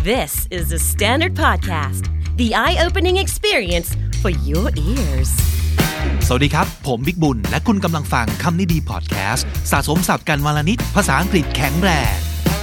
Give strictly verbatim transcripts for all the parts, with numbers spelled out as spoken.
This is the Standard Podcast, the eye-opening experience for your ears. สวัสดีครับผมบิ๊กบุญและคุณกำลังฟังคำนี้ดีพอดแคสต์สะสมศัพท์กันวันละนิดภาษาอังกฤษแข็งแรง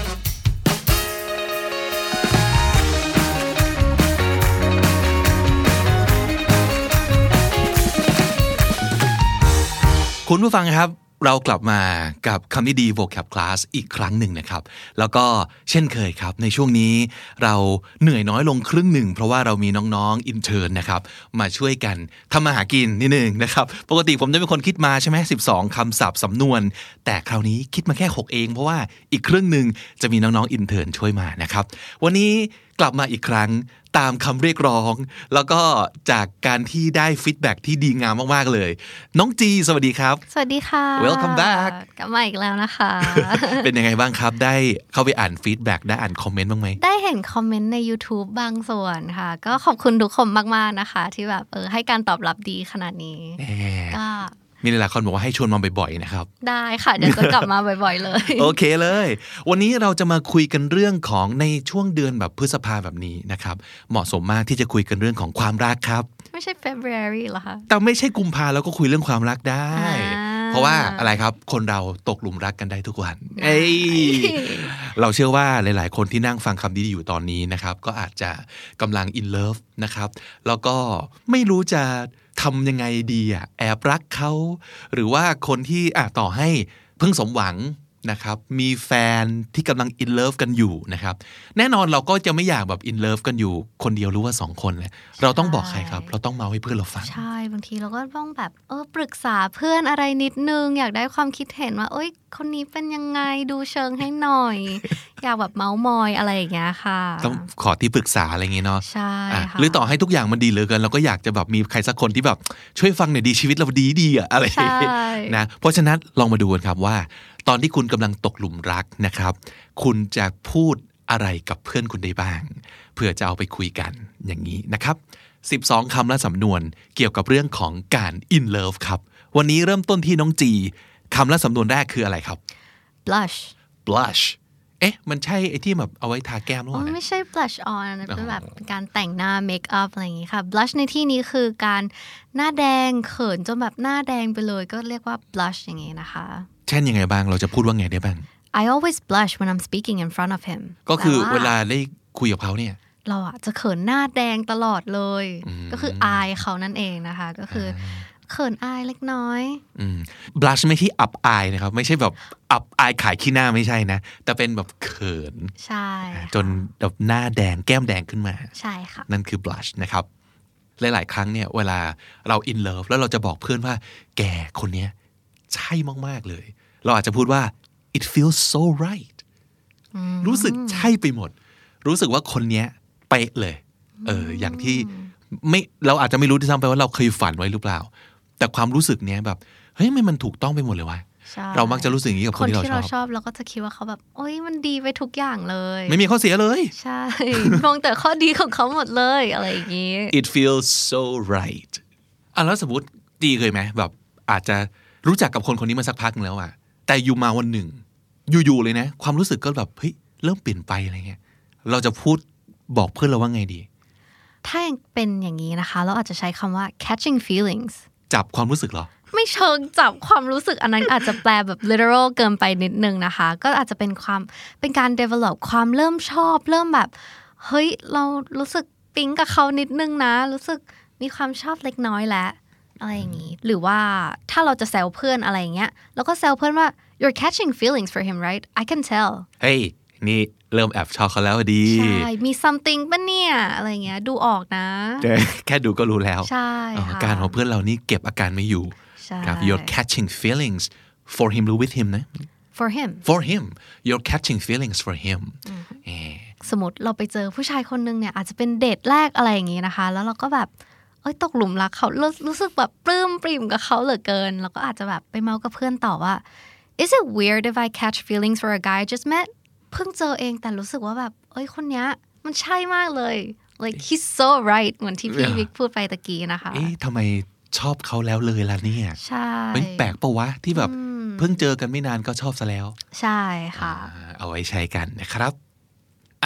คุณผู้ฟังครับเรากลับมากับคำนี้ดี vocab class อีกครั้งหนึ่งนะครับแล้วก็เช่นเคยครับในช่วงนี้เราเหนื่อยน้อยลงครึ่งหนึ่งเพราะว่าเรามีน้องๆ intern นะครับมาช่วยกันทำมาหากินนิดนึงนะครับปกติผมจะเป็นคนคิดมาใช่ไหมสิบสองคำศัพท์สำนวนแต่คราวนี้คิดมาแค่หกเองเพราะว่าอีกครึ่งหนึ่งจะมีน้องๆ intern ช่วยมานะครับวันนี้กลับมาอีกครั้งตามคำเรียกร้องแล้วก็จากการที่ได้ฟีดแบ็กที่ดีงามมากๆเลยน้องจีสวัสดีครับสวัสดีค่ะ Welcome back กลับมาอีกแล้วนะคะเป็นยังไงบ้างครับได้เข้าไปอ่านฟีดแบ็กได้อ่านคอมเมนต์บ้างไหมได้เห็นคอมเมนต์ใน YouTube บางส่วนค่ะก็ขอบคุณทุกคนมากๆนะคะที่แบบเออให้การตอบรับดีขนาดนี้ก็มีหลายคนบอกว่าให้ชวนมาบ่อยๆนะครับได้ค่ะเดี๋ยวจะกลับมาบ่อยๆเลยโอเคเลยวันนี้เราจะมาคุยกันเรื่องของในช่วงเดือนแบบพฤษภาแบบนี้นะครับเหมาะสมมากที่จะคุยกันเรื่องของความรักครับไม่ใช่ February เหรอคะแต่ไม่ใช่กุมภาแล้วก็คุยเรื่องความรักได้เพราะว่าอะไรครับคนเราตกหลุมรักกันได้ทุกวันเอ้ยเราเชื่อว่าหลายๆคนที่นั่งฟังคำนี้อยู่ตอนนี้นะครับก็อาจจะกำลัง in love นะครับแล้วก็ไม่รู้จะทำยังไงดีอ่ะแอบรักเขาหรือว่าคนที่อ่ะต่อให้เพิ่งสมหวังนะครับมีแฟนที่กำลัง in love กันอยู่นะครับแน่นอนเราก็จะไม่อยากแบบ in love กันอยู่คนเดียวหรือว่าสองคนเลยเราต้องบอกใครครับเราต้องเมาให้เพื่อนเราฟังใช่บางทีเราก็ต้องแบบเออปรึกษาเพื่อนอะไรนิดนึงอยากได้ความคิดเห็นว่าเอ้ยคนนี้เป็นยังไงดูเชิงให้หน่อย อยากแบบเมามอยอะไรอย่างเงี้ยค่ะต้องขอที่ปรึกษาอะไรอย่างเงี้ยเนาะใช่ค่ะหรือต่อให้ทุกอย่างมันดีเหลือเกินเราก็อยากจะแบบมีใครสักคนที่แบบช่วยฟังหน่อยดีชีวิตเราดีดีอะอะไรนะเพราะฉะนั้นลองมาดูกันครับว่าตอนที่คุณกำลังตกหลุมรักนะครับคุณจะพูดอะไรกับเพื่อนคุณได้บ้างเพื่อจะเอาไปคุยกันอย่างนี้นะครับสิบสองคำและสำนวนเกี่ยวกับเรื่องของการ in love ครับวันนี้เริ่มต้นที่น้องจีคำและสำนวนแรกคืออะไรครับ blush blush เอ๊ะมันใช่ไอ้ที่แบบเอาไว้ทาแก้มหรือเปล่าไม่ใช่ blush on เป็นแบบการแต่งหน้า make up อะไรอย่างงี้ค่ะ blush ในที่นี้คือการหน้าแดงเขินจนแบบหน้าแดงไปเลยก็เรียกว่า blush อย่างงี้นะคะเช่นยังไงบ้างเราจะพูดว่าไงได้บ้าง I always blush when I'm speaking in front of him ก็คือเวลาได้คุยกับเขาเนี่ยเราอะจะเขินหน้าแดงตลอดเลยก็คืออายเขานั่นเองนะคะก็คือเขินอายเล็กน้อยอืม blush ไม่ใช่อับอายนะครับไม่ใช่แบบอับอายขายขี้หน้าไม่ใช่นะแต่เป็นแบบเขินใช่จนแบบหน้าแดงแก้มแดงขึ้นมาใช่ค่ะนั่นคือ blush นะครับหลายๆครั้งเนี่ยเวลาเรา in love แล้วเราจะบอกเพื่อนว่าแกคนเนี้ยใช่มากๆเลยเราอาจจะพูดว่า it feels so right รู้สึกใช่ไปหมดรู้สึกว่าคนเนี้ยเป๊ะเลยเอออย่างที่ไม่เราอาจจะไม่รู้ที่ซ้ำไปว่าเราเคยฝันไว้หรือเปล่าแต่ความรู้สึกเนี้ยแบบเฮ้ยมันถูกต้องไปหมดเลยวะเรามักจะรู้สึกอย่างนี้กับคนที่เราชอบคนที่เราชอบเราก็จะคิดว่าเขาแบบโอ๊ยมันดีไปทุกอย่างเลยไม่มีข้อเสียเลยใช่มองแต่ข้อดีของเขาหมดเลยอะไรอย่างนี้ it feels so right อ่ะแล้วสมมติดีเคยไหมแบบอาจจะรู้จักกับคนคนนี้มาสักพักนึงแล้วอะแต่อยู่มาวันหนึ่งอยู่ๆเลยนะความรู้สึกก็แบบเฮ้ยเริ่มเปลี่ยนไปอะไรเงี้ยเราจะพูดบอกเพื่อนเราว่าไงดีถ้าเป็นอย่างนี้นะคะเราอาจจะใช้คำว่า catching feelings จับความรู้สึกเหรอไม่เชิงจับความรู้สึกอันนั้นอาจจะแปลแบบ literal เกินไปนิดนึงนะคะก็อาจจะเป็นความเป็นการ develop ความเริ่มชอบเริ่มแบบเฮ้ยเรารู้สึกปิ๊งกับเขานิดนึงนะรู้สึกมีความชอบเล็กน้อยแล้วอะไรอย่างนี้หรือว่าถ้าเราจะแซวเพื่อนอะไรอย่างเงี้ยแล้วก็แซวเพื่อนว่า you're catching feelings for him right I can tell เฮ้ยนี่เริ่มแอบชอบเขาแล้วดีใช่มี something ป่ะเนี่ยอะไรเงี้ยดูออกนะแค่ดูก็รู้แล้วใช่ค่ะการของเพื่อนเรานี่เก็บอาการไม่อยู่ครับ you're catching feelings for him หรือ with him นะ for him for him you're catching feelings for him สมมติเราไปเจอผู้ชายคนนึงเนี่ยอาจจะเป็นเดทแรกอะไรอย่างงี้นะคะแล้วเราก็แบบเอ้ยตกหลุมรักเขารู้สึกแบบปลื้มปริ่มกับเขาเหลือเกินแล้วก็อาจจะแบบไปเมากับเพื่อนต่อว่า is it weird if I catch feelings for a guy I just met เพิ่งเจอเองแต่รู้สึกว่าแบบเอ้ยคนเนี้ยมันใช่มากเลย like he's so right เหมือนที่พี่วิกพูดไปตะกี้นะคะเอ๊ะทำไมชอบเขาแล้วเลยล่ะเนี่ยใช่เป็นแปลกปะวะที่แบบเพิ่งเจอกันไม่นานก็ชอบซะแล้วใช่ค่ะเอาไว้ใช้กันนะครับอ่ะ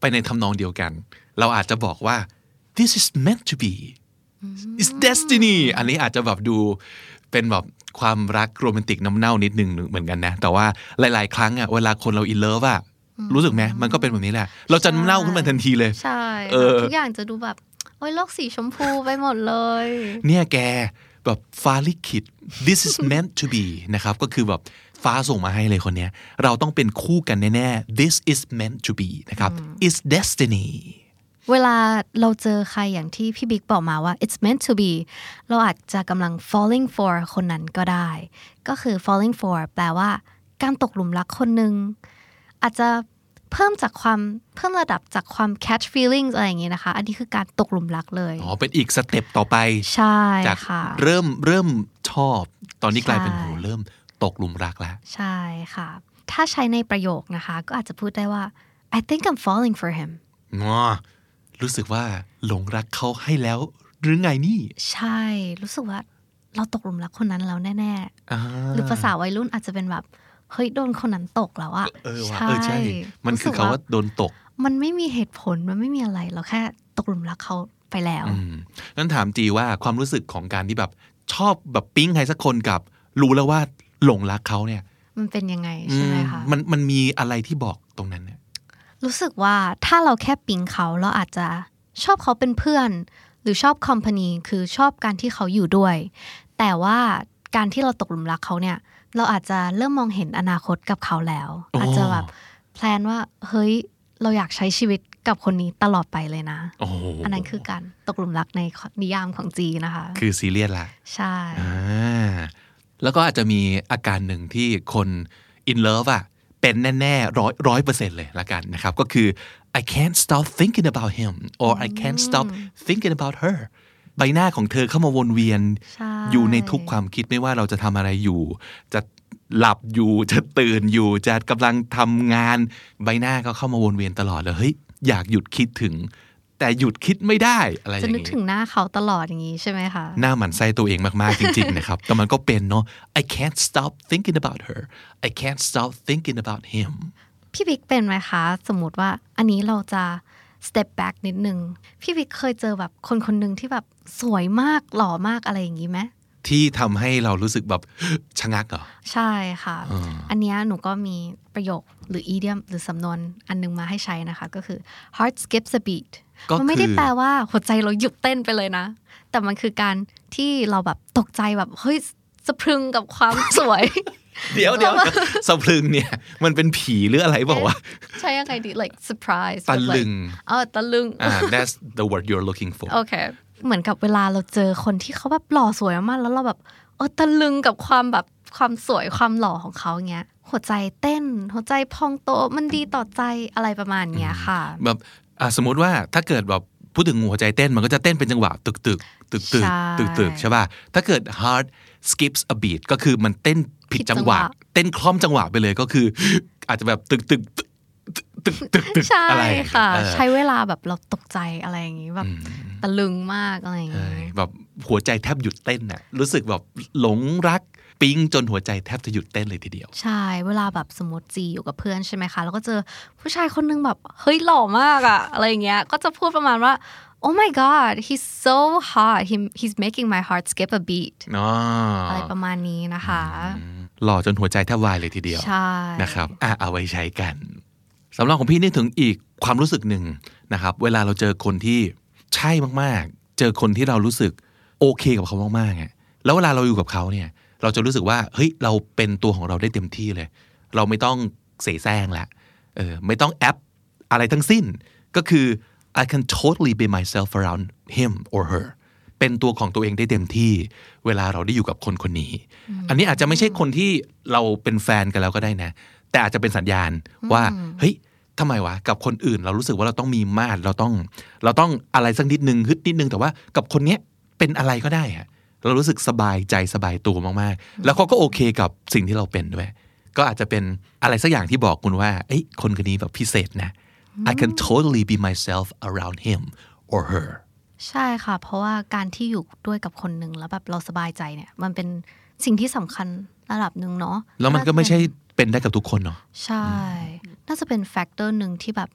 ไปในทำนองเดียวกันเราอาจจะบอกว่า this is meant to be it's destiny อันนี้อาจจะแบบดูเป็นแบบความรักโรแมนติกน้ำเน่านิดนึงเหมือนกันนะแต่ว่าหลายๆครั้งอ่ะเวลาคนเราอินเลิฟอ่ะรู้สึกไหมมันก็เป็นแบบนี้แหละเราจะน้ำเน่าขึ้นมาทันทีเลยใช่ทุกอย่างจะดูแบบโอ้ยโลกสีชมพูไปหมดเลยเนี่ยแกแบบฟ้าลิขิต this is meant to be นะครับก็คือแบบฟ้าส่งมาให้เลยคนเนี้ยเราต้องเป็นคู่กันแน่ๆ this is meant to be นะครับ it's destiny เวลาเราเจอใครอย่างที่พี่บิ๊กบอกมาว่า it's meant to be เราอาจจะกำลัง falling for คนนั้นก็ได้ก็คือ falling for แปลว่าการตกหลุมรักคนนึงอาจจะเพิ่มจากความเพิ่มระดับจากความ catch feelings อะไรอย่างเงี้ยนะคะอันนี้คือการตกหลุมรักเลยอ๋อเป็นอีกสเต็ปต่อไปใช่จากค่ะเริ่มเริ่มชอบตอนนี้กลายเป็นโหเริ่มตกหลุมรักแล้วใช่ค่ะถ้าใช้ในประโยคนะคะก็อาจจะพูดได้ว่า I think I'm falling for him อ๋อรู้สึกว่าหลงรักเขาให้แล้วหรือไงนี่ใช่รู้สึกว่าเราตกหลุมรักคนนั้นแล้วแน่ๆหรือภาษาวัยรุ่นอาจจะเป็นแบบเฮ้ยโดนคนนั้นตกแล้วอะเออว่ะเออใช่มันคือคำว่าโดนตกมันไม่มีเหตุผลมันไม่มีอะไรเราแค่ตกหลุมรักเขาไปแล้วงั้นถามจีว่าความรู้สึกของการที่แบบชอบแบบปิ๊งใครสักคนกับรู้แล้วว่าหลงรักเขาเนี่ยมันเป็นยังไงใช่ไหมคะมันมันมีอะไรที่บอกตรงนั้นเนี่ยรู้สึกว่าถ้าเราแค่ปิ๊งเขาเราอาจจะชอบเขาเป็นเพื่อนหรือชอบคอมพานีคือชอบการที่เขาอยู่ด้วยแต่ว่าการที่เราตกหลุมรักเขาเนี่ยเราอาจจะเริ่มมองเห็นอนาคตกับเขาแล้วอาจจะแบบแพลนว่าเฮ้ยเราอยากใช้ชีวิตกับคนนี้ตลอดไปเลยนะอ, อันนั้นคือการตกหลุมรักในนิยามของจีนะคะคือซีเรียสละใช่แล้วก็อาจจะมีอาการหนึ่งที่คน in love อ่ะเป็นแน่ๆร้อยร้อยเปอร์เซ็นต์เลยละกันนะครับก็คือ I can't stop thinking about him or I can't stop thinking about her ใบหน้าของเธอเข้ามาวนเวียนอยู่ในทุกความคิดไม่ว่าเราจะทำอะไรอยู่จะหลับอยู่จะตื่นอยู่จะกำลังทำงานใบหน้าก็เข้ามาวนเวียนตลอดเลยเฮ้ยอยากหยุดคิดถึงแต่หยุดคิดไม่ได้อะไรอย่างนี้จะนึกถึงหน้าเขาตลอดอย่างนี้ใช่ไหมคะหน้าหมันไส้ตัวเองมากๆจริงๆนะครับแต่มันก็เป็นเนาะ I can't stop thinking about her I can't stop thinking about him พี่บิ๊กเป็นไหมคะสมมติว่าอันนี้เราจะ step back นิดนึงพี่บิ๊กเคยเจอแบบคนคนหนึ่งที่แบบสวยมากหล่อมากอะไรอย่างนี้ไหมที่ทำให้เรารู้สึกแบบชะงักเหรอใช่ค่ะ อ, อันนี้หนูก็มีประโยคหรือ idiom หรือสำนวนอันนึงมาให้ใช้นะคะก็คือ heart skips a beat มันไม่ได้แปลว่าหัวใจเราหยุดเต้นไปเลยนะแต่มันคือการที่เราแบบตกใจแบบเฮ้ยสะพรึงกับความสวยเดี๋ยวเดี๋ยวสะพรึงเนี่ยมันเป็นผีหรืออะไรบอกว่าใช่ยังไงดี like surprise ตะลึงอ๋อตะลึงอ่า that's the word you're looking for โอเคเหมือนกับเวลาเราเจอคนที่เขาแบบหล่อสวยมากแล้วเราแบบเออตะลึงกับความแบบความสวยความหล่อของเขาเงี้ยหัวใจเต้นหัวใจพองโตมันดีต่อใจอะไรประมาณเนี้ยค่ะแบบสมมติว่าถ้าเกิดแบบพูดถึงหัวใจเต้นมันก็จะเต้นเป็นจังหวะตึกตึกตึกตึกตึกตึกใช่ป่ะถ้าเกิด heart skips a beat ก็คือมันเต้นผิดจังหวะเต้นคล่อมจังหวะไปเลยก็คืออาจจะแบบตึกตึกตึกตึกตึกอะไรค่ะใช้เวลาแบบเราตกใจอะไรอย่างงี้แบบตะลึงมากอะไรอย่างงี้แบบหัวใจแทบหยุดเต้นน่ะรู้สึกแบบหลงรักปิ๊งจนหัวใจแทบจะหยุดเต้นเลยทีเดียวใช่เวลาแบบสมมติจีอยู่กับเพื่อนใช่ไหมคะแล้วก็เจอผู้ชายคนนึงแบบเฮ้ยหล่อมากอะอะไรอย่างเงี้ยก็จะพูดประมาณว่า oh my god he's so hot he he's making my heart skip a beat อะไรประมาณนี้นะคะหล่อจนหัวใจแทบวายเลยทีเดียวนะครับอ่ะเอาไว้ใช้กันสำหรับของพี่นึกถึงอีกความรู้สึกหนึ่งนะครับเวลาเราเจอคนที่ใช่มากๆเจอคนที่เรารู้สึกโอเคกับเขามากๆแล้วเวลาเราอยู่กับเขาเนี่ยเราจะรู้สึกว่าเฮ้ยเราเป็นตัวของเราได้เต็มที่เลยเราไม่ต้องเสแสร้งละเออไม่ต้องแอปอะไรทั้งสิ้นก็คือ I can totally be myself around him or her เป็นตัวของตัวเองได้เต็มที่เวลาเราได้อยู่กับคนคนนี้อันนี้อาจจะไม่ใช่คนที่เราเป็นแฟนกันแล้วก็ได้นะแต่อาจจะเป็นสัญญาณว่าเฮ้ยทำไมวะกับคนอื่นเรารู้สึกว่าเราต้องมีมาตรเราต้องเราต้องอะไรสักนิดนึงฮึดนิดนึงแต่ว่ากับคนเนี้ยเป็นอะไรก็ได้อะเรารู้สึกสบายใจสบายตัวมากๆแล้วเขาก็โอเคกับสิ่งที่เราเป็นด้วยก็อาจจะเป็นอะไรสักอย่างที่บอกคุณว่าเอ้ยคนคนนี้แบบพิเศษนะ I can totally be myself around him or her ใช่ค่ะเพราะว่าการที่อยู่ด้วยกับคนหนึ่งแล้วแบบเราสบายใจเนี่ยมันเป็นสิ่งที่สำคัญระดับหนึ่งเนาะแล้วมันก็ไม่ใช่เป็นได้กับทุกคนเนาะใช่น่าจะเป็นแฟกเตอร์หนึ่งที่แบบ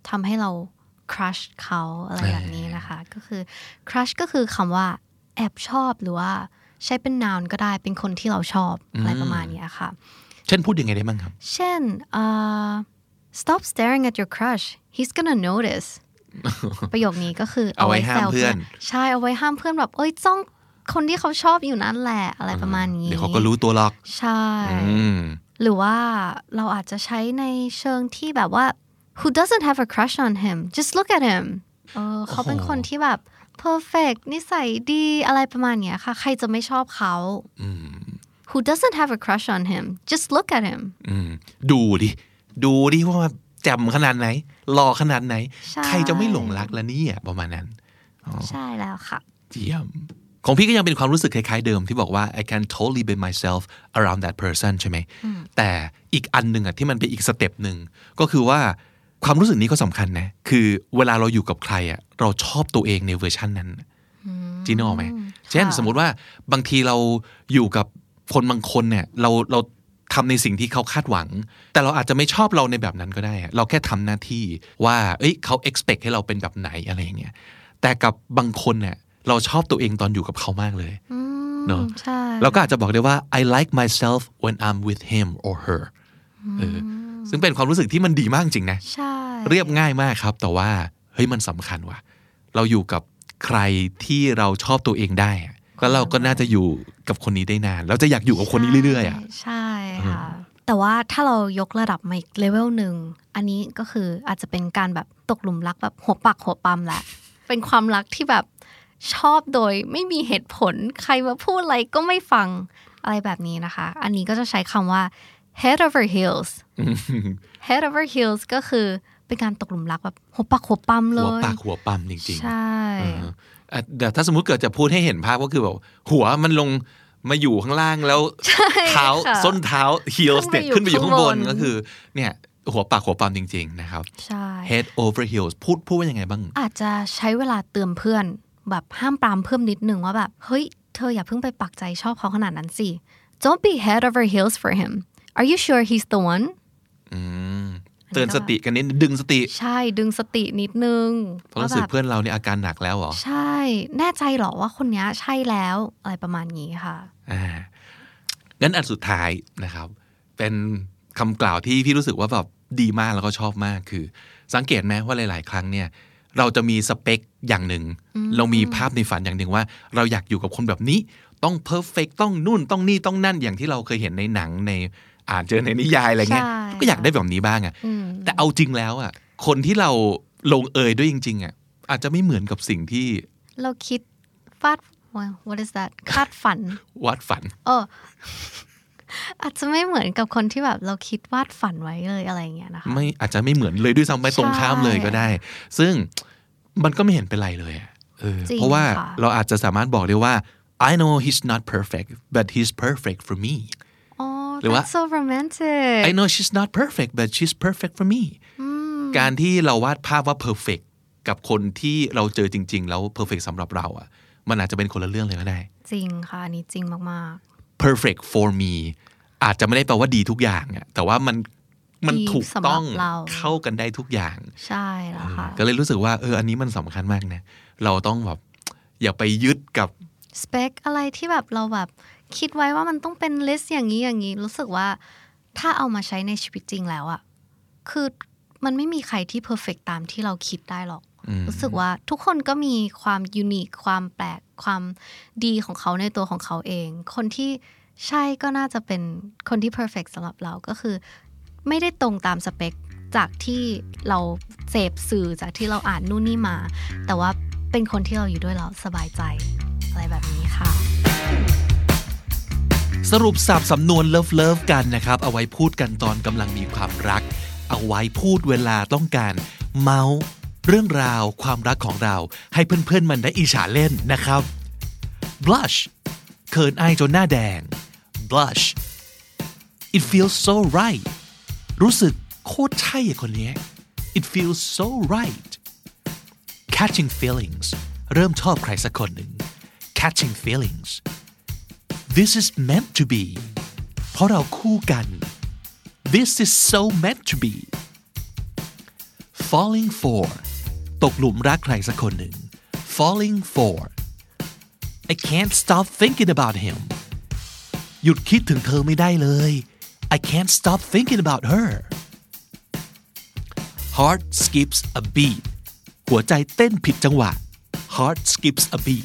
ทำให้เรา crush เขาอะไรแบบนี้นะคะก็คือ crush ก็คือคำว่าแอบชอบหรือว่าใช้เป็น noun ก็ได้เป็นคนที่เราชอบอะไรประมาณนี้ค่ะเช่นพูดยังไงได้บ้างครับเช่น uh, stop staring at your crush he's gonna notice ประโยคนี้ก็คือเอาไว้ห้ามเพื่อนใช่เอาไว้ห้ามเพื่อนแบบเอ้ยจ้องคนที่เขาชอบอยู่นั่นแหละอะไรประมาณนี้เดี๋ยวเขาก็รู้ตัวหรอกใช่หรือว่าเราอาจจะใช้ในเชิงที่แบบว่า who doesn't have a crush on him just look at him เออเขาเป็นคนที่แบบ perfect นิสัยดีอะไรประมาณนี้ค่ะใครจะไม่ชอบเขา who doesn't have a crush on him just look at him ดูดิดูดิว่าแจ่มขนาดไหนหล่อขนาดไหนใครจะไม่หลงรักละเนี่ยประมาณนั้นใช่แล้วค่ะเยี่ยมของพี่ก็ยังเป็นความรู้สึกคล้ายๆเดิมที่บอกว่า I can totally be myself around that person ใช่ไหมแต่อีกอันหนึ่งอ่ะที่มันเป็นอีกสเต็ปหนึ่งก็คือว่าความรู้สึกนี้ก็สำคัญนะคือเวลาเราอยู่กับใครอ่ะเราชอบตัวเองในเวอร์ชันนั้นจีน่าไหมเช่นสมมุติว่าบางทีเราอยู่กับคนบางคนเนี่ยเราเราทำในสิ่งที่เขาคาดหวังแต่เราอาจจะไม่ชอบเราในแบบนั้นก็ได้เราแค่ทำหน้าที่ว่าเอ้ยเขา expect ให้เราเป็นแบบไหนอะไรอย่างเงี้ยแต่กับบางคนเนี่ยเราชอบตัวเองตอนอยู่กับเขามากเลยเนาะเราก็อาจจะบอกได้ว่า I like myself when I'm with him or her เออซึ่งเป็นความรู้สึกที่มันดีมากจริงนะเรียบง่ายมากครับแต่ว่าเฮ้ยมันสำคัญว่ะเราอยู่กับใครที่เราชอบตัวเองได้ก็เราก็น่าจะอยู่กับคนนี้ได้นานแล้วจะอยากอยู่กับคนนี้เรื่อยๆอ่ะใช่ค่ะแต่ว่าถ้าเรายกระดับมาอีกเลเวลหนึ่งอันนี้ก็คืออาจจะเป็นการแบบตกหลุมรักแบบหัวปักหัวปั๊มแหละเป็นความรักที่แบบชอบโดยไม่มีเหตุผลใครมาพูดอะไรก็ไม่ฟังอะไรแบบนี้นะคะอันนี้ก็จะใช้คำว่า head over heels head over heels ก็คือเป็นการตกหลุมรักแบบหัวปักหัวปั๊มเลยหัวปักหัวปั๊มจริงๆใช่เดี๋ยวถ้าสมมุติเกิดจะพูดให้เห็นภาพก็คือแบบหัวมันลงมาอยู่ข้างล่างแล้วเท้าส้นเท้า heels เนี่ยขึ้นไปอยู่ข้างบนก็คือเนี่ยหัวปากหัวปั๊มจริงๆนะครับ head over heels พูดพูดว่ายังไงบ้างอาจจะใช้เวลาเตือนเพื่อนแบบห้ามปรามเพิ่มนิดนึงว่าแบบเฮ้ยเธออย่าเพิ่งไปปักใจชอบเขาขนาดนั้นสิ don't be head over heels for him are you sure he's the one อืมเตือนสติกันนิดดึงสติใช่ดึงสตินิดนึงเพราะรู้สึกเพื่อนเราเนี่ยอาการหนักแล้วเหรอใช่แน่ใจเหรอว่าคนนี้ใช่แล้วอะไรประมาณนี้ค่ะอ่างั้นอันสุดท้ายนะครับเป็นคำกล่าวที่พี่รู้สึกว่าแบบดีมากแล้วก็ชอบมากคือสังเกตไหมว่าหลายๆครั้งเนี่ยเราจะมีสเปคอย่างหนึ่งเรามีภาพในฝันอย่างหนึ่งว่าเราอยากอยู่กับคนแบบนี้ต้องเพอร์เฟกต์ต้องนู่นต้องนี่ต้องนั่นอย่างที่เราเคยเห็นในหนังในอ่านเจอในนิยายอะไรเงี้ยก็อยากได้แบบนี้บ้างอ่ะแต่เอาจริงแล้วอ่ะคนที่เราลงเอยด้วยจริงๆอ่ะอาจจะไม่เหมือนกับสิ่งที่เราคิดฟาด what is that คาดฝันวาดฝันเอออาจจะไม่เหมือนกับคนที่แบบเราคิดวาดฝันไว้เลยอะไรเงี้ยนะคะไม่อาจจะไม่เหมือนเลยด้วยซ้ำไปตรงข้ามเลยก็ได้ซึ่งมันก็ไม่เห็นเป็นไรเลยอ่ะเออเพราะว่าเราอาจจะสามารถบอกได้ว่า I know he's not perfect but he's perfect for me หรือว่า so romantic I know she's not perfect but she's perfect for me การที่เราวาดภาพว่า perfect กับคนที่เราเจอจริงๆแล้ว perfect สำหรับเราอ่ะมันอาจจะเป็นคนละเรื่องเลยก็ได้จริงค่ะอันนี้จริงมากๆ perfect for me อาจจะไม่ได้แปลว่าดีทุกอย่างอ่ะแต่ว่ามันมันถูกต้องเข้ากันได้ทุกอย่างใช่แล้วค่ะก็เลยรู้สึกว่าเอออันนี้มันสำคัญมากนะเราต้องแบบอย่าไปยึดกับสเปคอะไรที่แบบเราแบบคิดไว้ว่ามันต้องเป็นลิสต์อย่างนี้อย่างนี้รู้สึกว่าถ้าเอามาใช้ในชีวิตจริงแล้วอะคือมันไม่มีใครที่เพอร์เฟกต์ตามที่เราคิดได้หรอกรู้สึกว่าทุกคนก็มีความยูนิคความแปลกความดีของเขาในตัวของเขาเองคนที่ใช่ก็น่าจะเป็นคนที่เพอร์เฟกต์สำหรับเราก็คือไม่ได้ตรงตามสเปคจากที่เราเสพสื่อจากที่เราอ่านนู่นนี่มาแต่ว่าเป็นคนที่เราอยู่ด้วยเราสบายใจอะไรแบบนี้ค่ะสรุปสับสำนวนเลิฟเลิฟกันนะครับเอาไว้พูดกันตอนกำลังมีความรักเอาไว้พูดเวลาต้องการเมาส์เรื่องราวความรักของเราให้เพื่อนๆมันได้อิจฉาเล่นนะครับ blush เขินอายจนหน้าแดง blush it feels so right รู้สึกโคตรใช่คนนี้ it feels so right catching feelings เริ่มชอบใครสักคนหนึ่ง catching feelings this is meant to be เพราะเราคู่กัน this is so meant to be falling for ตกหลุมรักใครสักคนหนึ่ง falling for I can't stop thinking about him หยุดคิดถึงเธอไม่ได้เลย I can't stop thinking about her heart skips a beat หัวใจเต้นผิดจังหวะ heart skips a beat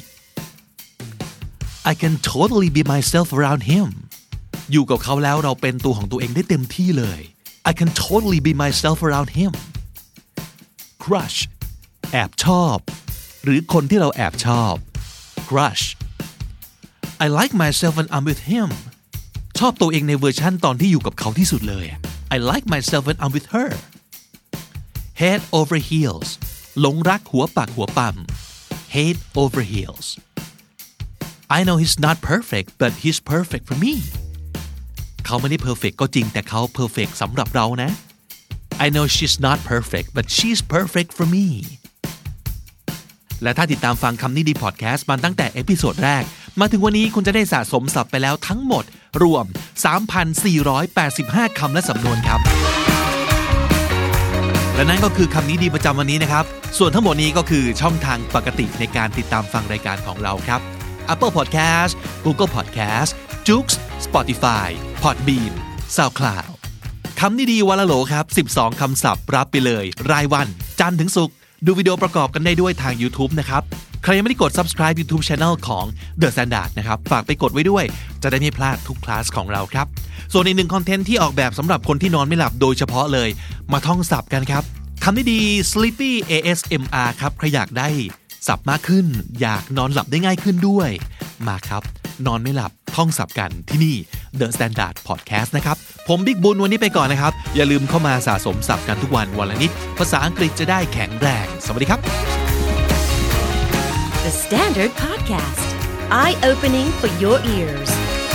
I can totally be myself around him อยู่กับเขาแล้วเราเป็นตัวของตัวเองได้เต็มที่เลย I can totally be myself around him crush แอบชอบหรือคนที่เราแอบชอบ crush I like myself when I'm with him ชอบตัวเองในเวอร์ชั่นตอนที่อยู่กับเขาที่สุดเลย I like myself when I'm with her head over heels หลงรักหัวปักหัวปั๊ม head over heels I know he's not perfect but he's perfect for me เขาไม่ได้ perfect ก็จริงแต่เขา perfect สำหรับเรานะ I know she's not perfect but she's perfect for me และถ้าติดตามฟังคำนี้ดีพอดแคสต์มาตั้งแต่เอพิโซดแรกมาถึงวันนี้คุณจะได้สะสมศัพท์ไปแล้วทั้งหมดรวม สามพันสี่ร้อยแปดสิบห้า คำและสำนวนครับและนั่นก็คือคำนี้ดีประจำวันนี้นะครับส่วนทั้งหมดนี้ก็คือช่องทางปกติในการติดตามฟังรายการของเราครับ Apple Podcast Google Podcast Joox Spotify Podbean SoundCloud คำนี้ดีวันละโหลครับสิบสองคำศัพท์รับไปเลยรายวันจันทร์ถึงศุกร์ดูวิดีโอประกอบกันได้ด้วยทาง YouTube นะครับใครยังไม่ได้กด Subscribe YouTube Channel ของ The Standard นะครับฝากไปกดไว้ด้วยจะได้ไม่พลาดทุกคลาสของเราครับส่วนอีกหนึ่งคอนเทนต์ที่ออกแบบสำหรับคนที่นอนไม่หลับโดยเฉพาะเลยมาท่องศัพท์กันครับคำนี้ดี Sleepy เอ เอส เอ็ม อาร์ ครับใครอยากได้ศัพท์มากขึ้นอยากนอนหลับได้ง่ายขึ้นด้วยมาครับนอนไม่หลับท่องศัพท์กันที่นี่ The Standard Podcast นะครับผมบิ๊กบุญวันนี้ไปก่อนนะครับอย่าลืมเข้ามาสะสมศัพท์กันทุกวันวันละนิดภาษาอังกฤษจะได้แข็งแรงสวัสดีครับ The Standard Podcast Eye-opening for your ears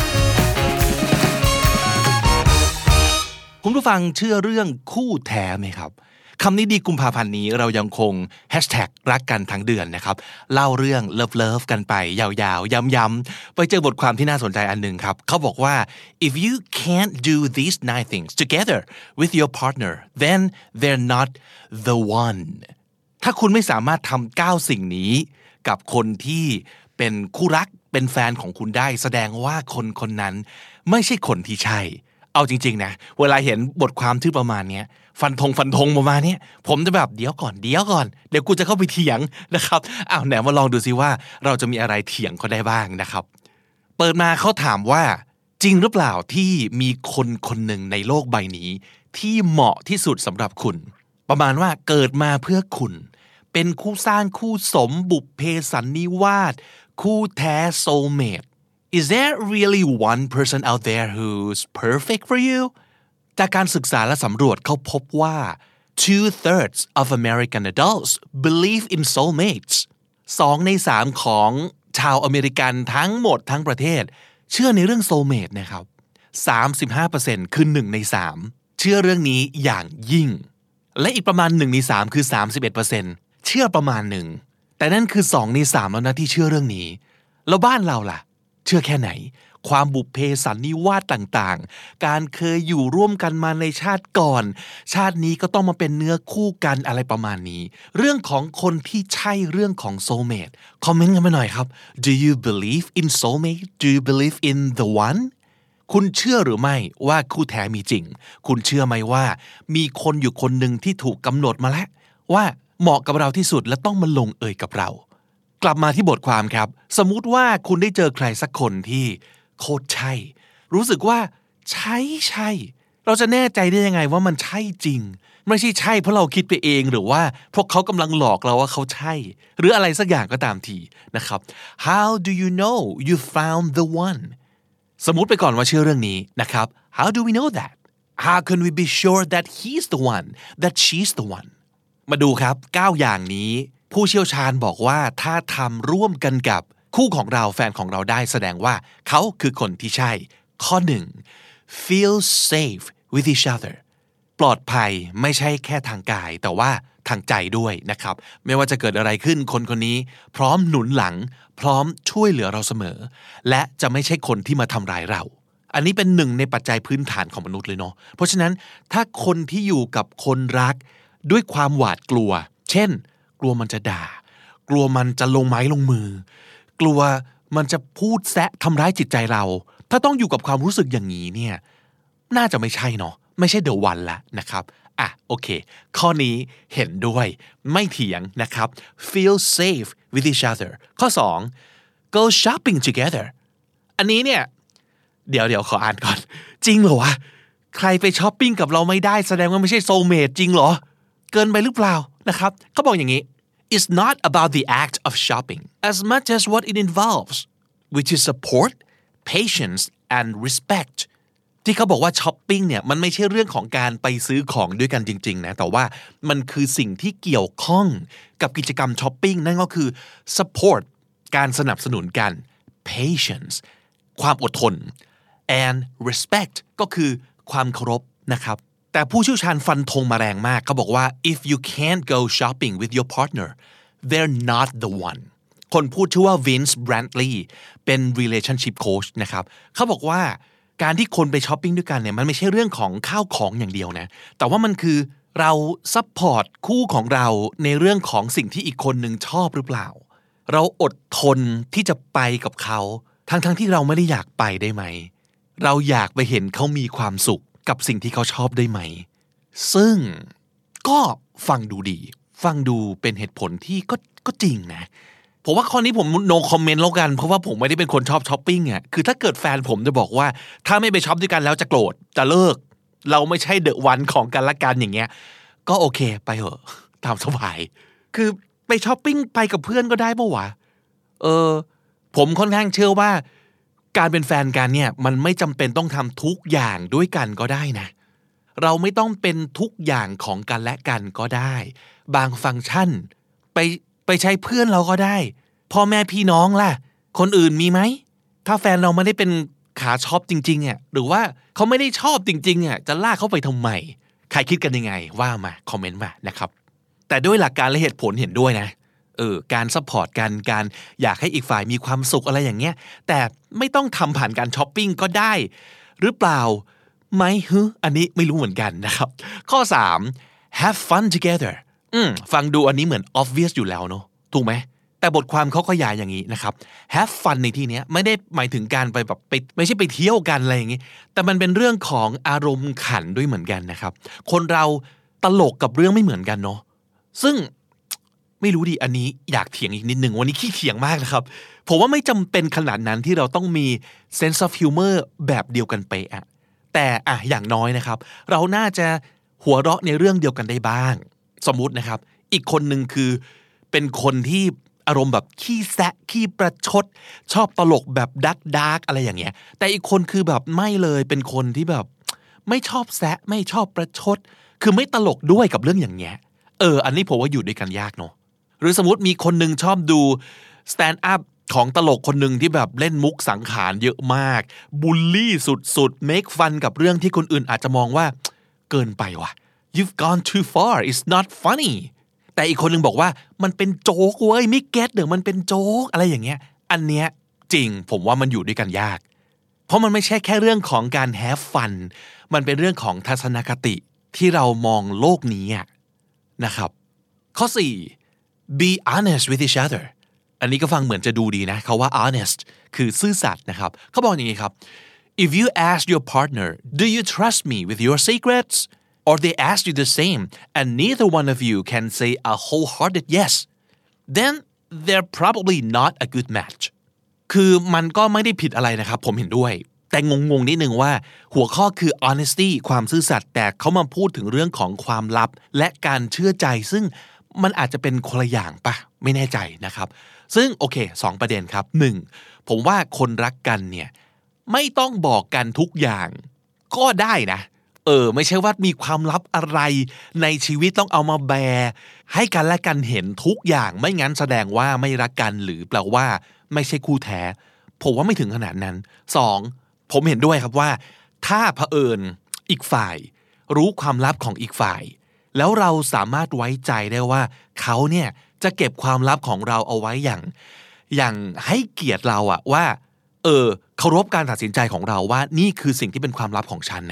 คุณผู้ฟังเชื่อเรื่องคู่แท้ไหมครับคำนี้ดีกุมภาพันธ์นี้เรายังคงแฮชแท็กรักกันทั้งเดือนนะครับเล่าเรื่องเลิฟเลิฟกันไปยาวๆย้ำๆไปเจอบทความที่น่าสนใจอันหนึ่งครับเขาบอกว่า if you can't do these nine things together with your partner then they're not the one ถ้าคุณไม่สามารถทำเก้าสิ่งนี้กับคนที่เป็นคู่รักเป็นแฟนของคุณได้แสดงว่าคนคนนั้นไม่ใช่คนที่ใช่เอาจริงๆนะเวลาเห็นบทความที่ประมาณนี้ฟันธงฟันธงประมาณนี้ผมจะแบบเดี๋ยวก่อนเดี๋ยวก่อนเดี๋ยวกูจะเข้าไปเถียงนะครับอ้าวไหนมาลองดูซิว่าเราจะมีอะไรเถียงเขาได้บ้างนะครับเปิดมาเขาถามว่าจริงหรือเปล่าที่มีคนคนหนึ่งในโลกใบนี้ที่เหมาะที่สุดสำหรับคุณประมาณว่าเกิดมาเพื่อคุณเป็นคู่สร้างคู่สมบุพเพสันนิวาสคู่แท้ soulmate Is there really one person out there who's perfect for you จากการศึกษาและสำรวจเขาพบว่า two-thirds of American adults believe in soulmates สองในสามของชาวอเมริกันทั้งหมดทั้งประเทศเชื่อในเรื่อง soulmate นะครับ สามสิบห้าเปอร์เซ็นต์ คือหนึ่งในสามเชื่อเรื่องนี้อย่างยิ่งและอีกประมาณหนึ่งในสามคือ สามสิบเอ็ดเปอร์เซ็นต์ เชื่อประมาณหนึ่งแต่นั่นคือสองในสามแล้วนะที่เชื่อเรื่องนี้แล้วบ้านเราล่ะเชื่อแค่ไหนความบุพเพสันนิวาสต่างๆการเคยอยู่ร่วมกันมาในชาติก่อนชาตินี้ก็ต้องมาเป็นเนื้อคู่กันอะไรประมาณนี้เรื่องของคนที่ใช่เรื่องของ soulmate คอมเมนต์กันมาหน่อยครับ Do you believe in soulmate? Do you believe in the one? คุณเชื่อหรือไม่ว่าคู่แท้มีจริงคุณเชื่อไหมว่ามีคนอยู่คนหนึ่งที่ถูกกำหนดมาแล้วว่าเหมาะกับเราที่สุดและต้องมาลงเอยกับเรากลับมาที่บทความครับสมมุติว่าคุณได้เจอใครสักคนที่โคตรใช่รู้สึกว่าใช่ใช่เราจะแน่ใจได้ยังไงว่ามันใช่จริงไม่ใช่ใช่เพราะเราคิดไปเองหรือว่าพวกเขากำลังหลอกเราว่าเขาใช่หรืออะไรสักอย่างก็ตามทีนะครับ How do you know you found the one สมมุติไปก่อนว่าเชื่อเรื่องนี้นะครับ How do we know that How can we be sure that he's the one that she's the one มาดูครับเก้าอย่างนี้ผู้เชี่ยวชาญบอกว่าถ้าทำร่วมกันกับคู่ของเราแฟนของเราได้แสดงว่าเขาคือคนที่ใช่ข้อหนึ่ง feel safe with each other ปลอดภัยไม่ใช่แค่ทางกายแต่ว่าทางใจด้วยนะครับไม่ว่าจะเกิดอะไรขึ้นคนคนนี้พร้อมหนุนหลังพร้อมช่วยเหลือเราเสมอและจะไม่ใช่คนที่มาทำร้ายเราอันนี้เป็นหนึ่งในปัจจัยพื้นฐานของมนุษย์เลยเนาะเพราะฉะนั้นถ้าคนที่อยู่กับคนรักด้วยความหวาดกลัวเช่นกลัวมันจะด่ากลัวมันจะลงไม้ลงมือกลัวมันจะพูดแซะทำร้ายจิตใจเราถ้าต้องอยู่กับความรู้สึกอย่างนี้เนี่ยน่าจะไม่ใช่เนาะไม่ใช่ the one ละนะครับอ่ะโอเคข้อนี้เห็นด้วยไม่เถียงนะครับ feel safe with each other ข้อสอง go shopping together อันนี้เนี่ยเดี๋ยวเดี๋ยวขออ่านก่อนจริงเหรอวะใครไปช้อปปิ้งกับเราไม่ได้แสดงว่าไม่ใช่ soulmate จริงเหรอเกินไปหรือเปล่านะครับเขาบอกอย่างนี้ it's not about the act of shopping as much as what it involves which is support patience and respectที่เขาบอกว่าช้อปปิ้งเนี่ยมันไม่ใช่เรื่องของการไปซื้อของด้วยกันจริงๆนะแต่ว่ามันคือสิ่งที่เกี่ยวข้องกับกิจกรรมช้อปปิ้งนั่นก็คือ support การสนับสนุนกัน patience ความอดทน and respect ก็คือความเคารพนะครับแต่ผู้เชี่ยวชาญฟันธงมาแรงมากเขาบอกว่า if you can't go shopping with your partner they're not the one คนพูดชื่อว่า Vince Brantley เป็น relationship coach นะครับเขาบอกว่าการที่คนไปช้อปปิ้งด้วยกันเนี่ยมันไม่ใช่เรื่องของข้าวของอย่างเดียวนะแต่ว่ามันคือเราซัพพอร์ตคู่ของเราในเรื่องของสิ่งที่อีกคนหนึ่งชอบหรือเปล่าเราอดทนที่จะไปกับเขาทั้งๆที่เราไม่ได้อยากไปได้ไหมเราอยากไปเห็นเขามีความสุขกับสิ่งที่เขาชอบได้ไหมซึ่งก็ฟังดูดีฟังดูเป็นเหตุผลที่ก็ก็จริงนะผมว่าข้อนี้ผม no comment แล้วกันเพราะว่าผมไม่ได้เป็นคนชอบช้อปปิ้งอ่ะคือถ้าเกิดแฟนผมจะบอกว่าถ้าไม่ไปช้อปด้วยกันแล้วจะโกรธจะเลิกเราไม่ใช่เดอะวันของกันละกันอย่างเงี้ยก็โอเคไปเถอะตามสบายคือไปช้อปปิ้งไปกับเพื่อนก็ได้ป่ะวะเออผมค่อนข้างเชื่อว่าการเป็นแฟนกันเนี่ยมันไม่จำเป็นต้องทำทุกอย่างด้วยกันก็ได้นะเราไม่ต้องเป็นทุกอย่างของกันและกันก็ได้บางฟังก์ชันไปไปใช้เพื่อนเราก็ได้พ่อแม่พี่น้องล่ะคนอื่นมีไหมถ้าแฟนเราไม่ได้เป็นขาช็อปจริงๆอ่ะหรือว่าเขาไม่ได้ชอบจริงๆอ่ะจะลากเขาไปทำไมใครคิดกันยังไงว่ามาคอมเมนต์มานะครับแต่ด้วยหลักการและเหตุผลเห็นด้วยนะเออการซัพพอร์ตกันการอยากให้อีกฝ่ายมีความสุขอะไรอย่างเงี้ยแต่ไม่ต้องทำผ่านการช้อปปิ้งก็ได้หรือเปล่าไหมฮึอันนี้ไม่รู้เหมือนกันนะครับข้อสาม have fun together อืมฟังดูอันนี้เหมือน obvious อยู่แล้วเนอะถูกไหมแต่บทความเขาขยายอย่างนี้นะครับ have fun ในที่นี้ไม่ได้หมายถึงการไปแบบไปไม่ใช่ไปเที่ยวกันอะไรอย่างงี้แต่มันเป็นเรื่องของอารมณ์ขันด้วยเหมือนกันนะครับคนเราตลกกับเรื่องไม่เหมือนกันเนาะซึ่งไม่รู้ดิอันนี้อยากเถียงอีกนิดนึงวันนี้ขี้เถียงมากนะครับผมว่าไม่จำเป็นขนาดนั้นที่เราต้องมี sense of humor แบบเดียวกันไปอะแต่อะอย่างน้อยนะครับเราน่าจะหัวเราะในเรื่องเดียวกันได้บ้างสมมุตินะครับอีกคนนึงคือเป็นคนที่อารมณ์แบบขี้แซะขี้ประชดชอบตลกแบบดักดักอะไรอย่างเงี้ยแต่อีกคนคือแบบไม่เลยเป็นคนที่แบบไม่ชอบแซะไม่ชอบประชดคือไม่ตลกด้วยกับเรื่องอย่างเงี้ยเอออันนี้ผมว่าอยู่ด้วยกันยากเนาะหรือสมมติมีคนนึงชอบดู stand up ของตลกคนนึงที่แบบเล่นมุกสังขารเยอะมากบูลลี่สุดๆ make fun กับเรื่องที่คนอื่นอาจจะมองว่าเกินไปว่ะ you've gone too far it's not funny แต่อีกคนนึงบอกว่ามันเป็นโจ๊กเว้ยไม่เก็ตเดี๋ยวมันเป็นโจ๊กอะไรอย่างเงี้ยอันเนี้ยจริงผมว่ามันอยู่ด้วยกันยากเพราะมันไม่ใช่แค่เรื่องของการ have fun มันเป็นเรื่องของทัศนคติที่เรามองโลกนี้นะครับข้อสี่ be honest with each other อันนี้ก็ฟังเหมือนจะดูดีนะเขาว่า honest คือซื่อสัตย์นะครับเขาบอกอย่างนี้ครับ if you ask your partner do you trust me with your secrets or they ask you the same and neither one of you can say a wholehearted yes then they're probably not a good match คือมันก็ไม่ได้ผิดอะไรนะครับผมเห็นด้วยแต่งงๆนิดนึงว่าหัวข้อคือ honesty ความซื่อสัตย์แต่เขามาพูดถึงเรื่องของความลับและการเชื่อใจซึ่งมันอาจจะเป็นคนละอย่างปะไม่แน่ใจนะครับซึ่งโอเคสองประเด็นครับหนึ่งผมว่าคนรักกันเนี่ยไม่ต้องบอกกันทุกอย่างก็ได้นะเออไม่ใช่ว่ามีความลับอะไรในชีวิตต้องเอามาแบร์ให้กันและกันเห็นทุกอย่างไม่งั้นแสดงว่าไม่รักกันหรือแปลว่าไม่ใช่คู่แท้ผมว่าไม่ถึงขนาดนั้นสองผมเห็นด้วยครับว่าถ้าเผอิญอีกฝ่ายรู้ความลับของอีกฝ่ายแล้วเราสามารถไว้ใจได้ว่าเขาเนี่ยจะเก็บความลับของเราเอาไว้อย่างอย่างให้เกียรติเราอะว่าเออเคารพการตัดสินใจของเราว่านี่คือสิ่งที่เป็นความลับของฉันนะ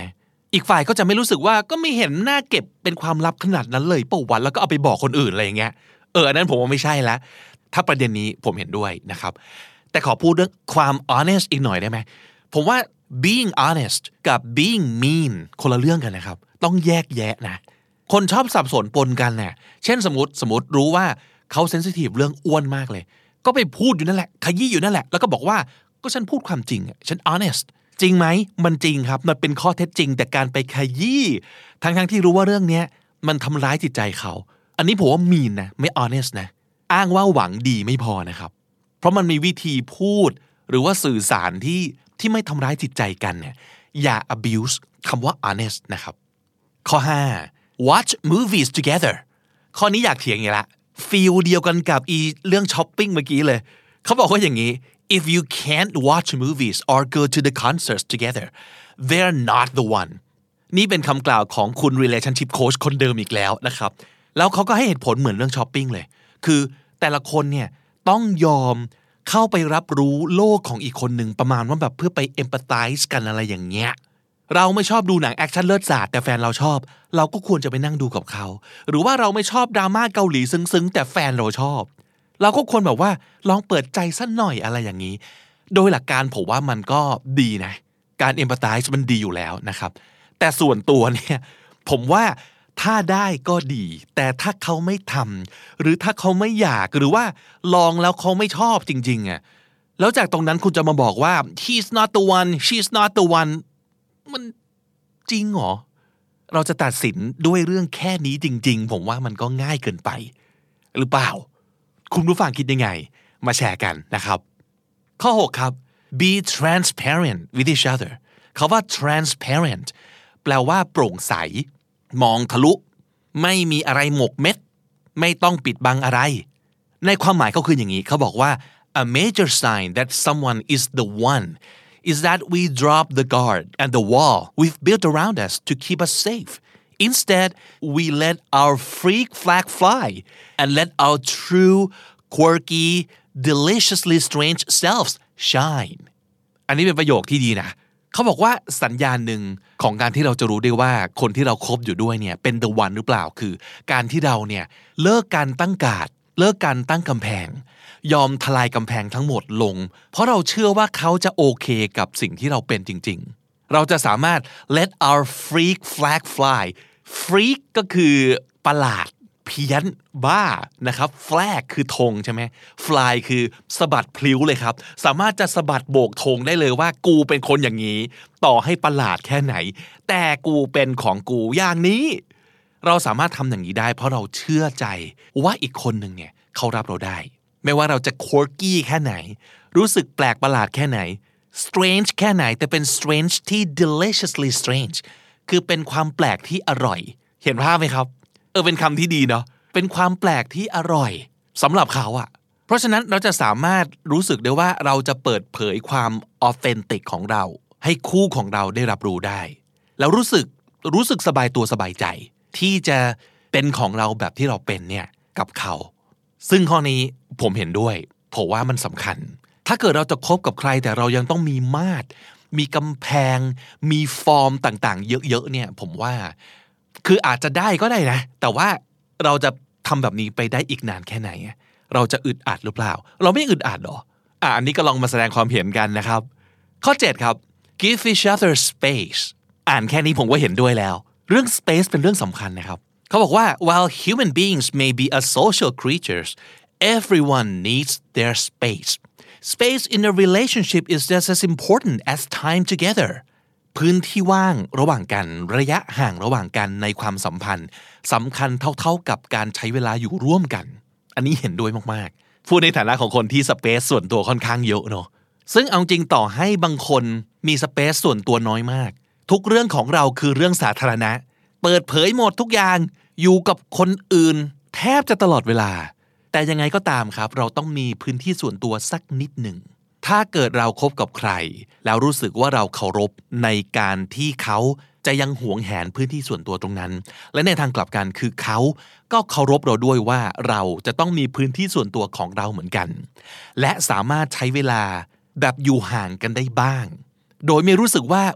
อีกฝ่ายก็จะไม่รู้สึกว่าก็ไม่เห็นน่าเก็บเป็นความลับขนาดนั้นเลยเปล่าวันแล้วก็เอาไปบอกคนอื่นอะไรอย่างเงี้ยเอออันนั้นผมว่าไม่ใช่ละถ้าประเด็นนี้ผมเห็นด้วยนะครับแต่ขอพูดเรื่องความ honest อีกหน่อยได้ไหมผมว่า being honest กับ being mean คนละเรื่องกันนะครับต้องแยกแยะนะคนชอบสับสนปนกันเนี่ยเช่นสมมติสมมติรู้ว่าเขาเซนซิทีฟเรื่องอ้วนมากเลยก็ไปพูดอยู่นั่นแหละขยี้อยู่นั่นแหละแล้วก็บอกว่าก็ฉันพูดความจริงฉัน honest จริงไหมมันจริงครับมันเป็นข้อเท็จจริงแต่การไปขยี้ทั้งๆที่รู้ว่าเรื่องนี้มันทำร้ายจิตใจเขาอันนี้ผมว่า mean นะไม่ honest นะอ้างว่าหวังดีไม่พอนะครับเพราะมันมีวิธีพูดหรือว่าสื่อสารที่ที่ไม่ทำร้ายจิตใจกันเนี่ยอย่า abuse คำว่า honest นะครับข้อห้า watch movies together ข้อนี้อยากเถียงอย่างละฟีลเดียวกันกับอีเรื่องช้อปปิ้งเมื่อกี้เลยเขาบอกว่าอย่างนี้ if you can't watch movies or go to the concerts together they're not the one นี่เป็นคำกล่าวของคุณ relationship coach คนเดิมอีกแล้วนะครับแล้วเขาก็ให้เหตุผลเหมือนเรื่องช้อปปิ้งเลยคือแต่ละคนเนี่ยต้องยอมเข้าไปรับรู้โลกของอีกคนหนึ่งประมาณว่าแบบเพื่อไป empathize กันอะไรอย่างเงี้ยเราไม่ชอบดูหนังแอคชั่นเลิศศาสตร์แต่แฟนเราชอบเราก็ควรจะไปนั่งดูกับเขาหรือว่าเราไม่ชอบดราม่าเกาหลีซึ้งๆแต่แฟนเราชอบเราก็ควรแบบว่าลองเปิดใจสักหน่อยอะไรอย่างนี้โดยหลักการผมว่ามันก็ดีนะการ empathize มันดีอยู่แล้วนะครับแต่ส่วนตัวเนี่ยผมว่าถ้าได้ก็ดีแต่ถ้าเขาไม่ทำหรือถ้าเขาไม่อยากหรือว่าลองแล้วเขาไม่ชอบจริงๆอ่ะแล้วจากตรงนั้นคุณจะมาบอกว่า he's not the one she's not the one มันจริงเหรอเราจะตัดสินด้วยเรื่องแค่นี้จริงๆผมว่ามันก็ง่ายเกินไปหรือเปล่าคุณผู้ฟังคิดยังไงมาแชร์กันนะครับข้อหกครับ be transparent with each other คำว่า transparent แปลว่าโปร่งใสมองทะลุไม่มีอะไรหมกเม็ดไม่ต้องปิดบังอะไรในความหมายเขาคืออย่างนี้เขาบอกว่า a major sign that someone is the one is that we drop the guard and the wall we've built around us to keep us safe instead we let our freak flag fly and let our true quirky deliciously strange selves shine อันนี้เป็นประโยคที่ดีนะเขาบอกว่าสัญญาณหนึ่งของการที่เราจะรู้ได้ว่าคนที่เราคบอยู่ด้วยเนี่ยเป็น the one หรือเปล่าคือการที่เราเนี่ยเลิกการตั้งการ์ดเลิกการตั้งกำแพงยอมทลายกำแพงทั้งหมดลงเพราะเราเชื่อว่าเขาจะโอเคกับสิ่งที่เราเป็นจริงๆเราจะสามารถ let our freak flag fly freak ก็คือประหลาดเพี้ยนบ้านะครับ flag คือธงใช่ไหม fly คือสะบัดพลิ้วเลยครับสามารถจะสะบัดโบกธงได้เลยว่ากูเป็นคนอย่างนี้ต่อให้ประหลาดแค่ไหนแต่กูเป็นของกูอย่างนี้เราสามารถทำอย่างนี้ได้เพราะเราเชื่อใจว่าอีกคนหนึ่งเนี่ยเขารับเราได้ไม่ว่าเราจะ quirky แค่ไหนรู้สึกแปลกประหลาดแค่ไหน strange แค่ไหนแต่เป็น strange ที่ deliciously strange คือเป็นความแปลกที่อร่อยเห็นภาพไหมครับเออเป็นคำที่ดีเนาะเป็นความแปลกที่อร่อยสำหรับเขาอะเพราะฉะนั้นเราจะสามารถรู้สึกได้ว่าเราจะเปิดเผยความออเทนติกของเราให้คู่ของเราได้รับรู้ได้แล้วรู้สึกรู้สึกสบายตัวสบายใจที่จะเป็นของเราแบบที่เราเป็นเนี่ยกับเขาซึ่งข้อนี้ผมเห็นด้วยผมว่ามันสำคัญถ้าเกิดเราจะคบกับใครแต่เรายังต้องมีมาตรมีกำแพงมีฟอร์มต่างๆเยอะๆเนี่ยผมว่าคืออาจจะได้ก็ได้นะแต่ว่าเราจะทำแบบนี้ไปได้อีกนานแค่ไหนเราจะอึดอัดหรือเปล่าเราไม่อึดอัดหรออ่ะอันนี้ก็ลองมาแสดงความเห็นกันนะครับข้อเจ็ดครับ give each other space อ่านแค่นี้ผมก็เห็นด้วยแล้วเรื่อง space เป็นเรื่องสำคัญนะครับเขาบอกว่า while human beings may be a social creatures everyone needs their space space in a relationship is just as important as time togetherพื้นที่ว่างระหว่างกันระยะห่างระหว่างกันในความสัมพันธ์สำคัญเท่าๆกับการใช้เวลาอยู่ร่วมกันอันนี้เห็นด้วยมากๆพูดในฐานะของคนที่สเปซส่วนตัวค่อนข้างเยอะเนาะซึ่งเอาจริงต่อให้บางคนมีสเปซส่วนตัวน้อยมากทุกเรื่องของเราคือเรื่องสาธารณะเปิดเผยหมดทุกอย่างอยู่กับคนอื่นแทบจะตลอดเวลาแต่ยังไงก็ตามครับเราต้องมีพื้นที่ส่วนตัวสักนิดหนึ่งถ้าเกิดเราคบกับใครแล้วรู้สึกว่าเราเคารพในการที่เขาจะยังหวงแหนพื้นที่ส่วนตัวตรงนั้นและในทางกลับกันคือเขาก็เคารพเราด้วยว่าเราจะต้องมีพื้นที่ส่วนตัวของเราเหมือนกันและสามารถใช้เวลาแบบอยู่ห่างกันได้บ้างโดยไม่รู้สึกว่าอุ๊ย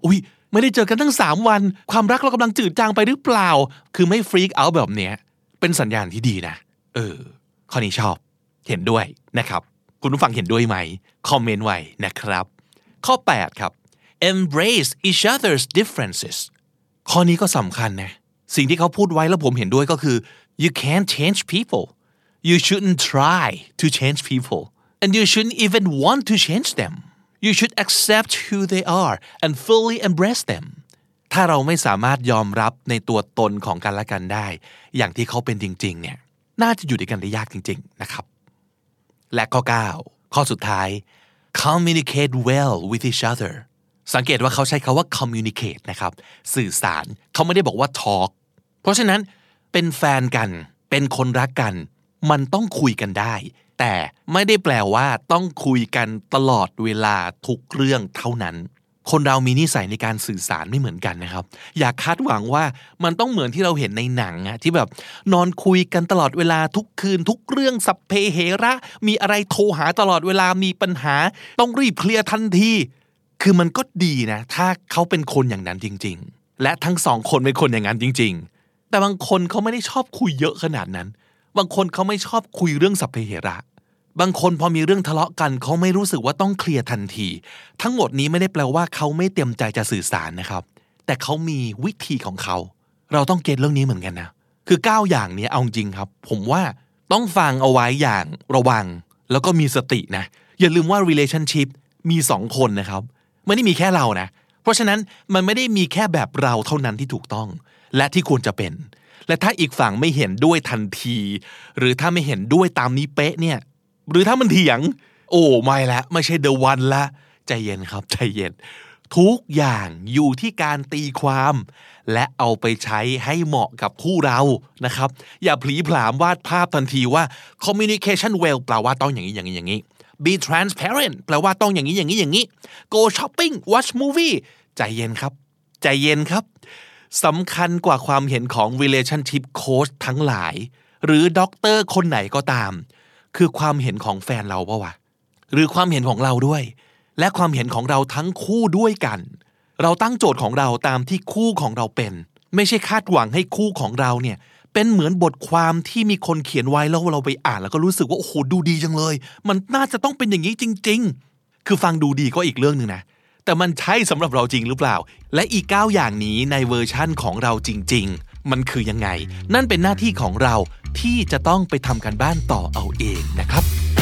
ไม่ได้เจอกันตั้งสามวันความรักเรากำลังจืดจางไปหรือเปล่าคือไม่ฟรีกเอาท์แบบเนี้ยเป็นสัญญาณที่ดีนะเออข้อนี้ชอบเห็นด้วยนะครับคุณผู้ฟังเห็นด้วยไหมคอมเมนต์ไว้นะครับข้อแปดครับ embrace each other's differences ข้อนี้ก็สำคัญนะสิ่งที่เขาพูดไว้แล้วผมเห็นด้วยก็คือ you can't change people you shouldn't try to change people and you shouldn't even want to change them you should accept who they are and fully embrace them ถ้าเราไม่สามารถยอมรับในตัวตนของกันและกันได้อย่างที่เขาเป็นจริงๆเนี่ยน่าจะอยู่ด้วยกันได้ยากจริงๆนะครับและข้อเก้าข้อสุดท้าย communicate well with each other สังเกตว่าเขาใช้คำว่า communicate นะครับสื่อสารเขาไม่ได้บอกว่า talk เพราะฉะนั้นเป็นแฟนกันเป็นคนรักกันมันต้องคุยกันได้แต่ไม่ได้แปลว่าต้องคุยกันตลอดเวลาทุกเรื่องเท่านั้นคนเรามีนิสัยในการสื่อสารไม่เหมือนกันนะครับอย่าคาดหวังว่ามันต้องเหมือนที่เราเห็นในหนังอะที่แบบนอนคุยกันตลอดเวลาทุกคืนทุกเรื่องสัพเพเหระมีอะไรโทรหาตลอดเวลามีปัญหาต้องรีบเคลียร์ทันทีคือมันก็ดีนะถ้าเขาเป็นคนอย่างนั้นจริงๆและทั้งสองคนเป็นคนอย่างนั้นจริงๆแต่บางคนเขาไม่ได้ชอบคุยเยอะขนาดนั้นบางคนเขาไม่ชอบคุยเรื่องสัพเพเหระบางคนพอมีเรื่องทะเลาะกันเขาไม่รู้สึกว่าต้องเคลียร์ทันทีทั้งหมดนี้ไม่ได้แปลว่าเขาไม่เต็มใจจะสื่อสารนะครับแต่เขามีวิธีของเขาเราต้องเก็ทเรื่องนี้เหมือนกันนะคือเก้าอย่างนี้เอาจริงครับผมว่าต้องฟังเอาไว้อย่างระวังแล้วก็มีสตินะอย่าลืมว่า relationship มีสองคนนะครับไม่ได้มีแค่เรานะเพราะฉะนั้นมันไม่ได้มีแค่แบบเราเท่านั้นที่ถูกต้องและที่ควรจะเป็นและถ้าอีกฝั่งไม่เห็นด้วยทันทีหรือถ้าไม่เห็นด้วยตามนี้เป๊ะเนี่ยหรือถ้ามันเถียงโอ้ไม่ละไม่ใช่ the one ละใจเย็นครับใจเย็นทุกอย่างอยู่ที่การตีความและเอาไปใช้ให้เหมาะกับคู่เรานะครับอย่าผลีผลามวาดภาพทันทีว่า communication well แปลว่าต้องอย่างนี้อย่างนี้อย่างนี้ be transparent แปลว่าต้องอย่างนี้อย่างนี้อย่างนี้ go shopping watch movie ใจเย็นครับใจเย็นครับสำคัญกว่าความเห็นของ relationship coach ทั้งหลายหรือด็อกเตอร์คนไหนก็ตามคือความเห็นของแฟนเราปะวะหรือความเห็นของเราด้วยและความเห็นของเราทั้งคู่ด้วยกันเราตั้งโจทย์ของเราตามที่คู่ของเราเป็นไม่ใช่คาดหวังให้คู่ของเราเนี่ยเป็นเหมือนบทความที่มีคนเขียนไว้แล้วเราไปอ่านแล้วก็รู้สึกว่าโอ้โหดูดีจังเลยมันน่าจะต้องเป็นอย่างนี้จริงๆคือฟังดูดีก็อีกเรื่องนึงนะแต่มันใช่สำหรับเราจริงหรือเปล่าและอีกเก้าอย่างนี้ในเวอร์ชั่นของเราจริงๆมันคือยังไงนั่นเป็นหน้าที่ของเราที่จะต้องไปทำการบ้านต่อเอาเองนะครับ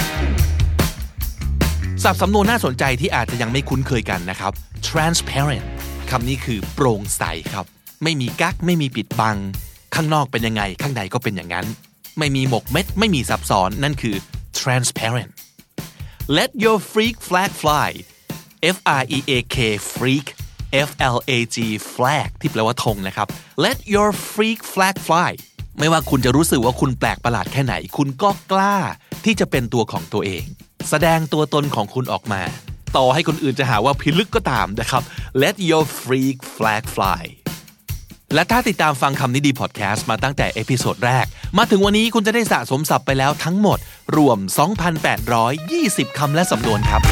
ศัพท์สำนวนน่าสนใจที่อาจจะยังไม่คุ้นเคยกันนะครับ transparent คำนี้คือโปร่งใสครับไม่มีกั๊กไม่มีปิดบังข้างนอกเป็นยังไงข้างในก็เป็นอย่างนั้นไม่มีหมกเม็ดไม่มีซับซ้อนนั่นคือ transparent let your freak flag fly F R E A K freak F L A G flag ที่แปลว่าธงนะครับ let your freak flag fly ไม่ว่าคุณจะรู้สึกว่าคุณแปลกประหลาดแค่ไหนคุณก็กล้าที่จะเป็นตัวของตัวเองแสดงตัวตนของคุณออกมาต่อให้คนอื่นจะหาว่าพิลึกก็ตามนะครับ let your freak flag fly และถ้าติดตามฟังคำนี้ดีพอดแคสต์มาตั้งแต่เอพิโซดแรกมาถึงวันนี้คุณจะได้สะสมศัพท์ไปแล้วทั้งหมดรวม สองพันแปดร้อยยี่สิบ คำและสำนวนครับ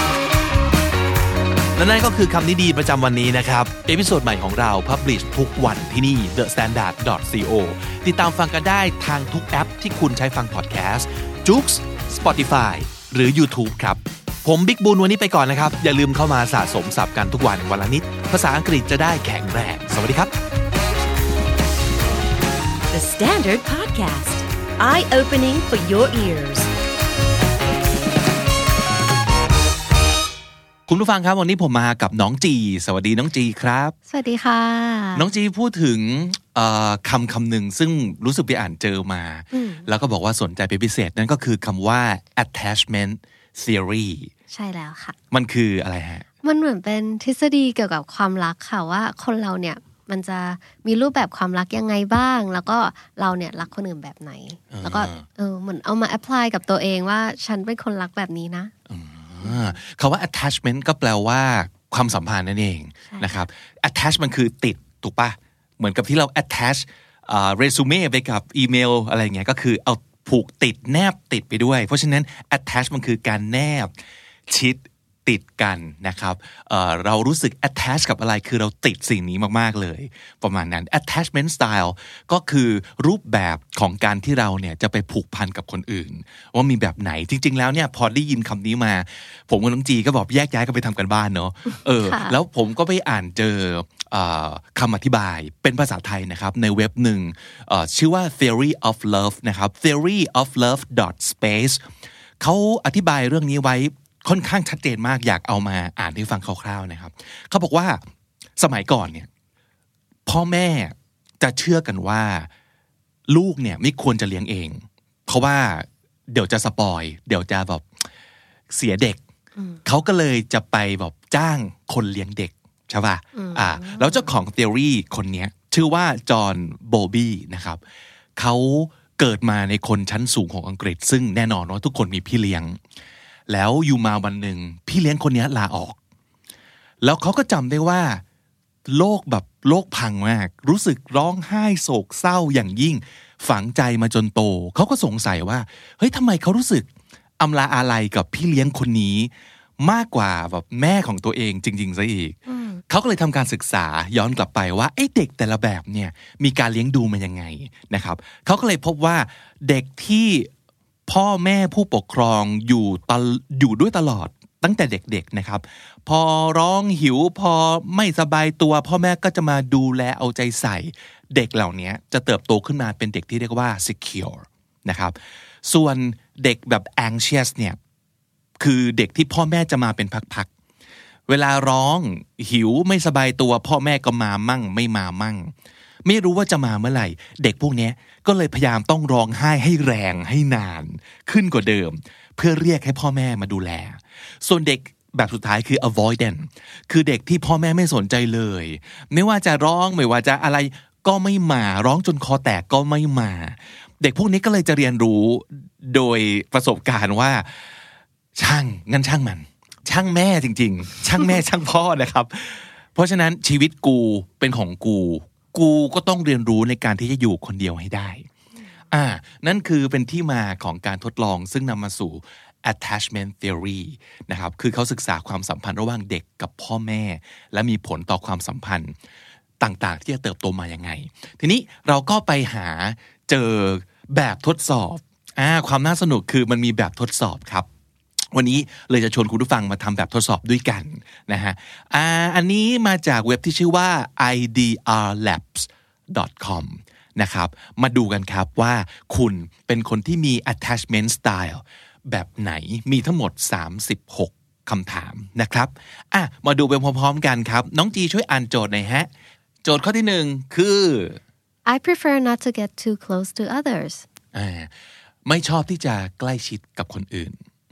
และนั่นก็คือคำนี้ดีประจำวันนี้นะครับเอพิโซดใหม่ของเรา publish ทุกวันที่นี่ the standard dot co ติดตามฟังกันได้ทางทุกแอปที่คุณใช้ฟังพอดแคสต์ Joox Spotify หรือ YouTube ครับผมบิ๊กบุญวันนี้ไปก่อนนะครับอย่าลืมเข้ามาสะสมศัพท์กันทุกวันวันละนิดภาษาอังกฤษจะได้แข็งแรงสวัสดีครับ The Standard Podcast Eye-opening for your ears คุณผู้ฟังครับวันนี้ผมมากับน้องจีสวัสดีน้องจีครับสวัสดีค่ะน้องจีพูดถึงคำคำหนึ่งซึ่งรู้สึกไปอ่านเจอมาแล้วก็บอกว่าสนใจเป็นพิเศษนั่นก็คือคำว่า attachment theory ใช่แล้วค่ะมันคืออะไรฮะมันเหมือนเป็นทฤษฎีเกี่ยวกับความรักค่ะว่าคนเราเนี่ยมันจะมีรูปแบบความรักยังไงบ้างแล้วก็เราเนี่ยรักคนอื่นแบบไหนแล้วก็เออเหมือนเอามา apply กับตัวเองว่าฉันเป็นคนรักแบบนี้นะคำว่า attachment ก็แปลว่าความสัมพันธ์นั่นเองนะครับ attach มันคือติดถูกปะเหมือนกับที่เรา attach เรซูเม่ไปกับอีเมลอะไรเงี้ยก็คือเอาผูกติดแนบติดไปด้วยเพราะฉะนั้น attach มันคือการแนบชิดติดกันนะครับ เอ่อ เรารู้สึก attach กับอะไรคือเราติดสิ่งนี้มากๆเลยประมาณนั้น attachment style ก็คือรูปแบบของการที่เราเนี่ยจะไปผูกพันกับคนอื่นว่ามีแบบไหนจริงๆแล้วเนี่ยพอได้ยินคำนี้มาผมกับน้องจีก็บอกแยกย้ายกันไปทำกันบ้านเนาะเออ แล้วผมก็ไปอ่านเจอคำอธิบายเป็นภาษาไทยนะครับในเว็บหนึ่งชื่อว่า theory of love นะครับ theory of love dot space เขาอธิบายเรื่องนี้ไว้ค่อนข้างชัดเจนมากอยากเอามาอ่านให้ฟังคร่าวๆนะครับเขาบอกว่าสมัยก่อนเนี่ยพ่อแม่จะเชื่อกันว่าลูกเนี่ยไม่ควรจะเลี้ยงเองเพราะว่าเดี๋ยวจะสปอยเดี๋ยวจะแบบเสียเด็กเขาก็เลยจะไปแบบจ้างคนเลี้ยงเด็กใช่ป่ะอ่าแล้วเจ้าของ theory คนนี้ชื่อว่าจอห์นโบบี้นะครับเขาเกิดมาในคนชั้นสูงของอังกฤษซึ่งแน่นอนว่าทุกคนมีพี่เลี้ยงแล้วอยู่มาวันหนึ่งพี่เลี้ยงคนนี้ลาออกแล้วเขาก็จำได้ว่าโลกแบบโลกพังมากรู้สึกร้องไห้โศกเศร้าอย่างยิ่งฝังใจมาจนโตเขาก็สงสัยว่าเฮ้ยทำไมเขารู้สึกอำลาอาลัยกับพี่เลี้ยงคนนี้มากกว่าแบบแม่ของตัวเองจริงๆซะอีกเขาก็เลยทำการศึกษาย้อนกลับไปว่าไอ้เด็กแต่ละแบบเนี่ยมีการเลี้ยงดูมันยังไงนะครับเขาก็เลยพบว่าเด็กที่พ่อแม่ผู้ปกครองอยู่ตลอยู่ด้วยตลอดตั้งแต่เด็กๆนะครับพอร้องหิวพอไม่สบายตัวพ่อแม่ก็จะมาดูแลเอาใจใส่เด็กเหล่านี้จะเติบโตขึ้นมาเป็นเด็กที่เรียกว่า secure นะครับส่วนเด็กแบบ anxious เนี่ยคือเด็กที่พ่อแม่จะมาเป็นพักๆเวลาร้องหิวไม่สบายตัวพ่อแม่ก็มามั่งไม่มามั่งไม่รู้ว่าจะมาเมื่อไหร่เด็กพวกนี้ก็เลยพยายามต้องร้องไห้ให้แรงให้นานขึ้นกว่าเดิมเพื่อเรียกให้พ่อแม่มาดูแลส่วนเด็กแบบสุดท้ายคือ avoidant คือเด็กที่พ่อแม่ไม่สนใจเลยไม่ว่าจะร้องไม่ว่าจะอะไรก็ไม่มาร้องจนคอแตกก็ไม่มาเด็กพวกนี้ก็เลยจะเรียนรู้โดยประสบการณ์ว่าช่างงั้นช่างมันช่างแม่จริงๆช่างแม่ช่างพ่อนะครับเพราะฉะนั้นชีวิตกูเป็นของกูกูก็ต้องเรียนรู้ในการที่จะอยู่คนเดียวให้ได้อ่านั่นคือเป็นที่มาของการทดลองซึ่งนำมาสู่ attachment theory นะครับคือเขาศึกษาความสัมพันธ์ระหว่างเด็กกับพ่อแม่และมีผลต่อความสัมพันธ์ต่างๆที่จะเติบโตมายังไงทีนี้เราก็ไปหาเจอแบบทดสอบอ่าความน่าสนุกคือมันมีแบบทดสอบครับวันนี้เลยจะชวนคุณผู้ฟังมาทำแบบทดสอบด้วยกันนะฮะอ่าอันนี้มาจากเว็บที่ชื่อว่า ไอ ดี อาร์ แลบส์ ดอท คอม นะครับมาดูกันครับว่าคุณเป็นคนที่มี attachment style แบบไหนมีทั้งหมดสามสิบหกคำถามนะครับอ่ะมาดูไปพร้อมๆกันครับน้องจีช่วยอ่านโจทย์หน่อยฮะโจทย์ข้อที่หนึ่งคือ I prefer not to get too close to others อ่าไม่ชอบที่จะใกล้ชิดกับคนอื่น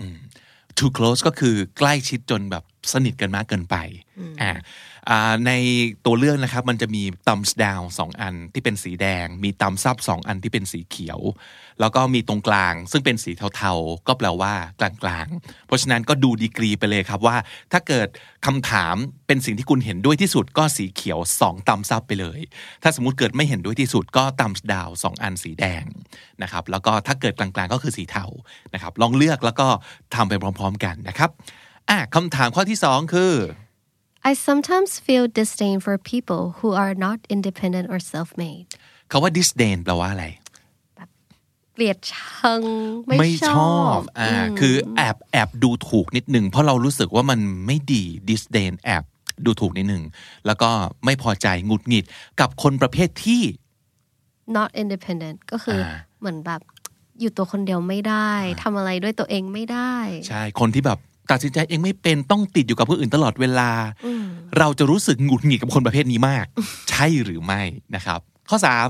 too close ก็คือใกล้ชิดจนแบบสนิทกันมากเกินไปอ่าอ่าในตัวเลือกนะครับมันจะมี thumbs down สองอันที่เป็นสีแดงมี thumbs up สองอันที่เป็นสีเขียวแล้วก็มีตรงกลางซึ่งเป็นสีเทาๆก็แปลว่ากลางๆเพราะฉะนั้นก็ดูดีกรีไปเลยครับว่าถ้าเกิดคำถามเป็นสิ่งที่คุณเห็นด้วยที่สุดก็สีเขียวสอง thumbs up ไปเลยถ้าสมมุติเกิดไม่เห็นด้วยที่สุดก็ thumbs down สองอันสีแดงนะครับแล้วก็ถ้าเกิดกลางๆก็คือสีเทานะครับลองเลือกแล้วก็ทำไปพร้อมๆกันนะครับอ่ะคำถามข้อที่สองคือ I sometimes feel disdain for people who are not independent or self-made คำว่า disdain แปลว่าอะไรเกลียดชังไม่ชอบอ่าคือแอบแอบดูถูกนิดนึงเพราะเรารู้สึกว่ามันไม่ดี disdain แอบดูถูกนิดนึงแล้วก็ไม่พอใจหงุดหงิดกับคนประเภทที่ not independent ก็คือเหมือนแบบอยู่ตัวคนเดียวไม่ได้ทำอะไรด้วยตัวเองไม่ได้ใช่คนที่แบบตัดสินใจเองไม่เป็นต้องติดอยู่กับผู้อื่นตลอดเวลาเราจะรู้สึกหงุดหงิดกับคนประเภทนี้มาก ใช่หรือไม่นะครับข้อสาม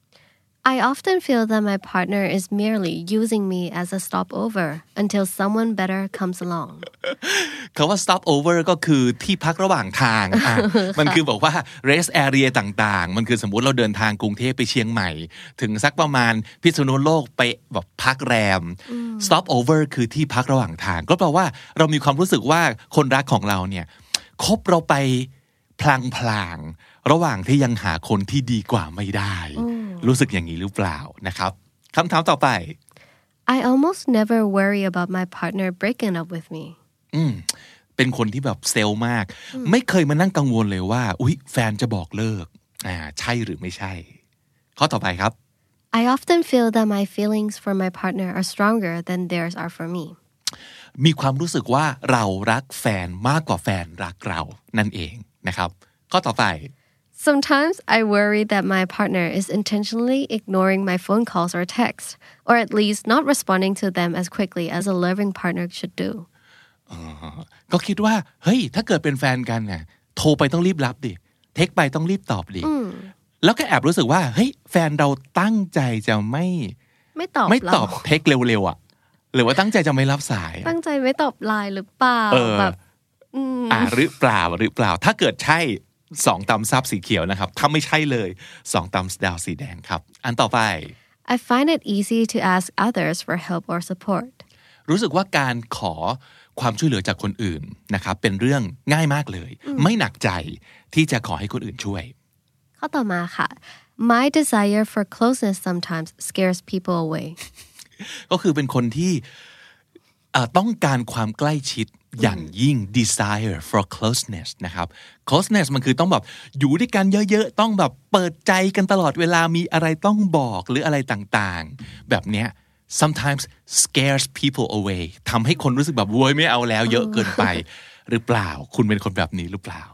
I often feel that my partner is merely using me as a stopover until someone better comes along คำว่า stopover ก็คือที่พักระหว่างทางอ่ะ มันคือบอกว่า rest area ต่างๆมันคือสมมุติเราเดินทางกรุงเทพไปเชียงใหม่ถึงสักประมาณพิษณุโลกไปแบบพักแรม stopover คือที่พักระหว่างทางก็แปลว่าเรามีความรู้สึกว่าคนรักของเราเนี่ยคบเราไปพลางๆระหว่างที่ยังหาคนที่ดีกว่าไม่ได้รู้สึกอย่างนี้หรือเปล่านะครับคำถามต่อไป I almost never worry about my partner breaking up with me อืมเป็นคนที่แบบเซลล์มากไม่เคยมานั่งกังวลเลยว่าอุ๊ยแฟนจะบอกเลิกอ่าใช่หรือไม่ใช่ข้อต่อไปครับ I often feel that my feelings for my partner are stronger than theirs are for me. มีความรู้สึกว่าเรารักแฟนมากกว่าแฟนรักเรานั่นเองนะครับข้อต่อไป Sometimes I worry that my partner is intentionally ignoring my phone calls or texts, or at least not responding to them as quickly as a loving partner should do. ก็คิดว่าเฮ้ยถ้าเกิดเป็นแฟนกันเนี่ยโทรไปต้องรีบรับดิเทคไปต้องรีบตอบดิแล้วก็แอบรู้สึกว่าเฮ้ยแฟนเราตั้งใจจะไม่ไม่ตอบไม่ตอบเทคเร็วๆอ่ะหรือว่าตั้งใจจะไม่รับสายตั้งใจไม่ตอบไลน์หรือเปล่าแบบอ่าหรือเปล่าหรือเปล่าถ้าเกิดใช่สองตำซับสีเขียวนะครับถ้าไม่ใช่เลยสองตำดาวสีแดงครับอันต่อไป I find it easy to ask others for help or support รู้สึกว่าการขอความช่วยเหลือจากคนอื่นนะครับเป็นเรื่องง่ายมากเลยไม่หนักใจที่จะขอให้คนอื่นช่วยข้อต่อมาค่ะ My desire for closeness sometimes scares people away ก็คือเป็นคนที่ต้องการความใกล้ชิดอย่างยิ่ง desire for closeness นะครับ closeness มันคือต้องแบบอยู่ด้วยกันเยอะๆต้องแบบเปิดใจกันตลอดเวลามีอะไรต้องบอกหรืออะไรต่างๆแบบเนี้ยsometimes scares people away ทำให้คนรู้สึกแบบโว้ยไม่เอาแล้วเยอะเกินไปหรือเปล่าคุณเป็นคนแบบนี้หรือเปล่า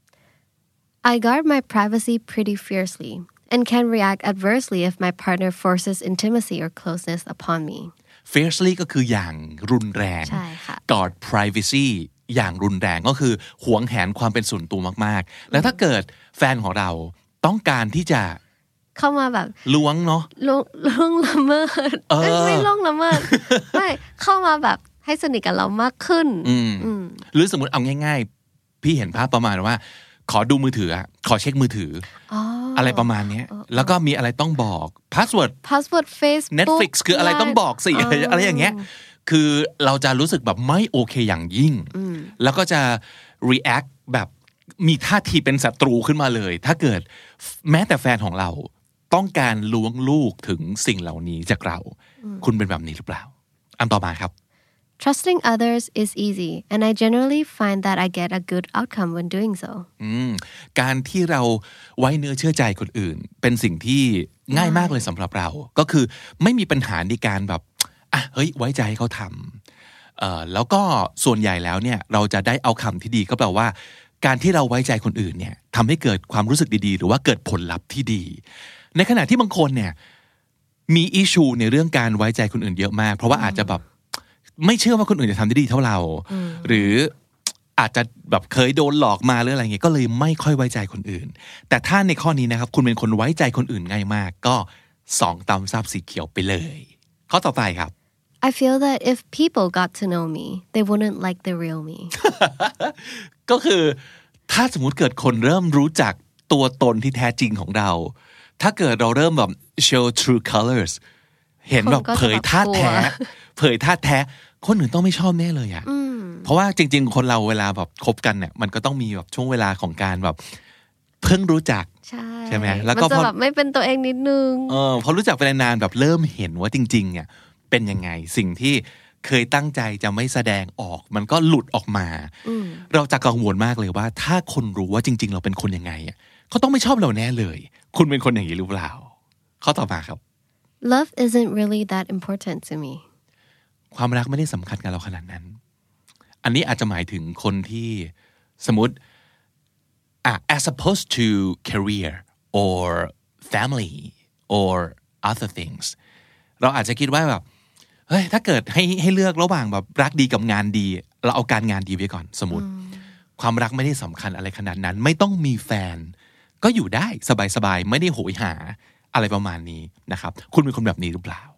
I guard my privacy pretty fiercely and can react adversely if my partner forces intimacy or closeness upon me fiercely ก็คืออย่างรุนแรง guard privacy อย่างรุนแรงก็คือหวงแหนความเป็นส่วนตัวมากๆแล้วถ้าเกิดแฟนของเราต้องการที่จะเข้ามาแบบล้วงเนาะล้วงล้วงละเมิดไม่ล้วงละเมิดไม่เข้ามาแบบให้สนิทกับเรามากขึ้นหรือสมมติเอาง่ายๆพี่เห็นภาพประมาณว่าขอดูมือถือขอเช็คมือถืออะไรประมาณนี้แล้วก็มีอะไรต้องบอกพาสเวิร์ดพาสเวิร์ด Facebook Netflix คืออะไรต้องบอกสิอะไรอย่างเงี้ยคือเราจะรู้สึกแบบไม่โอเคอย่างยิ่งแล้วก็จะ react แบบมีท่าทีเป็นศัตรูขึ้นมาเลยถ้าเกิดแม้แต่แฟนของเราต้องการล้วงลูกถึงสิ่งเหล่านี้จากเราคุณเป็นแบบนี้หรือเปล่าอันต่อมาครับ Trusting others is easy and I generally find that I get a good outcome when doing so การที่เราไว้เนื้อเชื่อใจคนอื่นเป็นสิ่งที่ง่ายมากเลยสำหรับเราก็คือไม่มีปัญหาในการแบบอ่ะเฮ้ยไว้ใจให้เขาทำเอ่อแล้วก็ส่วนใหญ่แล้วเนี่ยเราจะได้เอาคำที่ดีก็แปลว่าการที่เราไว้ใจคนอื่นเนี่ยทำให้เกิดความรู้สึกดีๆหรือว่าเกิดผลลัพธ์ที่ดีในขณะที่บางคนเนี่ยมีอิชูในเรื่องการไว้ใจคนอื่นเยอะมากเพราะว่าอาจจะแบบไม่เชื่อว่าคนอื่นจะทำได้ดีเท่าเราหรืออาจจะแบบเคยโดนหลอกมาหรืออะไรเงี้ยก็เลยไม่ค่อยไว้ใจคนอื่นแต่ถ้าในข้อนี้นะครับคุณเป็นคนไว้ใจคนอื่นง่ายมากก็สองตำซับสีเขียวไปเลยข้อต่อไปครับ I feel that if people got to know me they wouldn't like the real me ก็คือถ้าสมมุติเกิดคนเริ่มรู้จักตัวตนที่แท้จริงของเราถ้าเกิดเราเริ่มแบบ show true colors เห็นแบบเผยท่าแท้เผยท่าแท้คนอื่นต้องไม่ชอบแน่เลยอ่ะเพราะว่าจริงๆคนเราเวลาแบบคบกันเนี่ยมันก็ต้องมีแบบช่วงเวลาของการแบบเพิ่งรู้จักใช่ไหมแล้วก็มันจะแบบไม่เป็นตัวเองนิดนึงเออพอรู้จักไปนานๆแบบเริ่มเห็นว่าจริงๆเนี่ยเป็นยังไงสิ่งที่เคยตั้งใจจะไม่แสดงออกมันก็หลุดออกมาเราจะกังวลมากเลยว่าถ้าคนรู้ว่าจริงๆเราเป็นคนยังไงอ่ะเขาต้องไม่ชอบเราแน่เลยคุณเป็นคนอย่างนี้หรือเปล่าข้อต่อมาครับ Love isn't really that important to me ความรักไม่ได้สำคัญกับเราขนาดนั้นอันนี้อาจจะหมายถึงคนที่สมมติอ่ะ as opposed to career or family or other things เราอาจจะคิดว่าแบบเฮ้ยถ้าเกิดให้ให้เลือกระหว่างแบบรักดีกับงานดีเราเอาการงานดีไว้ก่อนสมมติความรักไม่ได้สำคัญอะไรขนาดนั้นไม่ต้องมีแฟนก็อยู่ได้สบายๆไม่ได้โหยหาอะไรประมาณนี้นะครับคุณเป็นคนแบบนี้หรือเปล่า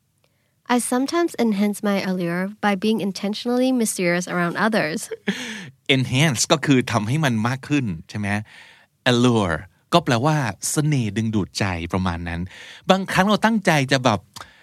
I sometimes enhance my allure by being intentionally mysterious around others enhance ก็คือทำให้มันมากขึ้นใช่ไหม allure ก็แปลว่าเสน่ห์ดึงดูดใจประมาณนั้นบางครั้งเราตั้งใจจะแบบ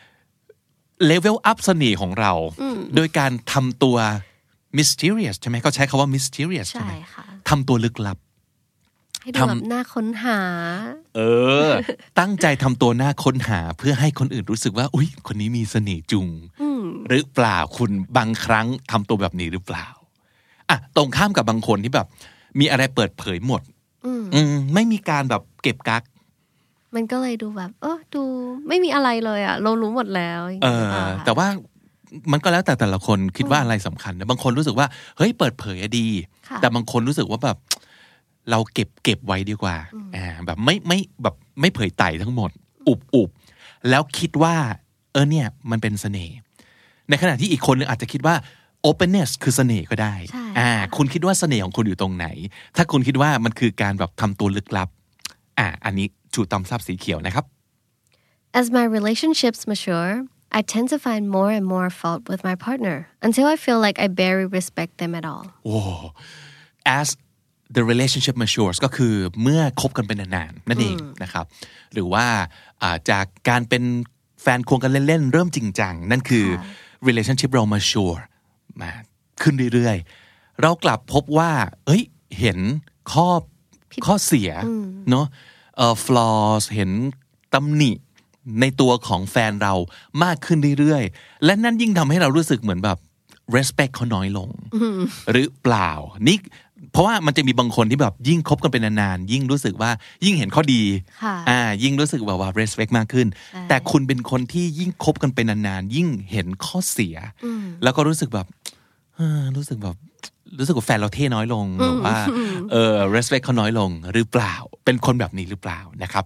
level up เสน่ห์ของเราโดยการทำตัว mysterious ใช่ไหมเขาใช้คำว่า mysterious ใช่ไหมทำตัวลึกลับให้ดูแบบน่าค้นหาเออตั้งใจทำตัวน่าค้นหาเพื่อให้คนอื่นรู้สึกว่าอุ๊ยคนนี้มีเสน่ห์จุงหรือเปล่าคุณบางครั้งทำตัวแบบนี้หรือเปล่าอ่ะตรงข้ามกับบางคนที่แบบมีอะไรเปิดเผยหมดอืมไม่มีการแบบเก็บกักมันก็เลยดูแบบเออดูไม่มีอะไรเลยอ่ะเรารู้หมดแล้วเออแต่ว่ามันก็แล้วแต่แต่ละคนคิดว่าอะไรสำคัญนะบางคนรู้สึกว่าเฮ้ยเปิดเผยดีแต่บางคนรู้สึกว่าแบบเราเก็บเก็บไว้ดีกว่าอ่าแบบไม่ไม่แบบไม่เผยไต่ทั้งหมดอุบอุบแล้วคิดว่าเออเนี่ยมันเป็นเสน่ห์ในขณะที่อีกคนนึงอาจจะคิดว่า openness คือเสน่ห์ก็ได้อ่าคุณคิดว่าเสน่ห์ของคุณอยู่ตรงไหนถ้าคุณคิดว่ามันคือการแบบทำตัวลึกลับอ่าอันนี้ชูตำซับสีเขียวนะครับ As my relationships mature I tend to find more and more fault with my partner until I feel like I barely respect them at all. Oh, as the relationship matures ก็คือเมื่อคบกันเป็นนานๆนั่นเองนะครับหรือว่าจากการเป็นแฟนควงกันเล่นๆเริ่มจริงจังนั่นคือ relationship เรา mature มาขึ้นเรื่อยๆเรากลับพบว่าเอ้ยเห็นข้อข้อเสียเนาะเอ่อ flaws เห็นตำหนิในตัวของแฟนเรามากขึ้นเรื่อยๆและนั่นยิ่งทำให้เรารู้สึกเหมือนแบบ respect เขาน้อยลงหรือเปล่านี่เพราะว่ามันจะมีบางคนที่แบบยิ่งคบกันเป็นนานๆยิ่งรู้สึกว่ายิ่งเห็นข้อดีอ่ายิ่งรู้สึกแบบว่า respect มากขึ้นแต่คุณเป็นคนที่ยิ่งคบกันเป็นนานๆยิ่งเห็นข้อเสียแล้วก็รู้สึกแบบรู้สึกแบบรู้สึกว่าแฟนเราเท่น้อยลงหรือว่าเออ respect เขาน้อยลงหรือเปล่าเป็นคนแบบนี้หรือเปล่านะครับ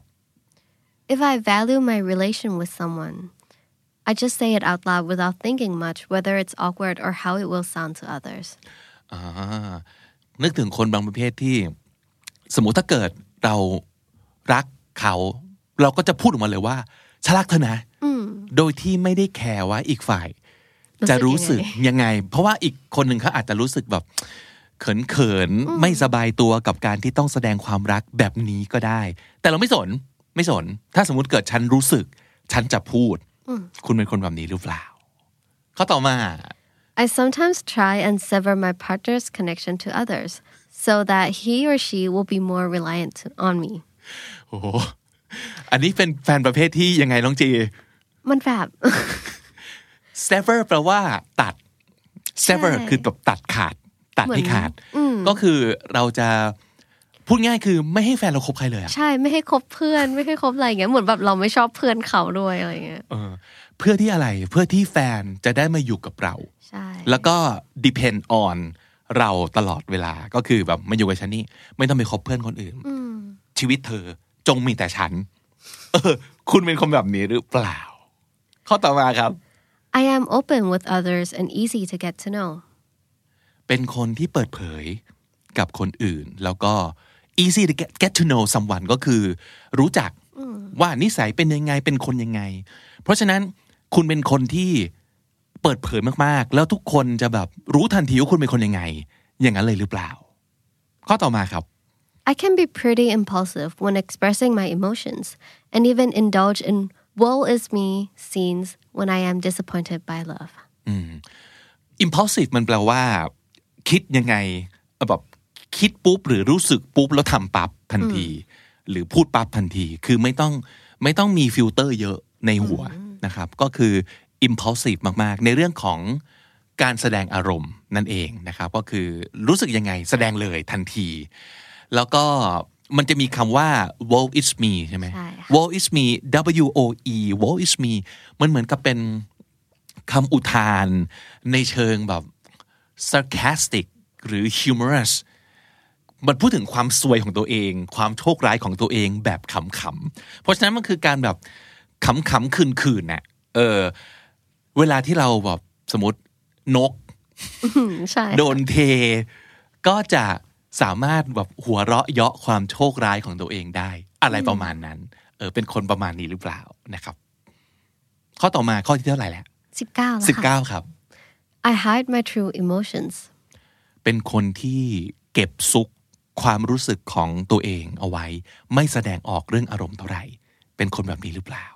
If I value my relation with someone, I just say it out loud without thinking much whether it's awkward or how it will sound to others. อ่านึกถึงคนบางประเภทที่สมมุติถ้าเกิดเรารักเขาเราก็จะพูดออกมาเลยว่าฉันรักเธอนะโดยที่ไม่ได้แคร์ว่าอีกฝ่ายจะรู้สึกยังไงเพราะว่าอีกคนหนึ่งเขาอาจจะรู้สึกแบบเขินๆไม่สบายตัวกับการที่ต้องแสดงความรักแบบนี้ก็ได้แต่เราไม่สนไม่สนถ้าสมมุติเกิดฉันรู้สึกฉันจะพูดคุณเป็นคนแบบนี้หรือเปล่าข้อต่อมา I sometimes try and sever my partner's connection to others so that he or she will be more reliant on me โอ้อันนี้เป็นแฟนประเภทที่ยังไงน้องจีมันแบบ sever แปลว่าตัด sever คือแบบตัดขาดตัดให้ขาดก็คือเราจะพูดง่ายคือไม่ให้แฟนเราคบใครเลยอ่ะใช่ไม่ให้คบเพื่อนไม่ให้คบอะไรอย่างเงี้ยเหมือนแบบเราไม่ชอบเพื่อนเขาด้วยอะไรเงี้ยเออเพื่อที่อะไรเพื่อที่แฟนจะได้มาอยู่กับเราใช่แล้วก็ depend on เราตลอดเวลาก็คือแบบมาอยู่กับฉันนี่ไม่ต้องไปคบเพื่อนคนอื่นชีวิตเธอจงมีแต่ฉันเออคุณเป็นคนแบบนี้หรือเปล่าข้อต่อมาครับ I am open with others and easy to get to know เป็นคนที่เปิดเผยกับคนอื่นแล้วก็easy to get, get to know someone ก็คือรู้จักว่านิสัยเป็นยังไงเป็นคนยังไงเพราะฉะนั้นคุณเป็นคนที่เปิดเผยมากๆแล้วทุกคนจะแบบรู้ทันทีว่าคุณเป็นคนยังไงอย่างนั้นเลยหรือเปล่าข้อต่อมาครับ I can be pretty impulsive when expressing my emotions and even indulge in woe is me scenes when I am disappointed by love impulsive มันแปลว่าคิดยังไงแบบคิดปุ๊บหรือรู้สึกปุ๊บแล้วทำปั๊บทันทีหรือพูดปั๊บทันทีคือไม่ต้องไม่ต้องมีฟิลเตอร์เยอะในหัวนะครับก็คือ impulsive มากๆในเรื่องของการแสดงอารมณ์นั่นเองนะครับก็คือรู้สึกยังไงแสดงเลยทันทีแล้วก็มันจะมีคำว่า woe is me ใช่ไหม woe is me W O E woe is me มันเหมือนกับเป็นคำอุทานในเชิงแบบ sarcastic หรือ humorousมันพูดถึงความซวยของตัวเองความโชคร้ายของตัวเองแบบขำๆเพราะฉะนั้นมันคือการแบบขำๆคืนๆน่ะเออเวลาที่เราแบบสมมตินก โดนเทก็จะสามารถแบบหัวเราะเยาะความโชคร้ายของตัวเองได้อะไรประมาณนั้นเออเป็นคนประมาณนี้หรือเปล่านะครับข้อต่อมาข้อที่เท่าไหร่แล้วสิบเก้าสิบเก้าครับ I hide my true emotions เป็นคนที่เก็บซุกความรู้สึกของตัวเองเอาไว้ไม่แสดงออกเรื่องอารมณ์เท่าไหร่เป็นคนแบบนี้หรือเปล่า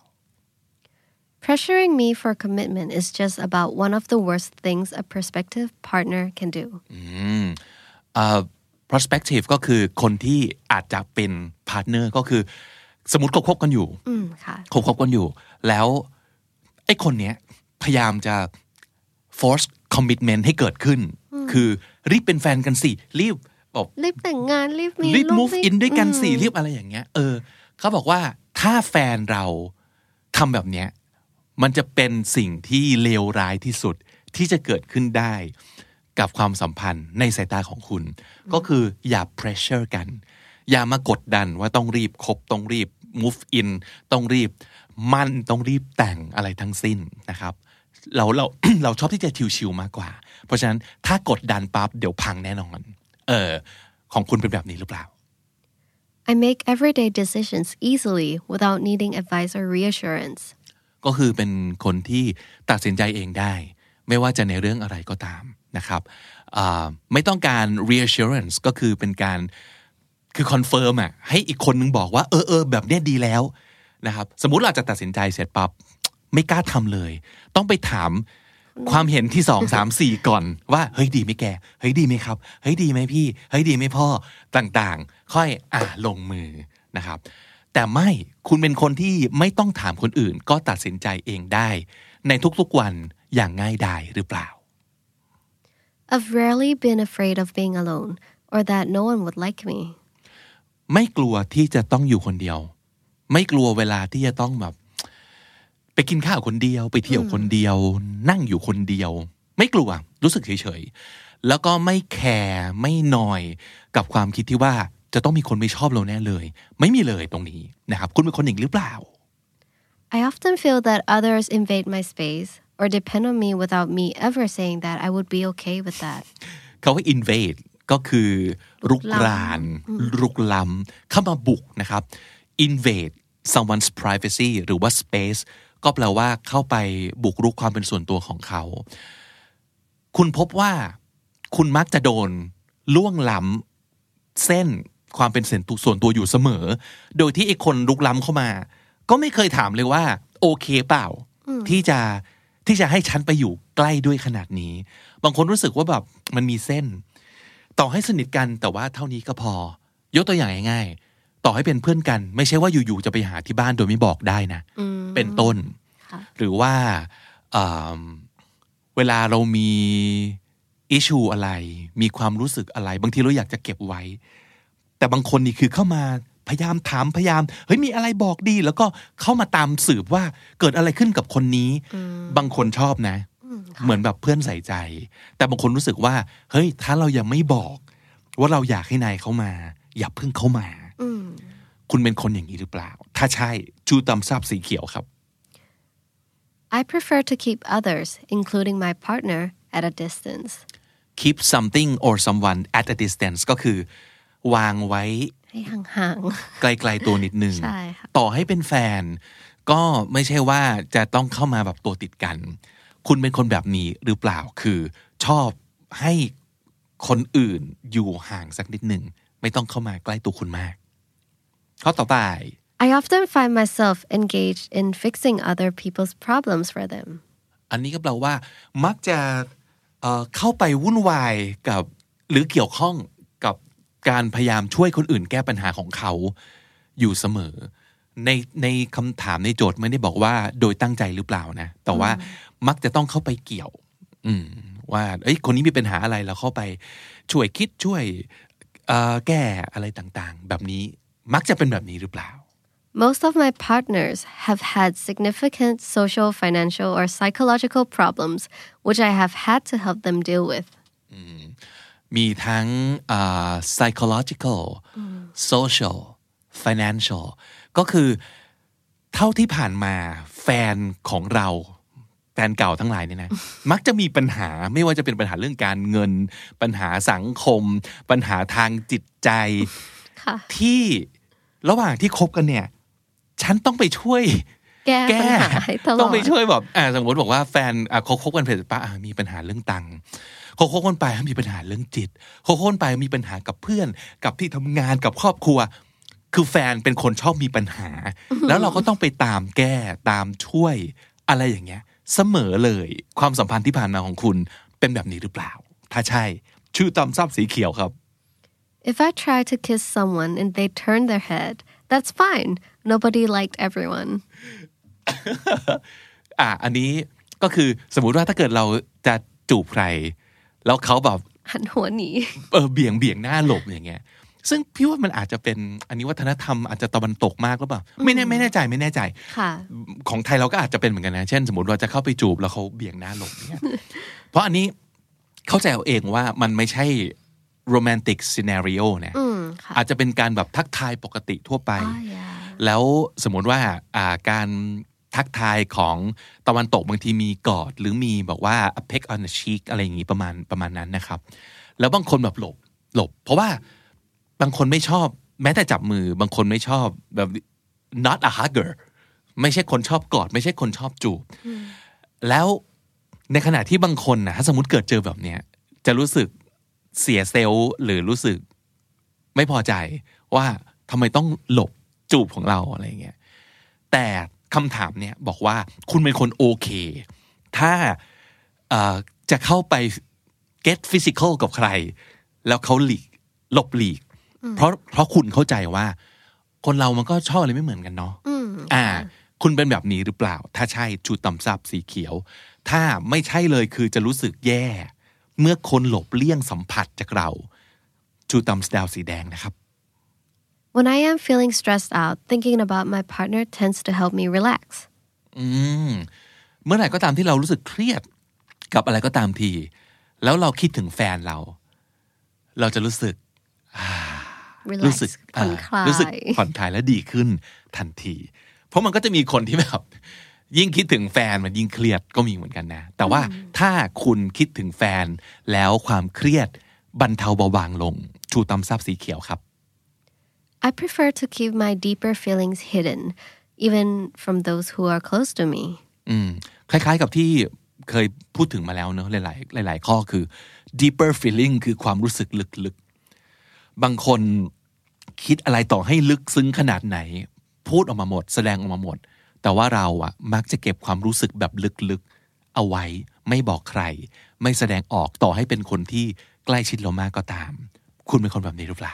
Pressuring me for commitment is just about one of the worst things a prospective partner can do อืมเอ่อ prospective ก็คือคนที่อาจจะเป็น partner ก็คือสมมุติคบกันอยู่อืมค่ะคบกันอยู่แล้วไอ้คนเนี้ยพยายามจะ force commitment ให้เกิดขึ้นคือรีบเป็นแฟนกันสิรีบบอกรีบแต่งงานรีบมีรีบ move in ด้วยกันสิรีบอะไรอย่างเงี้ยเออเขาบอกว่าถ้าแฟนเราทำแบบเนี้ยมันจะเป็นสิ่งที่เลวร้ายที่สุดที่จะเกิดขึ้นได้กับความสัมพันธ์ในสายตาของคุณก็คืออย่า pressure กันอย่ามากดดันว่าต้องรีบคบต้องรีบ move in ต้องรีบมั่นต้องรีบแต่งอะไรทั้งสิ้นนะครับเราเรา เราชอบที่จะชิวๆมากกว่าเพราะฉะนั้นถ้ากดดันปั๊บเดี๋ยวพังแน่นอนเออของคุณเป็นแบบนี้หรือเปล่า I make everyday decisions easily without needing advice or reassurance ก็คือเป็นคนที่ตัดสินใจเองได้ไม่ว่าจะในเรื่องอะไรก็ตามนะครับไม่ต้องการ reassurance ก็คือเป็นการคือ confirm อ่ะให้อีกคนนึงบอกว่าเออเออแบบเนี้ยดีแล้วนะครับสมมุติเราจะตัดสินใจเสร็จปั๊บไม่กล้าทำเลยต้องไปถามความเห็นที่สอง สาม สี่ก่อนว่าเฮ้ยดีไหมแกเฮ้ยดีไหมครับเฮ้ยดีไหมพี่เฮ้ยดีไหมพ่อต่างๆค่อยอ่ะลงมือนะครับแต่ไม่คุณเป็นคนที่ไม่ต้องถามคนอื่นก็ตัดสินใจเองได้ในทุกๆวันอย่างง่ายดายหรือเปล่า I've rarely been afraid of being alone or that no one would like me ไม่กลัวที่จะต้องอยู่คนเดียวไม่กลัวเวลาที่จะต้องแบบไปกินข้าวคนเดียวไปเที่ยวคนเดียวนั่งอยู่คนเดียวไม่กลัวรู้สึกเฉยๆแล้วก็ไม่แคร์ไม่นอยกับความคิดที่ว่าจะต้องมีคนไม่ชอบเราแน่เลยไม่มีเลยตรงนี้นะครับคุณเป็นคนอย่างหรือเปล่า I often feel that others invade my space or depend on me without me ever saying that I would be okay with that เขาว่า invade ก็คือรุกรานรุกล้ำเข้ามาบุกนะครับ invade someone's privacy หรือว่า space ก็แปลว่าเข้าไปบุกรุกความเป็นส่วนตัวของเขาคุณพบว่าคุณมักจะโดนล่วงล้ำเส้นความเป็นส่วนตัวอยู่เสมอโดยที่ไอ้คนรุกล้ำเข้ามาก็ไม่เคยถามเลยว่าโอเคเปล่าที่จะที่จะให้ฉันไปอยู่ใกล้ด้วยขนาดนี้บางคนรู้สึกว่าแบบมันมีเส้นต่อให้สนิทกันแต่ว่าเท่านี้ก็พอยกตัวอย่างง่ายๆต่อให้เป็นเพื่อนกันไม่ใช่ว่าอยู่ๆจะไปหาที่บ้านโดยไม่บอกได้นะเป็นต้นหรือว่าเวลาเรามีอิชชูอะไรมีความรู้สึกอะไรบางทีเราอยากจะเก็บไว้แต่บางคนนี่คือเข้ามาพยายามถามพยายามเฮ้ยมีอะไรบอกดีแล้วก็เข้ามาตามสืบว่าเกิดอะไรขึ้นกับคนนี้บางคนชอบนะเหมือนแบบเพื่อนใส่ใจแต่บางคนรู้สึกว่าเฮ้ยถ้าเรายังไม่บอกว่าเราอยากให้นายเข้ามาอย่าเพิ่งเข้ามาคุณเป็นคนอย่างนี้หรือเปล่าถ้าใช่ชูตำซับสีเขียวครับ I prefer to keep others including my partner at a distance keep something or someone at a distance ก็คือวางไว้ให้ห่างๆไกลๆตัวนิดนึงใช่ค่ะต่อให้เป็นแฟนก็ไม่ใช่ว่าจะต้องเข้ามาแบบตัวติดกันคุณเป็นคนแบบนี้หรือเปล่าคือชอบให้คนอื่นอยู่ห่างสักนิดนึงไม่ต้องเข้ามาใกล้ตัวคุณมากข้อต่อไป I often find myself engaged in fixing other people's problems for them อันนี้ก็แปลว่ามักจะเอ่อเข้าไปวุ่นวายกับหรือเกี่ยวข้องกับการพยายามช่วยคนอื่นแก้ปัญหาของเขาอยู่เสมอในในคำถามในโจทย์ไม่ได้บอกว่าโดยตั้งใจหรือเปล่านะแต่ว่ามักจะต้องเข้าไปเกี่ยวอืมว่าเอ้ยคนนี้มีปัญหาอะไรเราเข้าไปช่วยคิดช่วยเอ่อแก้อะไรต่างๆแบบนี้มักจะเป็นแบบนี้หรือเปล่า Most of my partners have had significant social, financial, or psychological problems, which I have had to help them deal with. มีทั้ง uh, psychological, social, financial ก็คือเท่าที่ผ่านมาแฟนของเราแฟนเก่าทั้งหลายเนี่ยนะ มักจะมีปัญหาไม่ว่าจะเป็นปัญหาเรื่องการเงินปัญหาสังคมปัญหาทางจิตใจ ที่ระหว่างที่คบกันเนี่ยฉันต้องไปช่วยแก้ปัญหาให้ตลอดต้องไปช่วยแบบอ่าสมมติบอกว่าแฟนอ่ะคบคบกันเสร็จปะอ่ามีปัญหาเรื่องตังค์คบคบกันไปมีปัญหาเรื่องจิตคบคบกันไปมีปัญหากับเพื่อนกับที่ทำงานกับครอบครัวคือแฟนเป็นคนชอบมีปัญหาแล้วเราก็ต้องไปตามแก้ตามช่วยอะไรอย่างเงี้ยเสมอเลยความสัมพันธ์ที่ผ่านมาของคุณเป็นแบบนี้หรือเปล่าถ้าใช่ชื่อตำซับสีเขียวครับ If I try to kiss someone and they turn their head, that's fine. Nobody liked everyone. อ่ะอันนี้ก็คือสมมุติว่าถ้าเกิดเราจะจูบใครแล้วเขาแบบหันหัวหนีเออเบี่ยงเบี่ยงหน้าหลบอย่างเงี้ยซึ่งพี่ว่ามันอาจจะเป็นอันนี้วัฒนธรรมอาจจะตะวันตกมากหรือเปล่าไม่แน่ไม่แน่ใจไม่แน่ใจของไทยเราก็อาจจะเป็นเหมือนกันนะเช่นสมมติว่าจะเข้าไปจูบแล้วเขาเบี่ยงหน้าหลบอย่างเงี้ยเพราะอันนี้เข้าใจเอาเองว่ามันไม่ใช่โรแมนติกซีนาริโอเนี่ยอาจจะเป็นการแบบทักทายปกติทั่วไปแล้วสมมติว่าอ่าการทักทายของตะวันตกบางทีมีกอดหรือมีบอกว่า a peck on the cheek อะไรอย่างงี้ประมาณประมาณนั้นนะครับแล้วบางคนแบบหลบหลบเพราะว่าบางคนไม่ชอบแม้แต่จับมือบางคนไม่ชอบแบบ not a hugger ไม่ใช่คนชอบกอดไม่ใช่คนชอบจูบแล้วในขณะที่บางคนนะถ้าสมมติเกิดเจอแบบเนี้ยจะรู้สึกเสียเซลล์หรือรู้สึกไม่พอใจว่าทำไมต้องหลบจูบของเราอะไรเงี้ยแต่คำถามเนี่ยบอกว่าคุณเป็นคนโอเคถ้าจะเข้าไป get physical กับใครแล้วเขาหลีกหลบหลีกเพราะเพราะคุณเข้าใจว่าคนเรามันก็ชอบอะไรไม่เหมือนกันเนาะอ่าคุณเป็นแบบนี้หรือเปล่าถ้าใช่ชูต่ำซับสีเขียวถ้าไม่ใช่เลยคือจะรู้สึกแย่เมื่อคนหลบเลี่ยงสัมผัสจากเราชูต่ำดาวสีแดงนะครับ When I am feeling stressed out, thinking about my partner tends to help me relax. อืมเมื่อไหร่ก็ตามที่เรารู้สึกเครียดกับอะไรก็ตามทีแล้วเราคิดถึงแฟนเราเราจะรู้สึกรู้สึกผ่อนคลายรู้สึกผ่อนคลายและดีขึ้นทันทีเพราะมันก็จะมีคนที่แบบยิ่งคิดถึงแฟนมันยิ่งเครียดก็มีเหมือนกันนะแต่ว่าถ้าคุณคิดถึงแฟนแล้วความเครียดบรรเทาเบาบางลงชูตำซับสีเขียวครับ I prefer to keep my deeper feelings hidden even from those who are close to me อืมคล้ายๆกับที่เคยพูดถึงมาแล้วเนอะหลายๆหลายๆข้อคือ deeper feeling คือความรู้สึกลึกๆบางคนคิดอะไรต่อให้ลึกซึ้งขนาดไหนพูดออกมาหมดแสดงออกมาหมดแต่ว่าเราอะมักจะเก็บความรู้สึกแบบลึกๆเอาไว้ไม่บอกใครไม่แสดงออกต่อให้เป็นคนที่ใกล้ชิดเรามากก็ตามคุณเป็นคนแบบนี้หรือเปล่า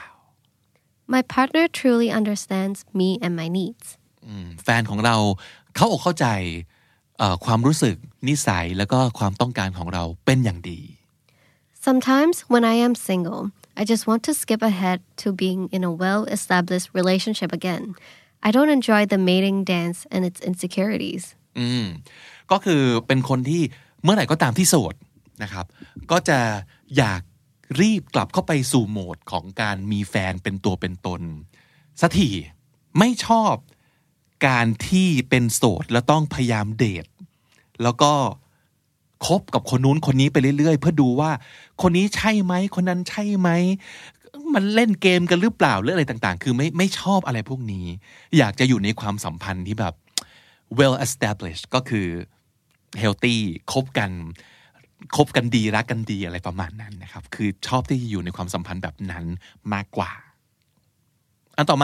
My partner truly understands me and my needs แฟนของเราเข้าอกเข้าใจความรู้สึกนิสัยแล้วก็ความต้องการของเราเป็นอย่างดี Sometimes when I am single I just want to skip ahead to being in a well-established relationship again I don't enjoy the mating dance and its insecurities อืมก็คือเป็นคนที่เมื่อไหร่ก็ตามที่โสดนะครับก็จะอยากรีบกลับเข้าไปสู่โหมดของการมีแฟนเป็นตัวเป็นตนสักทีไม่ชอบการที่เป็นโสดแล้วต้องพยายามเดทแล้วก็คบกับคนนู้นคนนี้ไปเรื่อยๆเพื่อดูว่าคนนี้ใช่ไหมคนนั้นใช่ไหมมันเล่นเกมกันหรือเปล่าหรืออะไรต่างๆคือไม่ไม่ชอบอะไรพวกนี้อยากจะอยู่ในความสัมพันธ์ที่แบบ well established ก็คือ healthy คบกันคบกันดีรักกันดีอะไรประมาณนั้นนะครับคือชอบที่จะอยู่ในความสัมพันธ์แบบนั้นมากกว่าอันต่อมา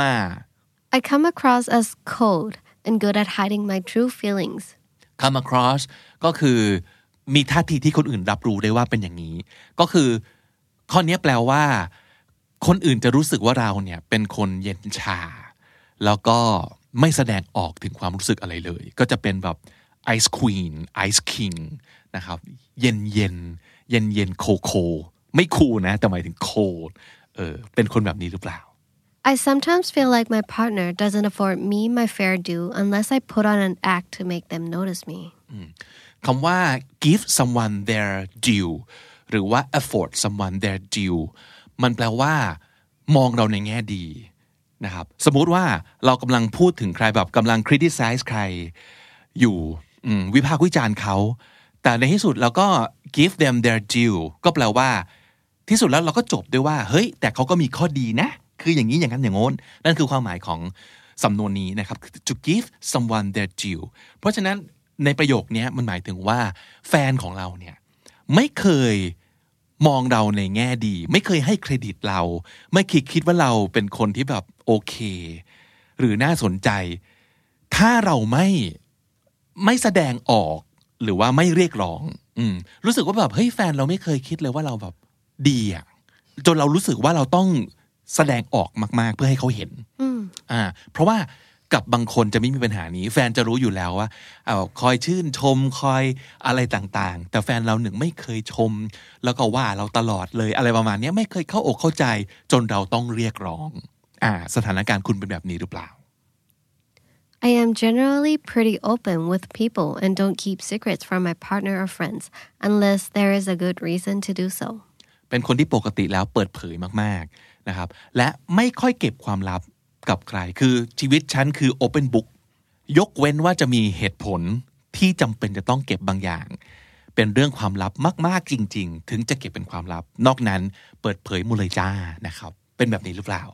I come across as cold and good at hiding my true feelings come across ก็คือมีท่าทีที่คนอื่นรับรู้ได้ว่าเป็นอย่างนี้ก็คือข้อนี้แปลว่าคนอื่นจะรู้สึกว่าเราเนี่ยเป็นคนเย็นชาแล้วก็ไม่แสดงออกถึงความรู้สึกอะไรเลยก็จะเป็นแบบ ice queen ice king นะครับเย็นเย็นเย็นเย็นโคโคไม่คูลนะแต่หมายถึงโคเออเป็นคนแบบนี้หรือเปล่า I sometimes feel like my partner doesn't afford me my fair due unless I put on an act to make them notice me คำว่า give someone their due หรือว่า afford someone their due มันแปลว่ามองเราในแง่ดีนะครับสมมุติว่าเรากำลังพูดถึงใครแบบกำลัง criticize ใครอยู่วิพากษ์วิจารณ์เขาแต่ในที่สุดเราก็ give them their due ก็แปลว่าที่สุดแล้วเราก็จบด้วยว่าเฮ้ยแต่เขาก็มีข้อดีนะคืออย่างนี้อย่างนั้นอย่างโน้นนั่นคือความหมายของสำนวนนี้นะครับ to give someone their due เพราะฉะนั้นในประโยคนี้มันหมายถึงว่าแฟนของเราเนี่ยไม่เคยมองเราในแง่ดีไม่เคยให้เครดิตเราไม่คิดคิดว่าเราเป็นคนที่แบบโอเคหรือน่าสนใจถ้าเราไม่ไม่แสดงออกหรือว่าไม่เรียกร้องอืมรู้สึกว่าแบบเฮ้ยแฟนเราไม่เคยคิดเลยว่าเราแบบดีอ่ะจนเรารู้สึกว่าเราต้องแสดงออกมากๆเพื่อให้เขาเห็นอ่าเพราะว่ากับบางคนจะไม่มีปัญหานี้แฟนจะรู้อยู่แล้วว่าเอาคอยชื่นชมคอยอะไรต่างๆแต่แฟนเราหนึ่งไม่เคยชมแล้วก็ว่าเราตลอดเลยอะไรประมาณนี้ไม่เคยเข้าอกเข้าใจจนเราต้องเรียกร้องอ่าสถานการณ์คุณเป็นแบบนี้หรือเปล่า I am generally pretty open with people and don't keep secrets from my partner or friends unless there is a good reason to do so เป็นคนที่ปกติแล้วเปิดเผยมากๆนะครับและไม่ค่อยเก็บความลับกับใครคือชีวิตฉันคือ open book ยกเว้นว่าจะมีเหตุผลที่จำเป็นจะต้องเก็บบางอย่างเป็นเรื่องความลับมากๆจริงๆถึงจะเก็บเป็นความลับนอกนั้นเปิดเผยหมดเลยจ้านะครับเป็นแบบนี้หรือเปล่า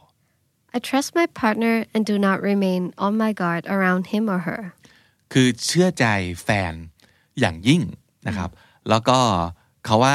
I trust my partner and do not remain on my guard around him or her คือเชื่อใจแฟนอย่างยิ่งนะครับแล้วก็เขาว่า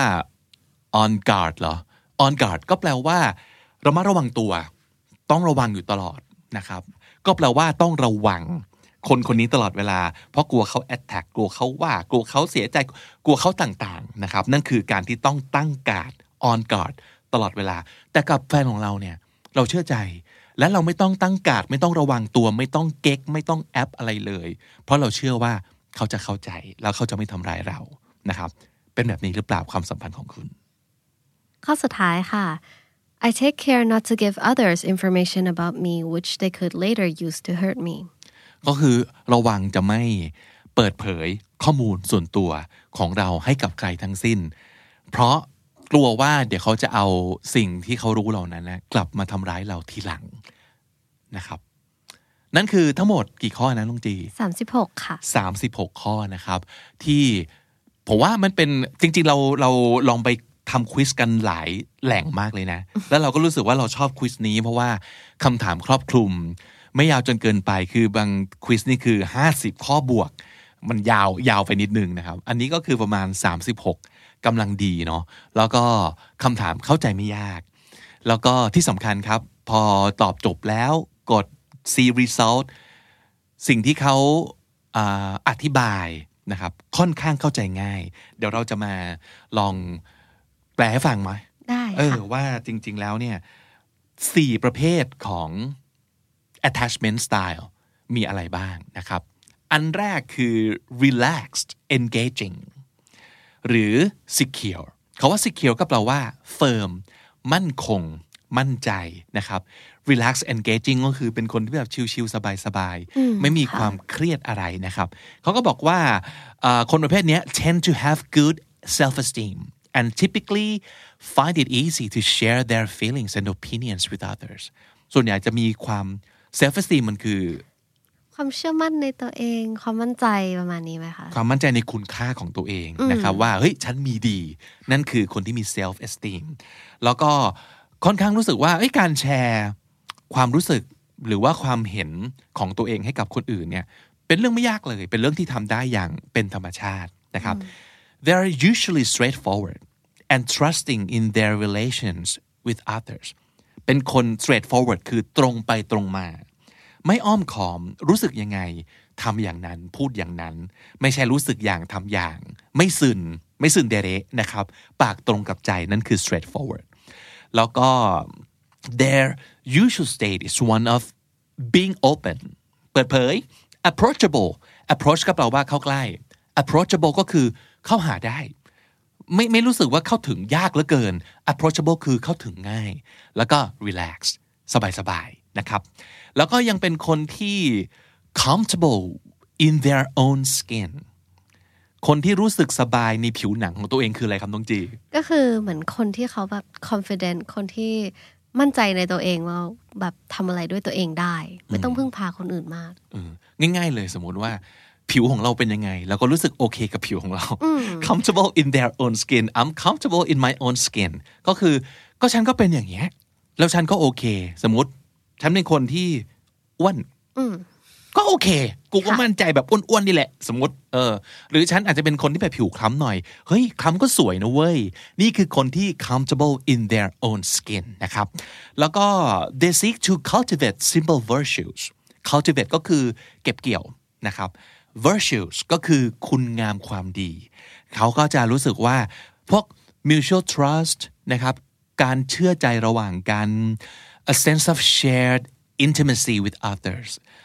on guard เหรอ on guard ก็แปลว่าระมัดระวังตัวต้องระวังอยู่ตลอดนะครับก็แปลว่าต้องระวังคนคนนี้ตลอดเวลาเพราะกลัวเขา attack กลัวเขาว่ากลัวเขาเสียใจกลัวเขาต่างๆนะครับนั่นคือการที่ต้องตั้งการ์ด on guard ตลอดเวลาแต่กับแฟนของเราเนี่ยเราเชื่อใจและเราไม่ต้องตั้งการ์ดไม่ต้องระวังตัวไม่ต้องเก๊กไม่ต้องแอปอะไรเลยเพราะเราเชื่อว่าเขาจะเข้าใจแล้วเขาจะไม่ทำร้ายเรานะครับเป็นแบบนี้หรือเปล่าความสัมพันธ์ของคุณข้อสุดท้ายค่ะ I take care not to give others information about me which they could later use to hurt me ก็คือระวังจะไม่เปิดเผยข้อมูลส่วนตัวของเราให้กับใครทั้งสิ้นเพราะกลัวว่าเดี๋ยวเขาจะเอาสิ่งที่เขารู้เหล่านั้นนะกลับมาทำร้ายเราทีหลังนะครับนั่นคือทั้งหมดกี่ข้อนะลุงจีสามสิบหกค่ะสามสิบหกข้อนะครับที่ผมว่ามันเป็นจริงๆเราเราลองไปทำควิซกันหลายแหล่งมากเลยนะ แล้วเราก็รู้สึกว่าเราชอบควิซนี้เพราะว่าคำถามครอบคลุมไม่ยาวจนเกินไปคือบางควิซนี่คือห้าสิบข้อบวกมันยาวยาวไปนิดนึงนะครับอันนี้ก็คือประมาณสามสิบหกกำลังดีเนาะแล้วก็คำถามเข้าใจไม่ยากแล้วก็ที่สำคัญครับพอตอบจบแล้วกด see result สิ่งที่เขาอ่าอธิบายนะครับค่อนข้างเข้าใจง่ายเดี๋ยวเราจะมาลองแปลให้ฟังไหมได้ค่ะเออว่าจริงๆแล้วเนี่ยสี่ประเภทของ attachment style มีอะไรบ้างนะครับอันแรกคือ relaxed engaging หรือ secure เขาว่า secure ก็แปลว่า firm มั่นคงมั่นใจนะครับ relax engaging ก็คือเป็นคนที่แบบชิลๆสบายๆไม่มีความเครียดอะไรนะครับเขาก็บอกว่าคนประเภทนี้ tend to have good self esteem and typically find it easy to share their feelings and opinions with others ส่วนใหญ่จะมีความ self esteem มันคือความเชื่อมั่นในตัวเองความมั่นใจประมาณนี้ไหมคะความมั่นใจในคุณค่าของตัวเองนะครับว่าเฮ้ยฉันมีดีนั่นคือคนที่มี self esteem แล้วก็ค่อนข้างรู้สึกว่าเอ้ยการแชร์ความรู้สึกหรือว่าความเห็นของตัวเองให้กับคนอื่นเนี่ยเป็นเรื่องไม่ยากเลยเป็นเรื่องที่ทำได้อย่างเป็นธรรมชาตินะครับ They are usually straightforward and trusting in their relations with others เป็นคน straightforward คือตรงไปตรงมาไม่อ้อมขอมรู้สึกยังไงทำอย่างนั้นพูดอย่างนั้นไม่ใช่รู้สึกอย่างทำอย่างไม่ซึนไม่ซึนเดเรนะครับปากตรงกับใจนั่นคือ straightforward แล้วก็ their usual state is one of being open เปิดเผย approachable approach ก็แปลว่าเข้าใกล้ approachable ก็คือเข้าหาได้ไม่ไม่รู้สึกว่าเข้าถึงยากเหลือเกิน approachable คือเข้าถึงง่ายแล้วก็ relax สบายๆนะครับแล้วก็ยังเป็นคนที่ comfortable in their own skin คนที่รู้สึกสบายในผิวหนังของตัวเองคืออะไรครับน้องจีก็คือเหมือนคนที่เขาแบบ confident คนที่มั่นใจในตัวเองว่าแบบทำอะไรด้วยตัวเองได้ไม่ต้องพึ่งพาคนอื่นมากง่ายๆเลยสมมติว่าผิวของเราเป็นยังไงเราก็รู้สึกโอเคกับผิวของเรา comfortable in their own skin I'm comfortable in my own skin ก็คือก็ฉันก็เป็นอย่างเงี้ยแล้วฉันก็โอเคสมมติฉันเป็นคนที่อ้วนก็โอเคกูก็มั่นใจแบบอ้วนๆนี่แหละสมมติเออหรือฉันอาจจะเป็นคนที่แบบผิวคล้ำหน่อยเฮ้ยคล้ำก็สวยนะเว้ยนี่คือคนที่ comfortable in their own skin นะครับแล้วก็ they seek to cultivate simple virtues cultivate ก็คือเก็บเกี่ยวนะครับ virtues ก็คือคุณงามความดีเขาก็จะรู้สึกว่าพวก mutual trust นะครับการเชื่อใจระหว่างกัน a sense of shared intimacy with others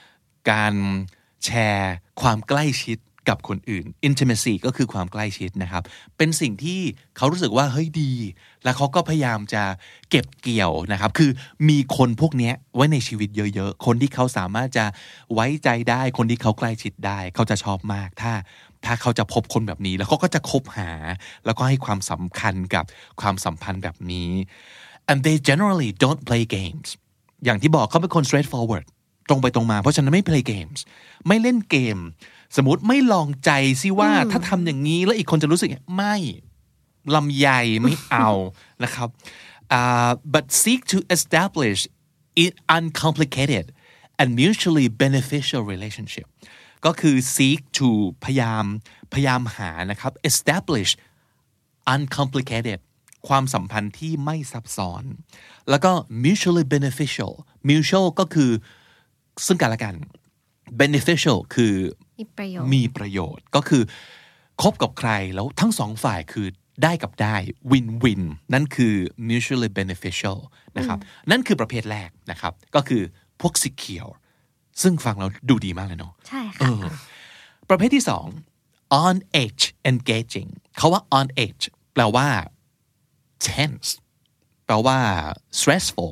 การแชร์ความใกล้ชิดกับคนอื่น intimacy ก็คือความใกล้ชิดนะครับเป็นสิ่งที่เขารู้สึกว่าเฮ้ยดีแล้วเขาก็พยายามจะเก็บเกี่ยวนะครับคือมีคนพวกนี้ไว้ในชีวิตเยอะๆคนที่เขาสามารถจะไว้ใจได้คนที่เขาใกล้ชิดได้เขาจะชอบมากถ้าถ้าเขาจะพบคนแบบนี้แล้วเขาก็จะคบหาแล้วก็ให้ความสำคัญกับความสัมพันธ์แบบนี้ and they generally don't play games อย่างที่บอกเขาเป็นคน straightforward ตรงไปตรงมาเพราะฉะนั้นไม่ play games ไม่เล่นเกมสมมติไม่ลองใจซิว่าถ้าทำอย่างนี้แล้วอีกคนจะรู้สึกไม่ลำใหญ่ไม่เอานะครับ uh, but seek to establish an uncomplicated and mutually beneficial relationship ก็คือ seek to พยายามพยายามหานะครับ establish uncomplicated ความสัมพันธ์ที่ไม่ซับซ้อนแล้วก็ mutually beneficial mutual ก็คือซึ่งกันและกัน beneficial คือมีประโยชน์มีประโยชน์ก็คือคบกับใครแล้วทั้งสองฝ่ายคือได้กับได้ win win นั่นคือ mutually beneficial นะครับนั่นคือประเภทแรกนะครับก็คือพวก secure ซึ่งฟังเราดูดีมากเลยเนาะใช่ค่ะประเภทที่สอง on edge engaging เขาว่า on edge แปลว่า tense แปลว่า stressful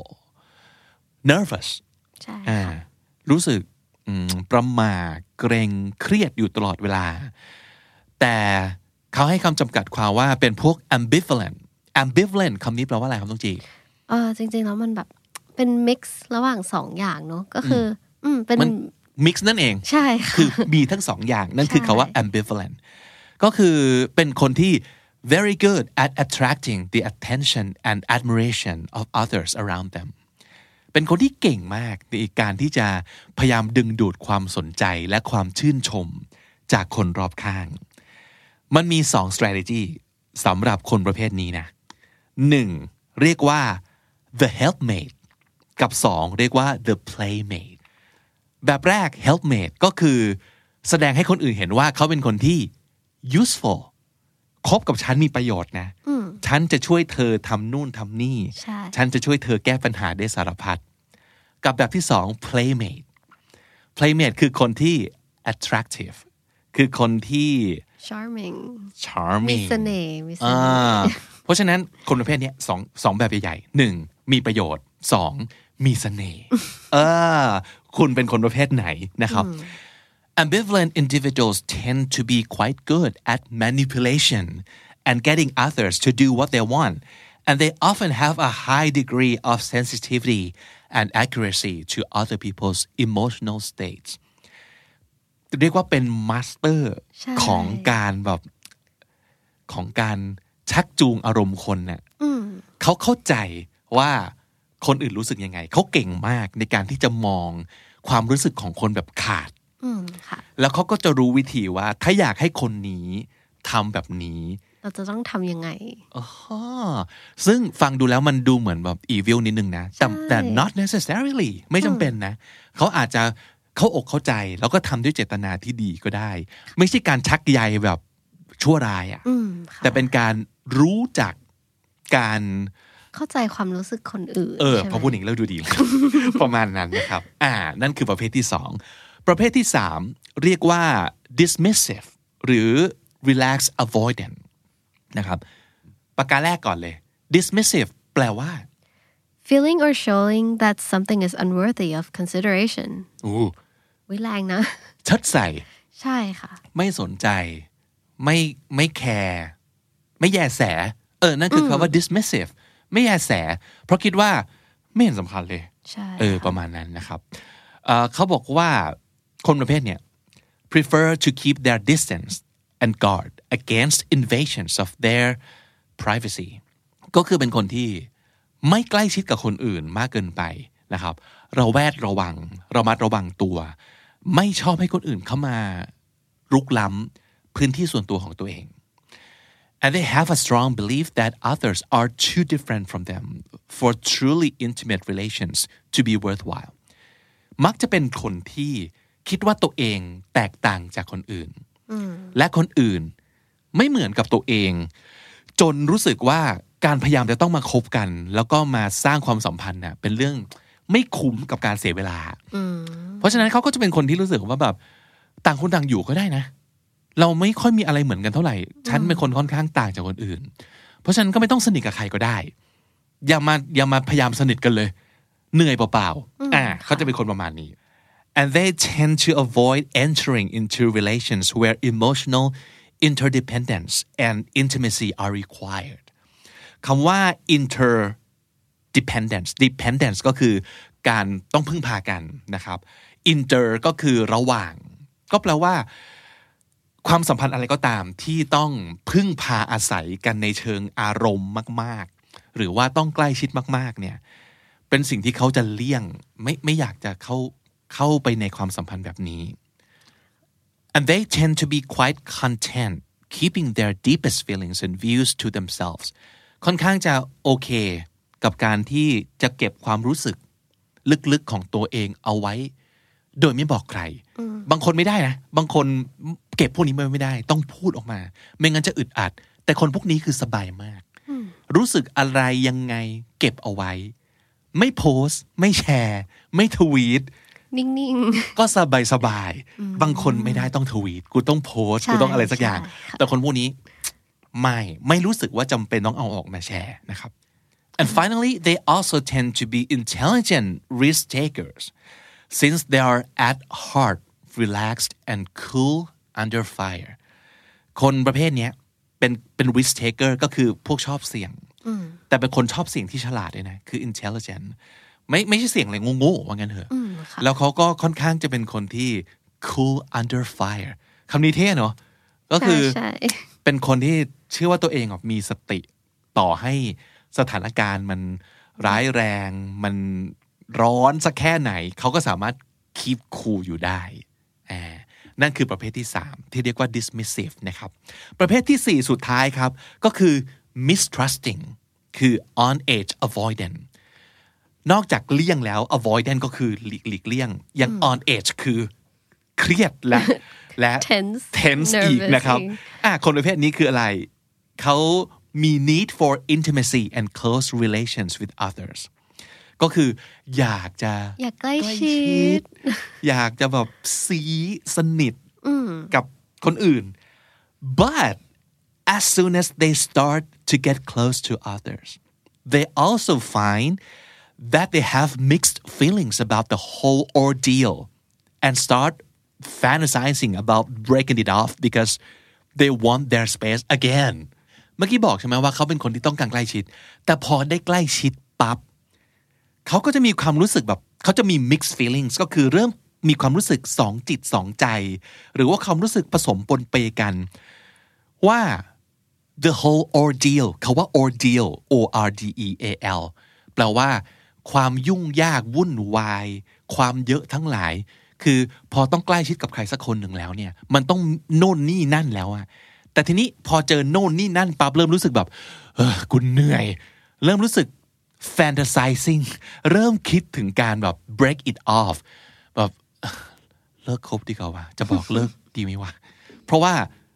nervous ใช่ค่ะรู้สึกประหม่าเกรงเครียดอยู่ตลอดเวลาแต่เขาให้คำจำกัดความว่าเป็นพวก ambivalent ambivalent คำนี้แปลว่าอะไรครับต้องจีเออจริงๆแล้วมันแบบเป็น mix ระหว่างสองอย่างเนาะก็คืออืมเป็น mix นั่นเองใช่ค่ะคือมีทั้งสองอย่างนั่นคือคำว่า ambivalent ก็คือเป็นคนที่ very good at attracting the attention and admiration of others around themเป็นคนที่เก่งมากในการที่จะพยายามดึงดูดความสนใจและความชื่นชมจากคนรอบข้างมันมีสอง strategy สำหรับคนประเภทนี้นะหนึ่งเรียกว่า the helpmate กับสองเรียกว่า the playmate แบบแรก helpmate ก็คือแสดงให้คนอื่นเห็นว่าเขาเป็นคนที่ useful คบกับฉันมีประโยชน์นะฉันจะช่วยเธอทำนู่นทำนี่ฉันจะช่วยเธอแก้ปัญหาได้สารพัดกับแบบที่สอง playmate playmate คือคนที่ attractive คือคนที่ charming charming มีเสน่ห์มีเสน่ห์เพราะฉะนั้นคนประเภทนี้สองสองแบบใหญ่ๆหนึ่งมีประโยชน์สองมีเสน่ห์เออคุณเป็นคนประเภทไหนนะครับAmbivalent individuals tend to be quite good at manipulation and getting others to do what they want, and they often have a high degree of sensitivity and accuracy to other people's emotional states. เรียกว่าเป็นมาสเตอร์ของการแบบของการชักจูงอารมณ์คนเนี่ยเขาเข้าใจว่าคนอื่นรู้สึกยังไงเขาเก่งมากในการที่จะมองความรู้สึกของคนแบบขาดแล้วเขาก็จะรู้วิธีว่าถ้าอยากให้คนนี้ทำแบบนี้เราจะต้องทำยังไงอ๋อซึ่งฟังดูแล้วมันดูเหมือนแบบ evil นิดนึงนะแต่แต่ not necessarily ไม่จำเป็นนะเขาอาจจะเข้าอกเข้าใจแล้วก็ทำด้วยเจตนาที่ดีก็ได้ไม่ใช่การชักใยแบบชั่วร้ายอ่ะแต่เป็นการรู้จักการเข้าใจความรู้สึกคนอื่นเออพอพูดอย่างนี้แล้วดูดี ประมาณนั้นนะครับอ่านั่นคือประเภทที่สองประเภทที่สามเรียกว่า dismissive หรือ relax avoidant นะครับประการแรกก่อนเลย dismissive แปลว่า feeling or showing that something is unworthy of consideration อู้วิแรงนะชัดใส่ใช่ค่ะไม่สนใจไม่ไม่แคร์ไม่แยแสเออนั่นคือคำว่า dismissive ไม่แยแสเพราะคิดว่าไม่เห็นสำคัญเลยเออประมาณนั้นนะครับเอ่อเขาบอกว่าคนประเภทเนี่ย prefer to keep their distance and guard against invasions of their privacy ก็คือเป็นคนที่ไม่ใกล้ชิดกับคนอื่นมากเกินไปนะครับเราแวดระวังระมัดระวังตัวไม่ชอบให้คนอื่นเข้ามารุกล้ำพื้นที่ส่วนตัวของตัวเอง and they have a strong belief that others are too different from them for truly intimate relations to be worthwhile มักจะเป็นคนที่คิดว่าตัวเองแตกต่างจากคนอื่นและคนอื่นไม่เหมือนกับตัวเองจนรู้สึกว่าการพยายามจะต้องมาคบกันแล้วก็มาสร้างความสัมพันธ์น่ะเป็นเรื่องไม่คุ้มกับการเสียเวลาเพราะฉะนั้นเขาก็จะเป็นคนที่รู้สึกว่าแบบต่างคนต่างอยู่ก็ได้นะเราไม่ค่อยมีอะไรเหมือนกันเท่าไหร่ฉันเป็นคนค่อนข้างต่างจากคนอื่นเพราะฉะนั้นก็ไม่ต้องสนิทกับใครก็ได้อย่ามาอย่ามาพยายามสนิทกันเลยเหนื่อยเปล่าๆอ่าเขาจะเป็นคนประมาณนี้ and they tend to avoid entering into relations where emotional interdependence and intimacy are required คำว่า interdependence dependence ก็คือการต้องพึ่งพากันนะครับ inter ก็คือระหว่างก็แปลว่าความสัมพันธ์อะไรก็ตามที่ต้องพึ่งพาอาศัยกันในเชิงอารมณ์มากๆหรือว่าต้องใกล้ชิดมากๆเนี่ยเป็นสิ่งที่เขาจะเลี่ยงไม่ไม่อยากจะเข้าเข้าไปในความสัมพันธ์แบบนี้ and they tend to be quite content keeping their deepest feelings and views to themselves ค่อนข้างจะโอเคกับการที่จะเก็บความรู้สึกลึกๆของตัวเองเอาไว้โดยไม่บอกใครบางคนไม่ได้นะบางคนเก็บพวกนี้ไม่ได้ต้องพูดออกมาไม่งั้นจะอึดอัดแต่คนพวกนี้คือสบายมากรู้สึกอะไรยังไงเก็บเอาไว้ไม่โพสต์ไม่แชร์ไม่ทวีตนิ่งๆก็สบายสบายบางคนไม่ได้ต้องทวีตกูต้องโพสต์กูต้องอะไรสักอย่างแต่คนพวกนี้ไม่ไม่รู้สึกว่าจำเป็นต้องเอาออกมาแชร์นะครับ and finally they also tend to be intelligent risk takers since they are at heart relaxed and cool under fire คนประเภทนี้เป็นเป็น risk taker ก็คือพวกชอบเสี่ยงแต่เป็นคนชอบเสี่ยงที่ฉลาดด้วยนะคือ intelligent ไม่ไม่ใช่เสี่ยงอะไรโง่ๆว่างั้นเถอะแล้วเขาก็ค่อนข้างจะเป็นคนที่ cool under fire คำนี้เท่เนาะก็คือเป็นคนที่เชื่อว่าตัวเองมีสติต่อให้สถานการณ์มันร้ายแรงมันร้อนสักแค่ไหนเขาก็สามารถ keep cool อยู่ได้อ่านั่นคือประเภทที่สามที่เรียกว่า dismissive นะครับประเภทที่สี่สุดท้ายครับก็คือ mistrusting คือ on edge avoidant นอกจากเลี่ยงแล้ว avoidant ก็คือหลีกหลีกเลี่ยงยัง on edge คือเครียดและและ tense tense อีกนะครับอ่ะคนประเภทนี้คืออะไรเขามี need for intimacy and close relations with others ก็คืออยากจะอยากใกล้ชิดอยากจะแบบซีสนิทกับคนอื่น but as soon as they start to get close to others they also find that they have mixed feelings about the whole ordeal and start fantasizing about breaking it off because they want their space again เมื่อกี้บอกใช่ไหมว่าเขาเป็นคนที่ต้องการใกล้ชิดแต่พอได้ใกล้ชิดปั๊บเขาก็จะมีความรู้สึกแบบเขาจะมี mixed feelings ก็คือเริ่มมีความรู้สึกสองจิตสองใจหรือว่าความรู้สึกผสมปนเปกันว่า the whole ordeal คำว่า ordeal O R D E A L แปลว่าความยุ่งยากวุ่นวายความเยอะทั้งหลายคือพอต้องใกล้ชิดกับใครสักคนหนึ่งแล้วเนี่ยมันต้องโน่นนี่นั่นแล้วอะแต่ทีนี้พอเจอโน่นนี่นั่นปั๊บเริ่มรู้สึกแบบเออกูเหนื่อยเริ่มรู้สึก fantasizing เริ่มคิดถึงการแบบ break it off แบบเลิกคบดีกว่าจะบอกเลิกดีไหมวะเพราะว่า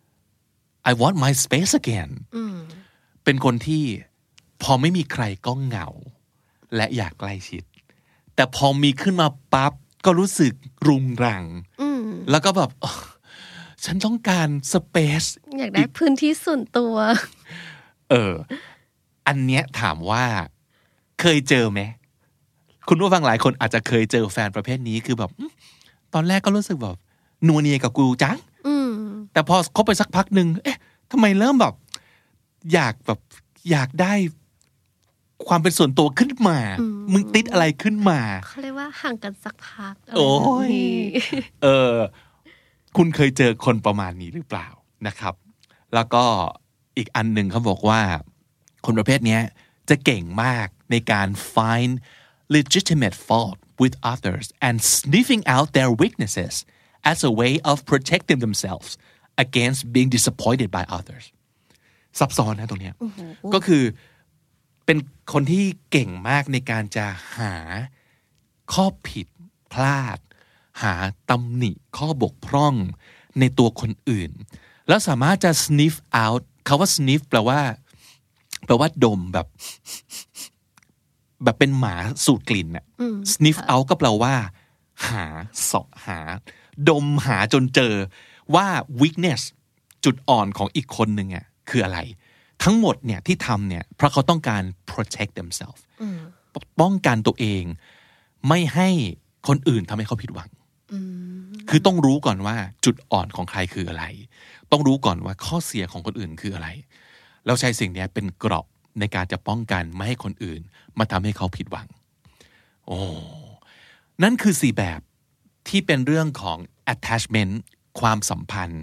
I want my space again เป็นคนที่พอไม่มีใครก็เหงาและอยากใกล้ชิดแต่พอมีขึ้นมาปั๊บก็รู้สึกรุงรังแล้วก็แบบฉันต้องการสเปซอยากได้พื้นที่ส่วนตัวเอออันเนี้ยถามว่าเคยเจอไหมคุณผู้ฟังหลายคนอาจจะเคยเจอแฟนประเภทนี้คือแบบตอนแรกก็รู้สึกแบบนัวเนียกับกูจังแต่พอคบไปสักพักหนึ่งเอ๊ะทำไมเริ่มแบบอยากแบบอยากได้ความเป็นส่วนตัวขึ้นมามึงติดอะไรขึ้นมาเขาเรียกว่าห่างกันสักพักโอ้ยเออคุณเคยเจอคนประมาณนี้หรือเปล่านะครับแล้วก็อีกอันหนึ่งเขาบอกว่าคนประเภทนี้จะเก่งมากในการ find legitimate fault with others and sniffing out their weaknesses as a way of protecting themselves against being disappointed by others ซับซ้อนนะตรงนี้ก็คือเป็นคนที่เก่งมากในการจะหาข้อผิดพลาดหาตำหนิข้อบกพร่องในตัวคนอื่นแล้วสามารถจะ sniff out คำว่า sniff แปลว่าแปลว่าดมแบบแบบเป็นหมาสูดกลิ่นน่ะ sniff out ก็แปลว่าหาเสาะหาดมหาจนเจอว่า weakness จุดอ่อนของอีกคนหนึ่งอ่ะคืออะไรทั้งหมดเนี่ยที่ทำเนี่ยเพราะเขาต้องการ protect themselves ป้องกันตัวเองไม่ให้คนอื่นทำให้เขาผิดหวังคือต้องรู้ก่อนว่าจุดอ่อนของใครคืออะไรต้องรู้ก่อนว่าข้อเสียของคนอื่นคืออะไรแล้วใช้สิ่งนี้เป็นเกราะในการจะป้องกันไม่ให้คนอื่นมาทำให้เขาผิดหวังโอ้นั่นคือสี่แบบที่เป็นเรื่องของ attachment ความสัมพันธ์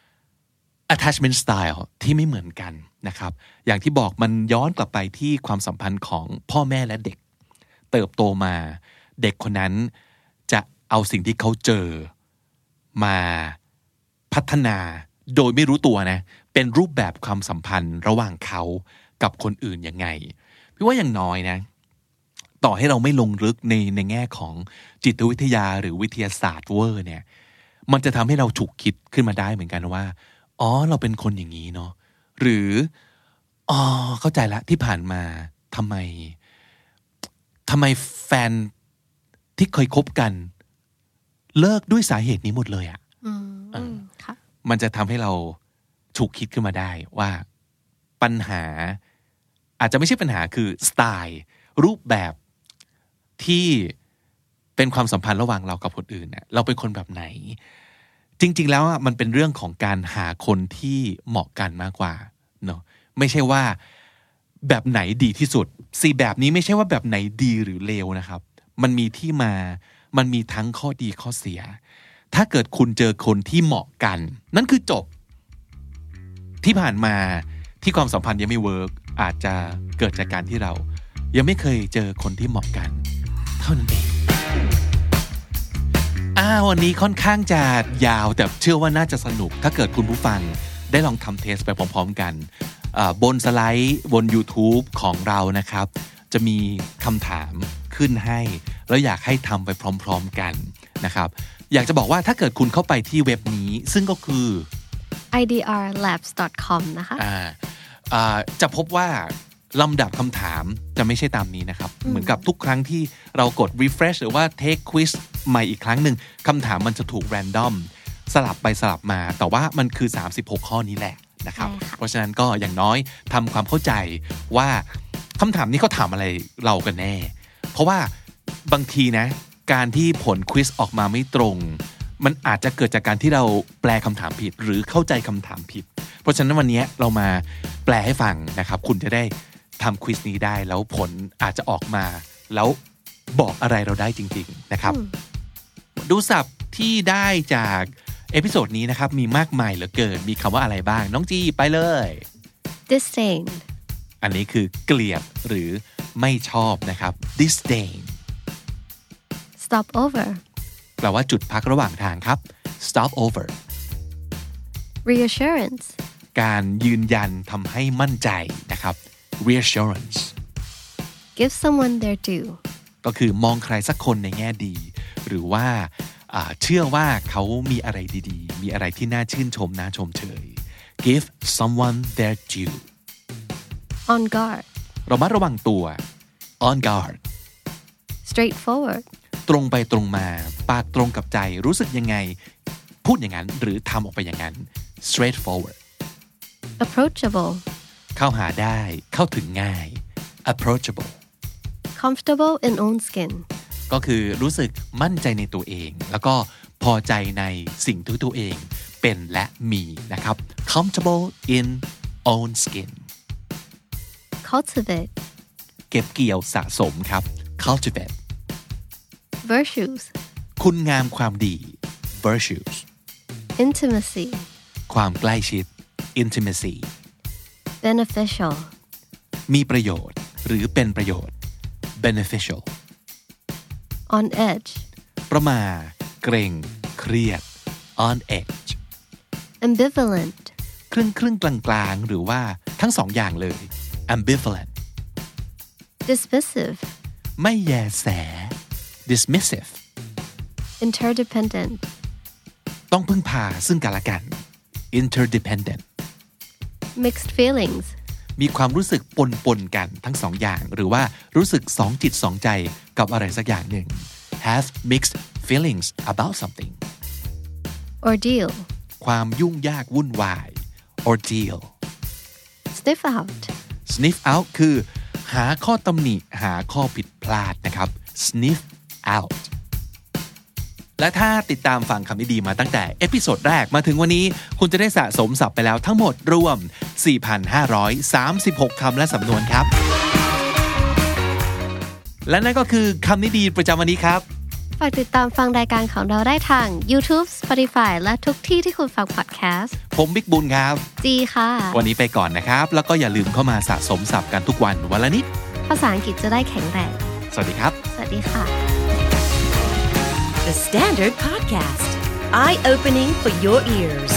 attachment style ที่ไม่เหมือนกันนะครับอย่างที่บอกมันย้อนกลับไปที่ความสัมพันธ์ของพ่อแม่และเด็กเติบโตมาเด็กคนนั้นจะเอาสิ่งที่เขาเจอมาพัฒนาโดยไม่รู้ตัวนะเป็นรูปแบบความสัมพันธ์ระหว่างเขากับคนอื่นยังไงพี่ว่าอย่างน้อยนะต่อให้เราไม่ลงลึกในในแง่ของจิตวิทยาหรือวิทยาศาสตร์เวอร์เนี่ยมันจะทำให้เราฉุกคิดขึ้นมาได้เหมือนกันว่าอ๋อเราเป็นคนอย่างนี้เนาะหรืออ๋อเข้าใจละที่ผ่านมาทำไมทำไมแฟนที่เคยคบกันเลิกด้วยสาเหตุนี้หมดเลยอ่ะมันจะทำให้เราฉุกคิดขึ้นมาได้ว่าปัญหาอาจจะไม่ใช่ปัญหาคือสไตล์รูปแบบที่เป็นความสัมพันธ์ระหว่างเรากับคนอื่นเนี่ยเราเป็นคนแบบไหนจริงๆแล้วมันเป็นเรื่องของการหาคนที่เหมาะกันมากกว่าเนาะไม่ใช่ว่าแบบไหนดีที่สุดสี่แบบนี้ไม่ใช่ว่าแบบไหนดีหรือเลวนะครับมันมีที่มามันมีทั้งข้อดีข้อเสียถ้าเกิดคุณเจอคนที่เหมาะกันนั่นคือจบที่ผ่านมาที่ความสัมพันธ์ยังไม่เวิร์กอาจจะเกิดจากการที่เรายังไม่เคยเจอคนที่เหมาะกันเท่านั้นเองอ้าววันนี้ค่อนข้างจะยาวแต่เชื่อว่าน่าจะสนุกถ้าเกิดคุณผู้ฟังได้ลองทำเทสไปพร้อมๆกันบนสไลด์บน YouTube ของเรานะครับจะมีคำถามขึ้นให้แล้วอยากให้ทำไปพร้อมๆกันนะครับอยากจะบอกว่าถ้าเกิดคุณเข้าไปที่เว็บนี้ซึ่งก็คือไอ ดี อาร์ แลบส์ ดอท คอม นะคะอ่าอ่าจะพบว่าลำดับคำถามจะไม่ใช่ตามนี้นะครับเหมือนกับทุกครั้งที่เรากด refresh หรือว่า take quiz ใหม่อีกครั้งหนึ่งคำถามมันจะถูก random สลับไปสลับมาแต่ว่ามันคือสามสิบหกข้อนี้แหละนะครับเพราะฉะนั้นก็อย่างน้อยทำความเข้าใจว่าคำถามนี้เขาถามอะไรเรากันแน่เพราะว่าบางทีนะการที่ผลควิสออกมาไม่ตรงมันอาจจะเกิดจากการที่เราแปลคำถามผิดหรือเข้าใจคำถามผิดเพราะฉะนั้นวันนี้เรามาแปลให้ฟังนะครับคุณจะได้ทำควิสนี้ได้แล้วผลอาจจะออกมาแล้วบอกอะไรเราได้จริงๆนะครับดูศัพท์ที่ได้จากเอพิโซดนี้นะครับมีมากมายเหลือเกินมีคำว่าอะไรบ้างน้องจีไปเลย disdain อันนี้คือเกลียดหรือไม่ชอบนะครับ disdain stop over แปลว่าจุดพักระหว่างทางครับ stop over reassurance การยืนยันทำให้มั่นใจนะครับ reassurance give someone their due ก็คือมองใครสักคนในแง่ดีหรือว่าเชื่อว่าเขามีอะไรดีๆมีอะไรที่น่าชื่นชมน่าชมเชย give someone their due on guard ระมัดระวังตัว on guard straightforward ตรงไปตรงมาปากตรงกับใจรู้สึกยังไงพูดอย่างนั้นหรือทำออกไปอย่างนั้น straightforward approachable เข้าหาได้เข้าถึงง่าย approachable comfortable in own skin ก็คือรู้สึกมั่นใจในตัวเองแล้วก็พอใจในสิ่งที่ตัวเองเป็นและมีนะครับ comfortable in own skin cultivate เก็บเกี่ยวสะสมครับ cultivate virtues คุณงามความดี virtues intimacy ความใกล้ชิด intimacy beneficial มีประโยชน์หรือเป็นประโยชน์ beneficial on edge ประมาทเกรงเครียด on edge ambivalent ครึ่งครึ่งกลางกลางหรือว่าทั้งสองอย่างเลย ambivalent dismissive ไม่แยแส dismissive interdependent ต้องพึ่งพาซึ่งกันและกัน interdependent mixed feelings มีความรู้สึกปนๆกันทั้งสองอย่างหรือว่ารู้สึกสองจิตสองใจกับอะไรสักอย่างหนึ่ง have mixed feelings about something Ordeal ความยุ่งยากวุ่นวาย ordeal Sniff out sniff out คือหาข้อตำหนิหาข้อผิดพลาดนะครับ sniff out และถ้าติดตามฟังคำนี้ดีมาตั้งแต่เอพิโซดแรกมาถึงวันนี้คุณจะได้สะสมศัพท์ไปแล้วทั้งหมดรวม สี่พันห้าร้อยสามสิบหก คำและสำนวนครับและนั่นก็คือคำนี้ดีประจำวันนี้ครับฝากติดตามฟังรายการของเราได้ทาง YouTube Spotify และทุกที่ที่คุณฟังพอดแคสต์ผมบิ๊กบุญครับจีค่ะวันนี้ไปก่อนนะครับแล้วก็อย่าลืมเข้ามาสะสมศัพท์กันทุกวันวันละนิดภาษาอังกฤษจะได้แข็งแรงสวัสดีครับสวัสดีค่ะ The Standard Podcast Eye-opening for your ears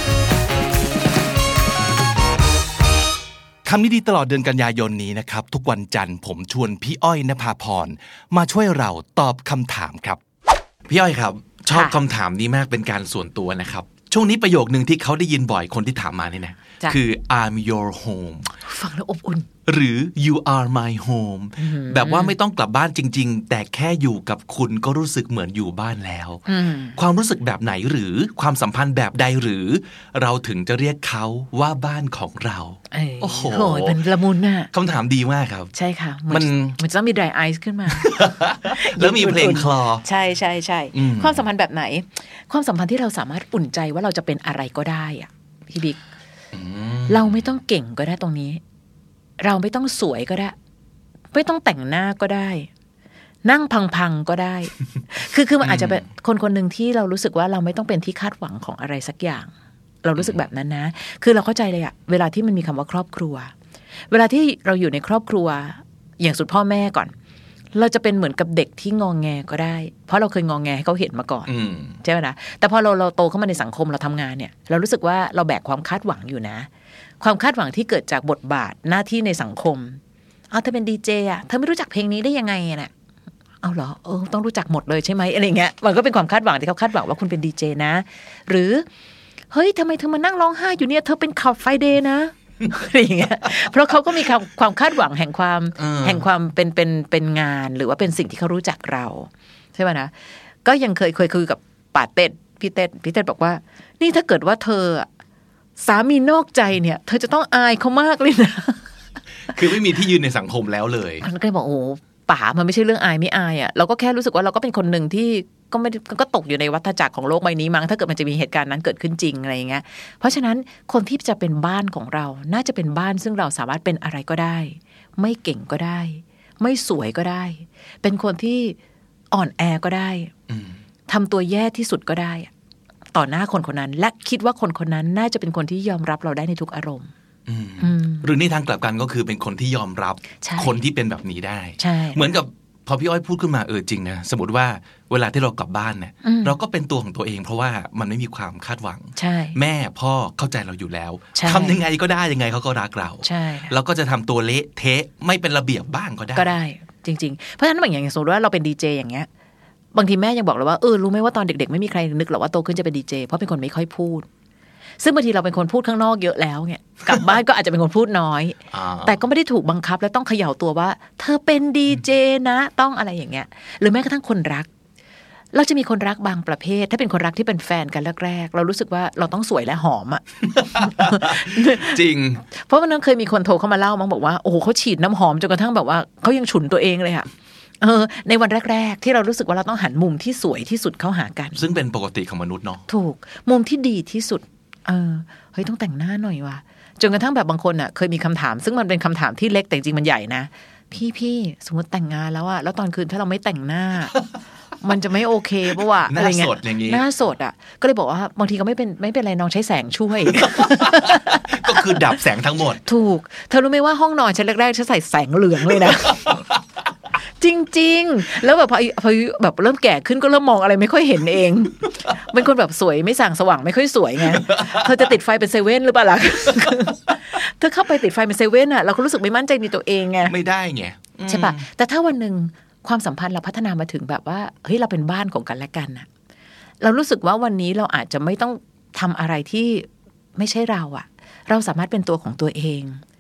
คำนี้ดีตลอดเดือนกันยายนนี้นะครับทุกวันจันทร์ผมชวนพี่อ้อยณภาพรมาช่วยเราตอบคำถามครับพี่อ้อยครับชอบคำถามนี้มากเป็นการส่วนตัวนะครับช่วงนี้ประโยคนึงที่เขาได้ยินบ่อยคนที่ถามมานี่นะคือ I'm your home ฟังแล้วอบอุ่นหรือ you are my home แบบว่าไม่ต้องกลับบ้านจริงๆแต่แค่อยู่กับคุณก็รู้สึกเหมือนอยู่บ้านแล้วความรู้สึกแบบไหนหรือความสัมพันธ์แบบใดหรือเราถึงจะเรียกเขาว่าบ้านของเราโอ้โหเป็นละมุนน่ะคำถามดีมากครับใช่ค่ะมันมันจะต้องมี dry ice ขึ้นมาแล้วมีเพลงคลอใช่ใช่ใช่ความสัมพันธ์แบบไหนความสัมพันธ์ที่เราสามารถอุ่นใจว่าเราจะเป็นอะไรก็ได้อะพี่บิ๊กเราไม่ต้องเก่งก็ได้ตรงนี้เราไม่ต้องสวยก็ได้ไม่ต้องแต่งหน้าก็ได้นั่งพังๆก็ได้ คือคือมันอาจจะเป็นคนคนหนึ่งที่เรารู้สึกว่าเราไม่ต้องเป็นที่คาดหวังของอะไรสักอย่างเรารู้สึกแบบนั้นนะคือเราเข้าใจเลยอะเวลาที่มันมีคำว่าครอบครัวเวลาที่เราอยู่ในครอบครัวอย่างสุดพ่อแม่ก่อนเราจะเป็นเหมือนกับเด็กที่งองแงก็ได้เพราะเราเคยงองแงให้เขาเห็นมาก่อนใช่ไหมนะแต่พอเราเราโตเข้ามาในสังคมเราทำงานเนี่ยเรารู้สึกว่าเราแบกความคาดหวังอยู่นะความคาดหวังที่เกิดจากบทบาทหน้าที่ในสังคมเอาเธอเป็นดีเจอ่ะเธอไม่รู้จักเพลงนี้ได้ยังไงน่ะเอาเหรอเออต้องรู้จักหมดเลยใช่ไหมอะไรเงี้ยมันก็เป็นความคาดหวังที่เขาคาดหวังว่าคุณเป็นดีเจนะหรือเฮ้ยทำไมเธอมานั่งร้องไห้อยู่เนี่ยเธอเป็นขับไฟเดย์นะอะไรอย่างเงี้ยเพราะเขาก็มีความความคาดหวังแห่งความแห่งความเป็นเป็นเป็นงานหรือว่าเป็นสิ่งที่เขารู้จักเราใช่ป่ะนะก็ยังเคยเคยคุยกับป่าเต็ดพี่เต็ดพี่เต็ดบอกว่านี่ถ้าเกิดว่าเธอสามีนอกใจเนี่ยเธอจะต้องอายเขามากเลยนะคือไม่มีที่ยืนในสังคมแล้วเลยมันก็เลยบอกโอ้ป่ามันไม่ใช่เรื่องอายไม่อายอ่ะเราก็แค่รู้สึกว่าเราก็เป็นคนหนึ่งที่ก็ไม่ก็ตกอยู่ในวัฏจักรของโลกใบนี้มั้งถ้าเกิดมันจะมีเหตุการณ์นั้นเกิดขึ้นจริงอะไรอย่างเงี้ยเพราะฉะนั้นคนที่จะเป็นบ้านของเราน่าจะเป็นบ้านซึ่งเราสามารถเป็นอะไรก็ได้ไม่เก่งก็ได้ไม่สวยก็ได้เป็นคนที่อ่อนแอก็ได้ทำตัวแย่ที่สุดก็ได้ต่อหน้าคนคนนั้นและคิดว่าคนคนนั้นน่าจะเป็นคนที่ยอมรับเราได้ในทุกอารมณ์หรือในทางกลับกันก็คือเป็นคนที่ยอมรับคนที่เป็นแบบนี้ได้เหมือนกับพอพี่อ้อยพูดขึ้นมาเออจริงนะสมมติว่าเวลาที่เรากลับบ้านเนี่ยเราก็เป็นตัวของตัวเองเพราะว่ามันไม่มีความคาดหวังแม่พ่อเข้าใจเราอยู่แล้วทำยังไงก็ได้ยังไงเขาก็รักเราเราก็จะทำตัวเละเทะไม่เป็นระเบียบบ้างก็ได้ก็ได้จริงๆเพราะฉะนั้นอย่างสมมติว่าเราเป็นดีเจอย่างเงี้ยบางทีแม่ยังบอกเราว่าเออรู้ไหมว่าตอนเด็กๆไม่มีใครนึกหรอกว่าโตขึ้นจะเป็นดีเจเพราะเป็นคนไม่ค่อยพูดซึ่งบางทีเราเป็นคนพูดข้างนอกเยอะแล้วเนี่ยกลับบ้านก็อาจจะเป็นคนพูดน้อยแต่ก็ไม่ได้ถูกบังคับและต้องเขย่าตัวว่าเธอเป็นดีเจนะต้องอะไรอย่างเงี้ยหรือแม้กระทั่งคนรักเราจะมีคนรักบางประเภทถ้าเป็นคนรักที่เป็นแฟนกันแรกๆเรารู้สึกว่าเราต้องสวยและหอมอ่ะจริงเพราะวันนั้นเคยมีคนโทรเข้ามาเล่ามั้งบอกว่าโอ้โหเขาฉีดน้ำหอมจนกระทั่งแบบว่าเขายังฉุนตัวเองเลยค่ะเออในวันแรกๆที่เรารู้สึกว่าเราต้องหันมุมที่สวยที่สุดเข้าหากันซึ่งเป็นปกติของมนุษย์เนาะถูกมุมที่ดีที่สุดเออเฮ้ยต้องแต่งหน้าหน่อยว่ะจนกระทั่งแบบบางคนอ่ะเคยมีคำถามซึ่งมันเป็นคำถามที่เล็กแต่จริงมันใหญ่นะพี่พี่สมมติแต่งงานแล้วอะแล้วตอนคืนถ้าเราไม่แต่งหน้า มันจะไม่โอเคป่ะวะอะไรเงี้ยหน้าสดอ่ะก็เลยบอกว่าบางทีก็ไม่เป็นไม่เป็นไรน้องใช้แสงช่วยก็คือดับแสงทั้งหมดถูกเธอรู้ไหมว่าห้องนอนฉันแรกๆฉันใส่แสงเหลืองเลยนะ จริงๆแล้วแบบพอพอแบบเริ่มแก่ขึ้นก็เริ่มมองอะไรไม่ค่อยเห็นเองเป็นคนแบบสวยไม่ส่างสว่างไม่ค่อยสวยไงเธอจะติดไฟเป็นเซเว่นหรือเปล่าล่ะเธอเข้าไปติดไฟเป็นเซเว่นอ่ะเราก็รู้สึกไม่มั่นใจในตัวเองไงไม่ได้ไงใช่ป่ะแต่ถ้าวันนึงความสัมพันธ์เราพัฒนามาถึงแบบว่าเฮ้ยเราเป็นบ้านของกันและกันน่ะเรารู้สึกว่าวันนี้เราอาจจะไม่ต้องทำอะไรที่ไม่ใช่เราอ่ะเราสามารถเป็นตัวของตัวเอง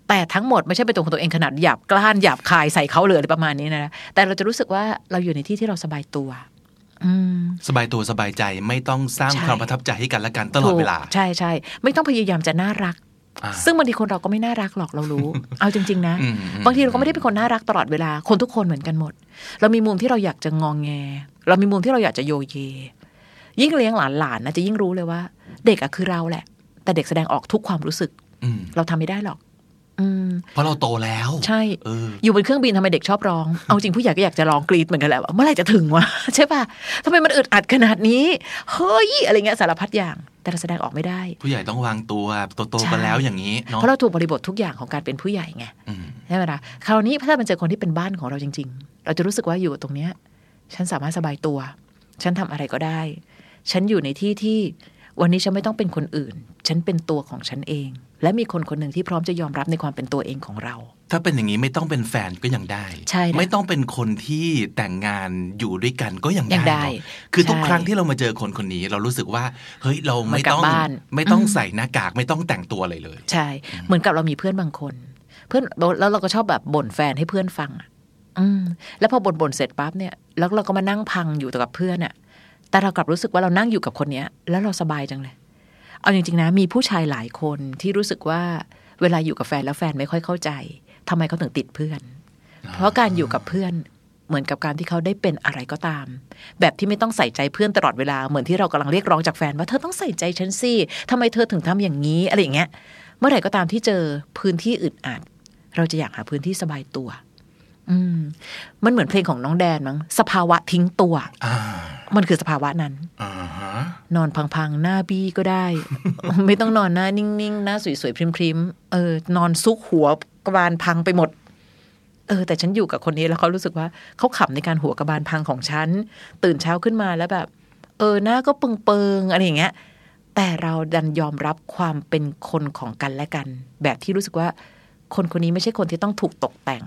แต่ทั้งหมดไม่ใช่เป็นตัวของตัวเองขนาดหยาบกล้านหยาบคายใส่เขาเลยอะไรประมาณนี้นะแต่เราจะรู้สึกว่าเราอยู่ในที่ที่เราสบายตัวสบายตัวสบายใจไม่ต้องสร้างความประทับใจให้กันและกันตลอดเวลาใช่ใช่ไม่ต้องพยายามจะน่ารักซึ่งบางทีคนเราก็ไม่น่ารักหรอกเรารู้ เอาจริงๆนะบางทีเราก็ไม่ได้เป็นคนน่ารักตลอดเวลาคนทุกคนเหมือนกันหมดเรามีมุมที่เราอยากจะงองแงเรามีมุมที่เราอยากจะโยเยยิ่งเลี้ยงหลานๆนะจะยิ่งรู้เลยว่าเด็กอะคือเราแหละแต่เด็กแสดงออกทุกความรู้สึกเราทำไม่ได้หรอกเพราะเราโตแล้วใช่อ, อยู่บนเครื่องบินทำไมเด็กชอบร้องเอาจริงผู้ใหญ่ก็อยากจะร้องกรี๊ดเหมือนกันแหละว่าเมื่อไหร่จะถึงวะใช่ป่ะทำไมมันอึดอัดขนาดนี้เฮ้ยอะไรเงี้ยสารพัดอย่างแต่เราแสดงออกไม่ได้ผู้ใหญ่ต้องวางตัวโตๆกันแล้วอย่างนี้เนาะเพราะเราถูกบริบททุกอย่างของการเป็นผู้ใหญ่ไงใช่ไหมล่ะคราวนี้ถ้ามันเจอคนที่เป็นบ้านของเราจริงๆเราจะรู้สึกว่าอยู่ตรงเนี้ยฉันสามารถสบายตัวฉันทำอะไรก็ได้ฉันอยู่ในที่ที่วันนี้ฉันไม่ต้องเป็นคนอื่นฉันเป็นตัวของฉันเองและมีคนคนหนึ่งที่พร้อมจะยอมรับในความเป็นตัวเองของเราถ้าเป็นอย่างนี้ไม่ต้องเป็นแฟนก็ยังได้ใช่ไม่ต้องเป็นคนที่แต่งงานอยู่ด้วยกันก็ยังได้คือทุกครั้งที่เรามาเจอคนคนนี้เรารู้สึกว่าเฮ้ยเราไม่ต้องไม่ต้องใส่หน้ากากไม่ต้องแต่งตัวอะไรเลยใช่เหมือนกับเรามีเพื่อนบางคนเพื่อนแล้วเราก็ชอบแบบบ่นแฟนให้เพื่อนฟังอืมแล้วพอบ่นๆเสร็จปั๊บเนี่ยแล้วเราก็มานั่งพังอยู่กับเพื่อนอ่ะแต่เรากลับรู้สึกว่าเรานั่งอยู่กับคนนี้แล้วเราสบายจังเลยเอาจริงๆนะมีผู้ชายหลายคนที่รู้สึกว่าเวลาอยู่กับแฟนแล้วแฟนไม่ค่อยเข้าใจทำไมเขาถึงติดเพื่อนเพราะการอยู่กับเพื่อนเหมือนกับการที่เขาได้เป็นอะไรก็ตามแบบที่ไม่ต้องใส่ใจเพื่อนตลอดเวลาเหมือนที่เรากำลังเรียกร้องจากแฟนว่าเธอต้องใส่ใจฉันสิทำไมเธอถึงทำอย่างนี้อะไรอย่างเงี้ยเมื่อไหร่ก็ตามที่เจอพื้นที่อึดอัดเราจะอยากหาพื้นที่สบายตัวอืมมันเหมือนเพลงของน้องแดนมั้งสภาวะทิ้งตัวมันคือสภาวะนั้นนอนพังๆหน้าบี้ก็ได้ ไม่ต้องนอนหน้านิ่งๆหน้าสวยๆพริมๆเออนอนซุกหัวกระบาลพังไปหมดเออแต่ฉันอยู่กับคนนี้แล้วเขารู้สึกว่าเขาขำในการหัวกระบาลพังของฉันตื่นเช้าขึ้นมาแล้วแบบเออหน้าก็เปิงๆอะไรอย่างเงี้ยแต่เราดันยอมรับความเป็นคนของกันและกันแบบที่รู้สึกว่าคนคนนี้ไม่ใช่คนที่ต้องถูกตกแต่ง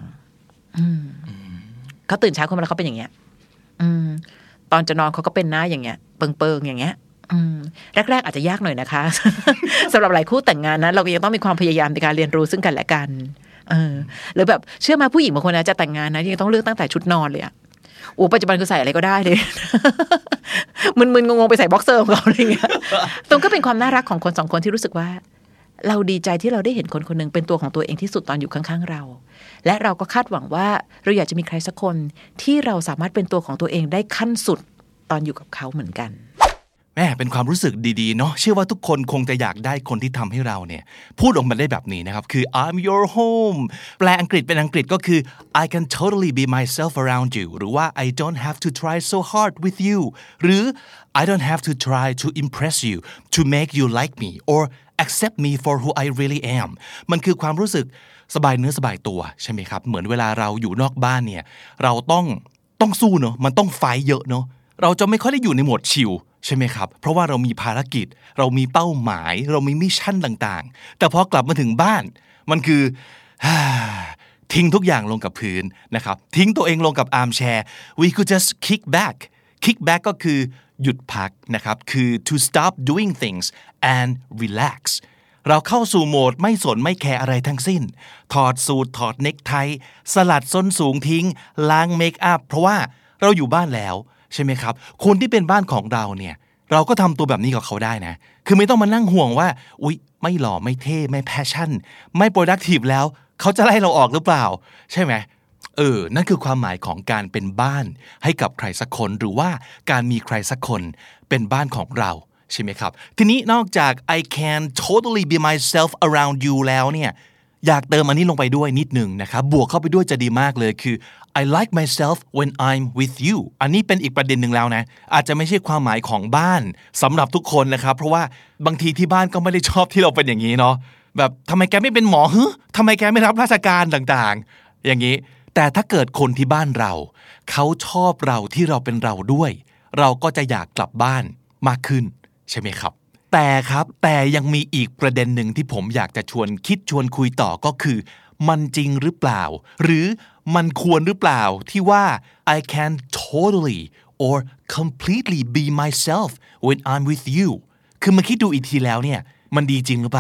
เขาตื่นเช้าขึ้นมาแล้วเขาเป็นอย่างเงี้ยอืมตอนจะนอนเขาก็เป็นหน้าอย่างเงี้ยเปิงๆอย่างเงี้ยแรกๆอาจจะยากหน่อยนะคะ สำหรับหลายคู่แต่งงานนะเราก็ยังต้องมีความพยายามในการเรียนรู้ซึ่งกันและกันเออหรือแบบเชื่อมาผู้หญิงบางคนนะจะแต่งงานนะยังต้องเลือกตั้งแต่ชุดนอนเลยอะโอ้ปัจจุบันคือใส่อะไรก็ได้เลย มึนๆงงๆไปใส่บ็อกเซอร์ของเราอะไรเงี้ยตรงก็เป็นความน่ารักของคนสองคนที่รู้สึกว่าเราดีใจที่เราได้เห็นคนคนนึงเป็นตัวของตัวเองที่สุดตอนอยู่ข้างๆเราและเราก็คาดหวังว่าเราอยากจะมีใครสักคนที่เราสามารถเป็นตัวของตัวเองได้ขั้นสุดตอนอยู่กับเขาเหมือนกันแม่เป็นความรู้สึกดีๆเนาะเชื่อว่าทุกคนคงจะอยากได้คนที่ทำให้เราเนี่ยพูดออกมาได้แบบนี้นะครับคือ I'm your home แปลอังกฤษเป็นอังกฤษก็คือ I can totally be myself around you หรือว่า I don't have to try so hard with you หรือ I don't have to try to impress you to make you like me or accept me for who I really am มันคือความรู้สึกสบายเนื้อสบายตัวใช่ไหมครับเหมือนเวลาเราอยู่นอกบ้านเนี่ยเราต้องต้องสู้เนาะมันต้องไฟท์เยอะเนาะเราจะไม่ค่อยได้อยู่ในโหมดชิลใช่ไหมครับเพราะว่าเรามีภารกิจเรามีเป้าหมายเรามีมิชชั่นต่างๆแต่พอกลับมาถึงบ้านมันคือทิ้งทุกอย่างลงกับพื้นนะครับทิ้งตัวเองลงกับอาร์มแชร์ we could just kick back kick back ก็คือหยุดพักนะครับคือ to stop doing things and relax เราเข้าสู่โหมดไม่สนไม่แคร์อะไรทั้งสิ้นถอดสูทถอดเน็กไทสลัดส้นสูงทิ้งล้างเมคอัพเพราะว่าเราอยู่บ้านแล้วใช่ไหมครับคนที่เป็นบ้านของเราเนี่ยเราก็ทำตัวแบบนี้กับเขาได้นะคือไม่ต้องมานั่งห่วงว่าอุ๊ยไม่หล่อไม่เท่ไม่แพชชั่นไม่ productive แล้วเขาจะไล่เราออกหรือเปล่าใช่ไหมเออนั่นคือความหมายของการเป็นบ้านให้กับใครสักคนหรือว่าการมีใครสักคนเป็นบ้านของเราใช่ไหมครับทีนี้นอกจาก I can totally be myself around you แล้วเนี่ยอยากเติมอันนี้ลงไปด้วยนิดนึงนะครับบวกเข้าไปด้วยจะดีมากเลยคือ I like myself when I'm with you อันนี้เป็นอีกประเด็นหนึ่งแล้วนะอาจจะไม่ใช่ความหมายของบ้านสำหรับทุกคนนะครับเพราะว่าบางทีที่บ้านก็ไม่ได้ชอบที่เราเป็นอย่างนี้เนาะแบบทำไมแกไม่เป็นหมอฮึทำไมแกไม่รับราชการต่างๆอย่างนี้แต่ถ้าเกิดคนที่บ้านเราเขาชอบเราที่เราเป็นเราด้วยเราก็จะอยากกลับบ้านมากขึ้นใช่ไหมครับแต่ครับแต่ยังมีอีกประเด็นหนึ่งที่ผมอยากจะชวนคิดชวนคุยต่อก็คือมันจริงหรือเปล่าหรือมันควรหรือเปล่าที่ว่า I can totally or completely be myself when I'm with you คือมาคิดดูอีกทีแล้วเนี่ยมันดีจริงหรือเปล่า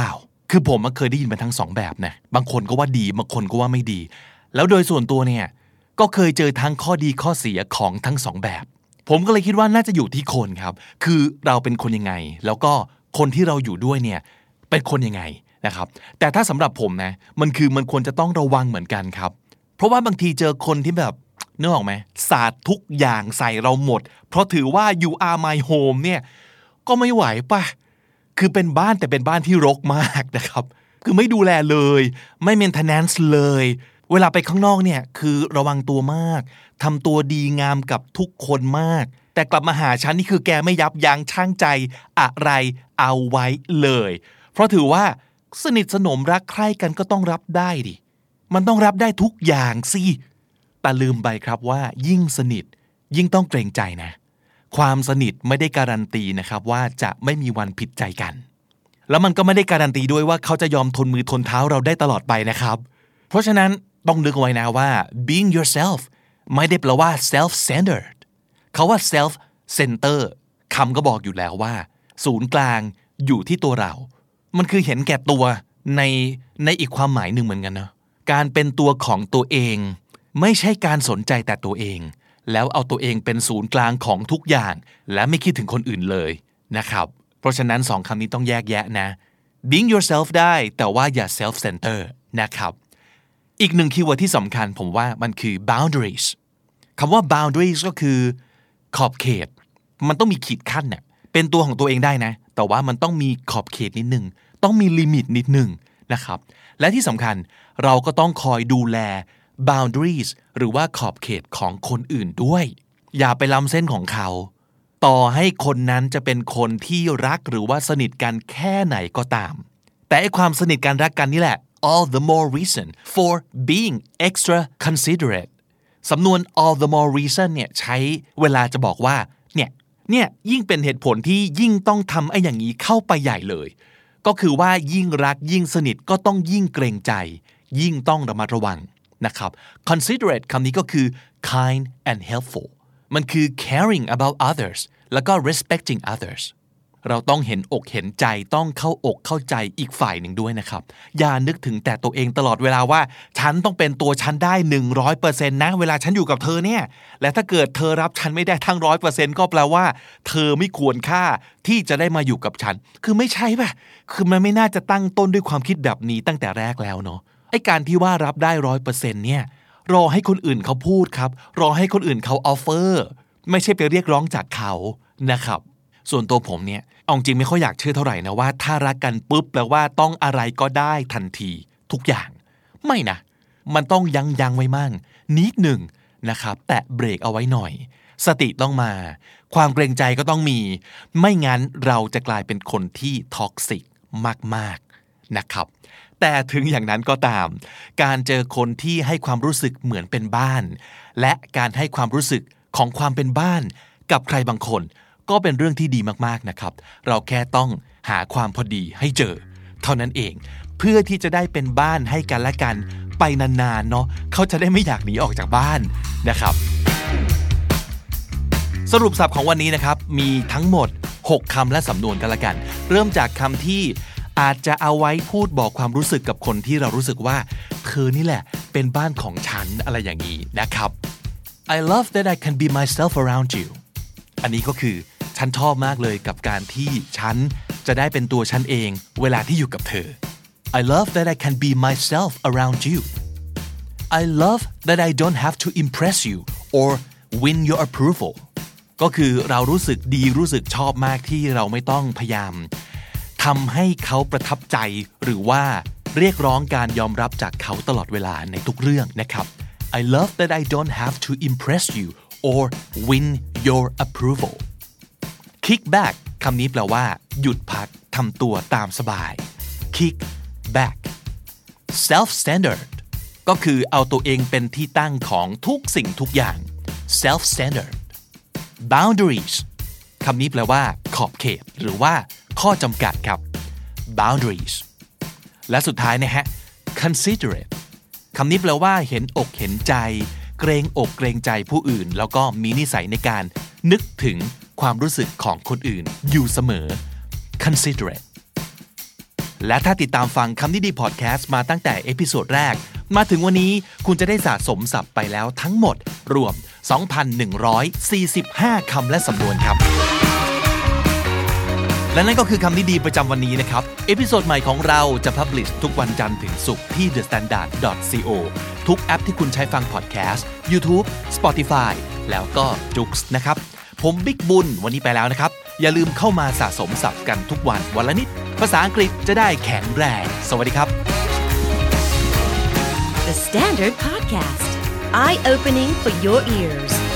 คือผมเคยได้ยินมาทั้งสองแบบนะบางคนก็ว่าดีบางคนก็ว่าไม่ดีแล้วโดยส่วนตัวเนี่ยก็เคยเจอทั้งข้อดีข้อเสียของทั้งสองแบบผมก็เลยคิดว่าน่าจะอยู่ที่คนครับคือเราเป็นคนยังไงแล้วก็คนที่เราอยู่ด้วยเนี่ยเป็นคนยังไงนะครับแต่ถ้าสำหรับผมนะมันคือมันควรจะต้องระวังเหมือนกันครับเพราะว่าบางทีเจอคนที่แบบนึกออกไหมสาดทุกอย่างใส่เราหมดเพราะถือว่า you are my home เนี่ยก็ไม่ไหวป่ะคือเป็นบ้านแต่เป็นบ้านที่รกมากนะครับคือไม่ดูแลเลยไม่ maintenance เลยเวลาไปข้างนอกเนี่ยคือระวังตัวมากทำตัวดีงามกับทุกคนมากแต่กลับมาหาฉันนี่คือแกไม่ยับยั้งชั่งใจอะไรเอาไว้เลยเพราะถือว่าสนิทสนมรักใคร่กันก็ต้องรับได้ดิมันต้องรับได้ทุกอย่างสิแต่ลืมไปครับว่ายิ่งสนิทยิ่งต้องเกรงใจนะความสนิทไม่ได้การันตีนะครับว่าจะไม่มีวันผิดใจกันแล้วมันก็ไม่ได้การันตีด้วยว่าเขาจะยอมทนมือทนเท้าเราได้ตลอดไปนะครับเพราะฉะนั้นต้องนึกเอาไว้นะว่า being yourself ไม่ได้แปลว่า self-centered เขาว่า self-center คำก็บอกอยู่แล้วว่าศูนย์กลางอยู่ที่ตัวเรามันคือเห็นแก่ตัวในในอีกความหมายหนึ่งเหมือนกันนะการเป็นตัวของตัวเองไม่ใช่การสนใจแต่ตัวเองแล้วเอาตัวเองเป็นศูนย์กลางของทุกอย่างและไม่คิดถึงคนอื่นเลยนะครับเพราะฉะนั้นสองคำนี้ต้องแยกแยะนะ being yourself ได้แต่ว่าอย่า self-center นะครับอีกหนึ่งคีย์เวิร์ดที่สำคัญผมว่ามันคือ boundaries คำว่า boundaries ก็คือขอบเขตมันต้องมีขีดขั้นเนี่ยเป็นตัวของตัวเองได้นะแต่ว่ามันต้องมีขอบเขตนิดนึงต้องมีลิมิตนิดนึงนะครับและที่สำคัญเราก็ต้องคอยดูแล boundaries หรือว่าขอบเขตของคนอื่นด้วยอย่าไปล้ำเส้นของเขาต่อให้คนนั้นจะเป็นคนที่รักหรือว่าสนิทกันแค่ไหนก็ตามแต่ไอ้ความสนิทกันรักกันนี่แหละ all the more reason for being extra considerate สำนวน all the more reason เนี่ยใช้เวลาจะบอกว่าเนี่ยเนี่ยยิ่งเป็นเหตุผลที่ยิ่งต้องทำไอ้อย่างนี้เข้าไปใหญ่เลยก็คือว่ายิ่งรักยิ่งสนิทก็ต้องยิ่งเกรงใจยิ่งต้องระมัดระวังนะครับ considerate คำนี้ก็คือ kind and helpful มันคือ caring about others แล้วก็ respecting others เราต้องเห็นอกเห็นใจต้องเข้าอกเข้าใจอีกฝ่ายหนึ่งด้วยนะครับอย่านึกถึงแต่ตัวเองตลอดเวลาว่าฉันต้องเป็นตัวฉันได้ หนึ่งร้อยเปอร์เซ็นต์ นะเวลาฉันอยู่กับเธอเนี่ยและถ้าเกิดเธอรับฉันไม่ได้ทั้ง หนึ่งร้อยเปอร์เซ็นต์ ก็แปลว่าเธอไม่ควรค่าที่จะได้มาอยู่กับฉันคือไม่ใช่ป่ะคือมันไม่น่าจะตั้งต้นด้วยความคิดแบบนี้ตั้งแต่แรกแล้วเนาะไอ้การที่ว่ารับได้ หนึ่งร้อยเปอร์เซ็นต์ เนี่ยรอให้คนอื่นเขาพูดครับรอให้คนอื่นเขาออฟเฟอร์ไม่ใช่ไปเรียกร้องจากเขานะครับส่วนตัวผมเนี่ยเอาจริงไม่ค่อยอยากเชื่อเท่าไหร่นะว่าถ้ารักกันปุ๊บแปลว่าต้องอะไรก็ได้ทันทีทุกอย่างไม่นะมันต้องยั้งยั้งไว้มั่งนิดหนึ่งนะครับแตะเบรกเอาไว้หน่อยสติต้องมาความเกรงใจก็ต้องมีไม่งั้นเราจะกลายเป็นคนที่ท็อกซิกมากๆนะครับแต่ถึงอย่างนั้นก็ตามการเจอคนที่ให้ความรู้สึกเหมือนเป็นบ้านและการให้ความรู้สึกของความเป็นบ้านกับใครบางคนก็เป็นเรื่องที่ดีมากๆนะครับเราแค่ต้องหาความพอดีให้เจอเท่านั้นเองเพื่อที่จะได้เป็นบ้านให้กันและกันไปนานๆเนาะเขาจะได้ไม่อยากหนีออกจากบ้านนะครับสรุปศัพท์ของวันนี้นะครับมีทั้งหมดหกคำและสำนวนกันละกันเริ่มจากคำที่อาจจะเอาไว้พูดบอกความรู้สึกกับคนที่เรารู้สึกว่าเธอนี่แหละเป็นบ้านของฉันอะไรอย่างนี้นะครับ I love that I can be myself around you อันนี้ก็คือฉันชอบมากเลยกับการที่ฉันจะได้เป็นตัวฉันเองเวลาที่อยู่กับเธอ I love that I can be myself around you I love that I don't have to impress you or win your approval ก็คือเรารู้สึกดีรู้สึกชอบมากที่เราไม่ต้องพยายามทำให้เขาประทับใจหรือว่าเรียกร้องการยอมรับจากเขาตลอดเวลาในทุกเรื่องนะครับ I love that I don't have to impress you or win your approval kick back คำนี้แปลว่าหยุดพักทำตัวตามสบาย kick back self-centered ก็คือเอาตัวเองเป็นที่ตั้งของทุกสิ่งทุกอย่าง self-centered boundaries คำนี้แปลว่าขอบเขตหรือว่าข้อจำกัดครับ boundaries และสุดท้ายนะฮะ considerate คำนี้แปลว่าเห็นอกเห็นใจเกรงอกเกรงใจผู้อื่นแล้วก็มีนิสัยในการนึกถึงความรู้สึกของคนอื่นอยู่เสมอ considerate และถ้าติดตามฟังคำนี้ดีพอดแคสต์มาตั้งแต่เอพิโซดแรกมาถึงวันนี้คุณจะได้สะสมศัพท์ไปแล้วทั้งหมดรวม สองพันหนึ่งร้อยสี่สิบห้า คำและสำนวนครับและนั่นก็คือคำนี้ดีประจำวันนี้นะครับเอพิโซดใหม่ของเราจะพับลิชทุกวันจันทร์ถึงศุกร์ที่ เดอะ สแตนดาร์ด ดอท ซี โอ ทุกแอปที่คุณใช้ฟังพอดแคสต์ YouTube Spotify แล้วก็ Joox นะครับผมบิ๊กบุญวันนี้ไปแล้วนะครับอย่าลืมเข้ามาสะสมศัพท์กันทุกวันวันละนิดภาษาอังกฤษจะได้แข็งแรงสวัสดีครับ The Standard Podcast Eye Opening for Your Ears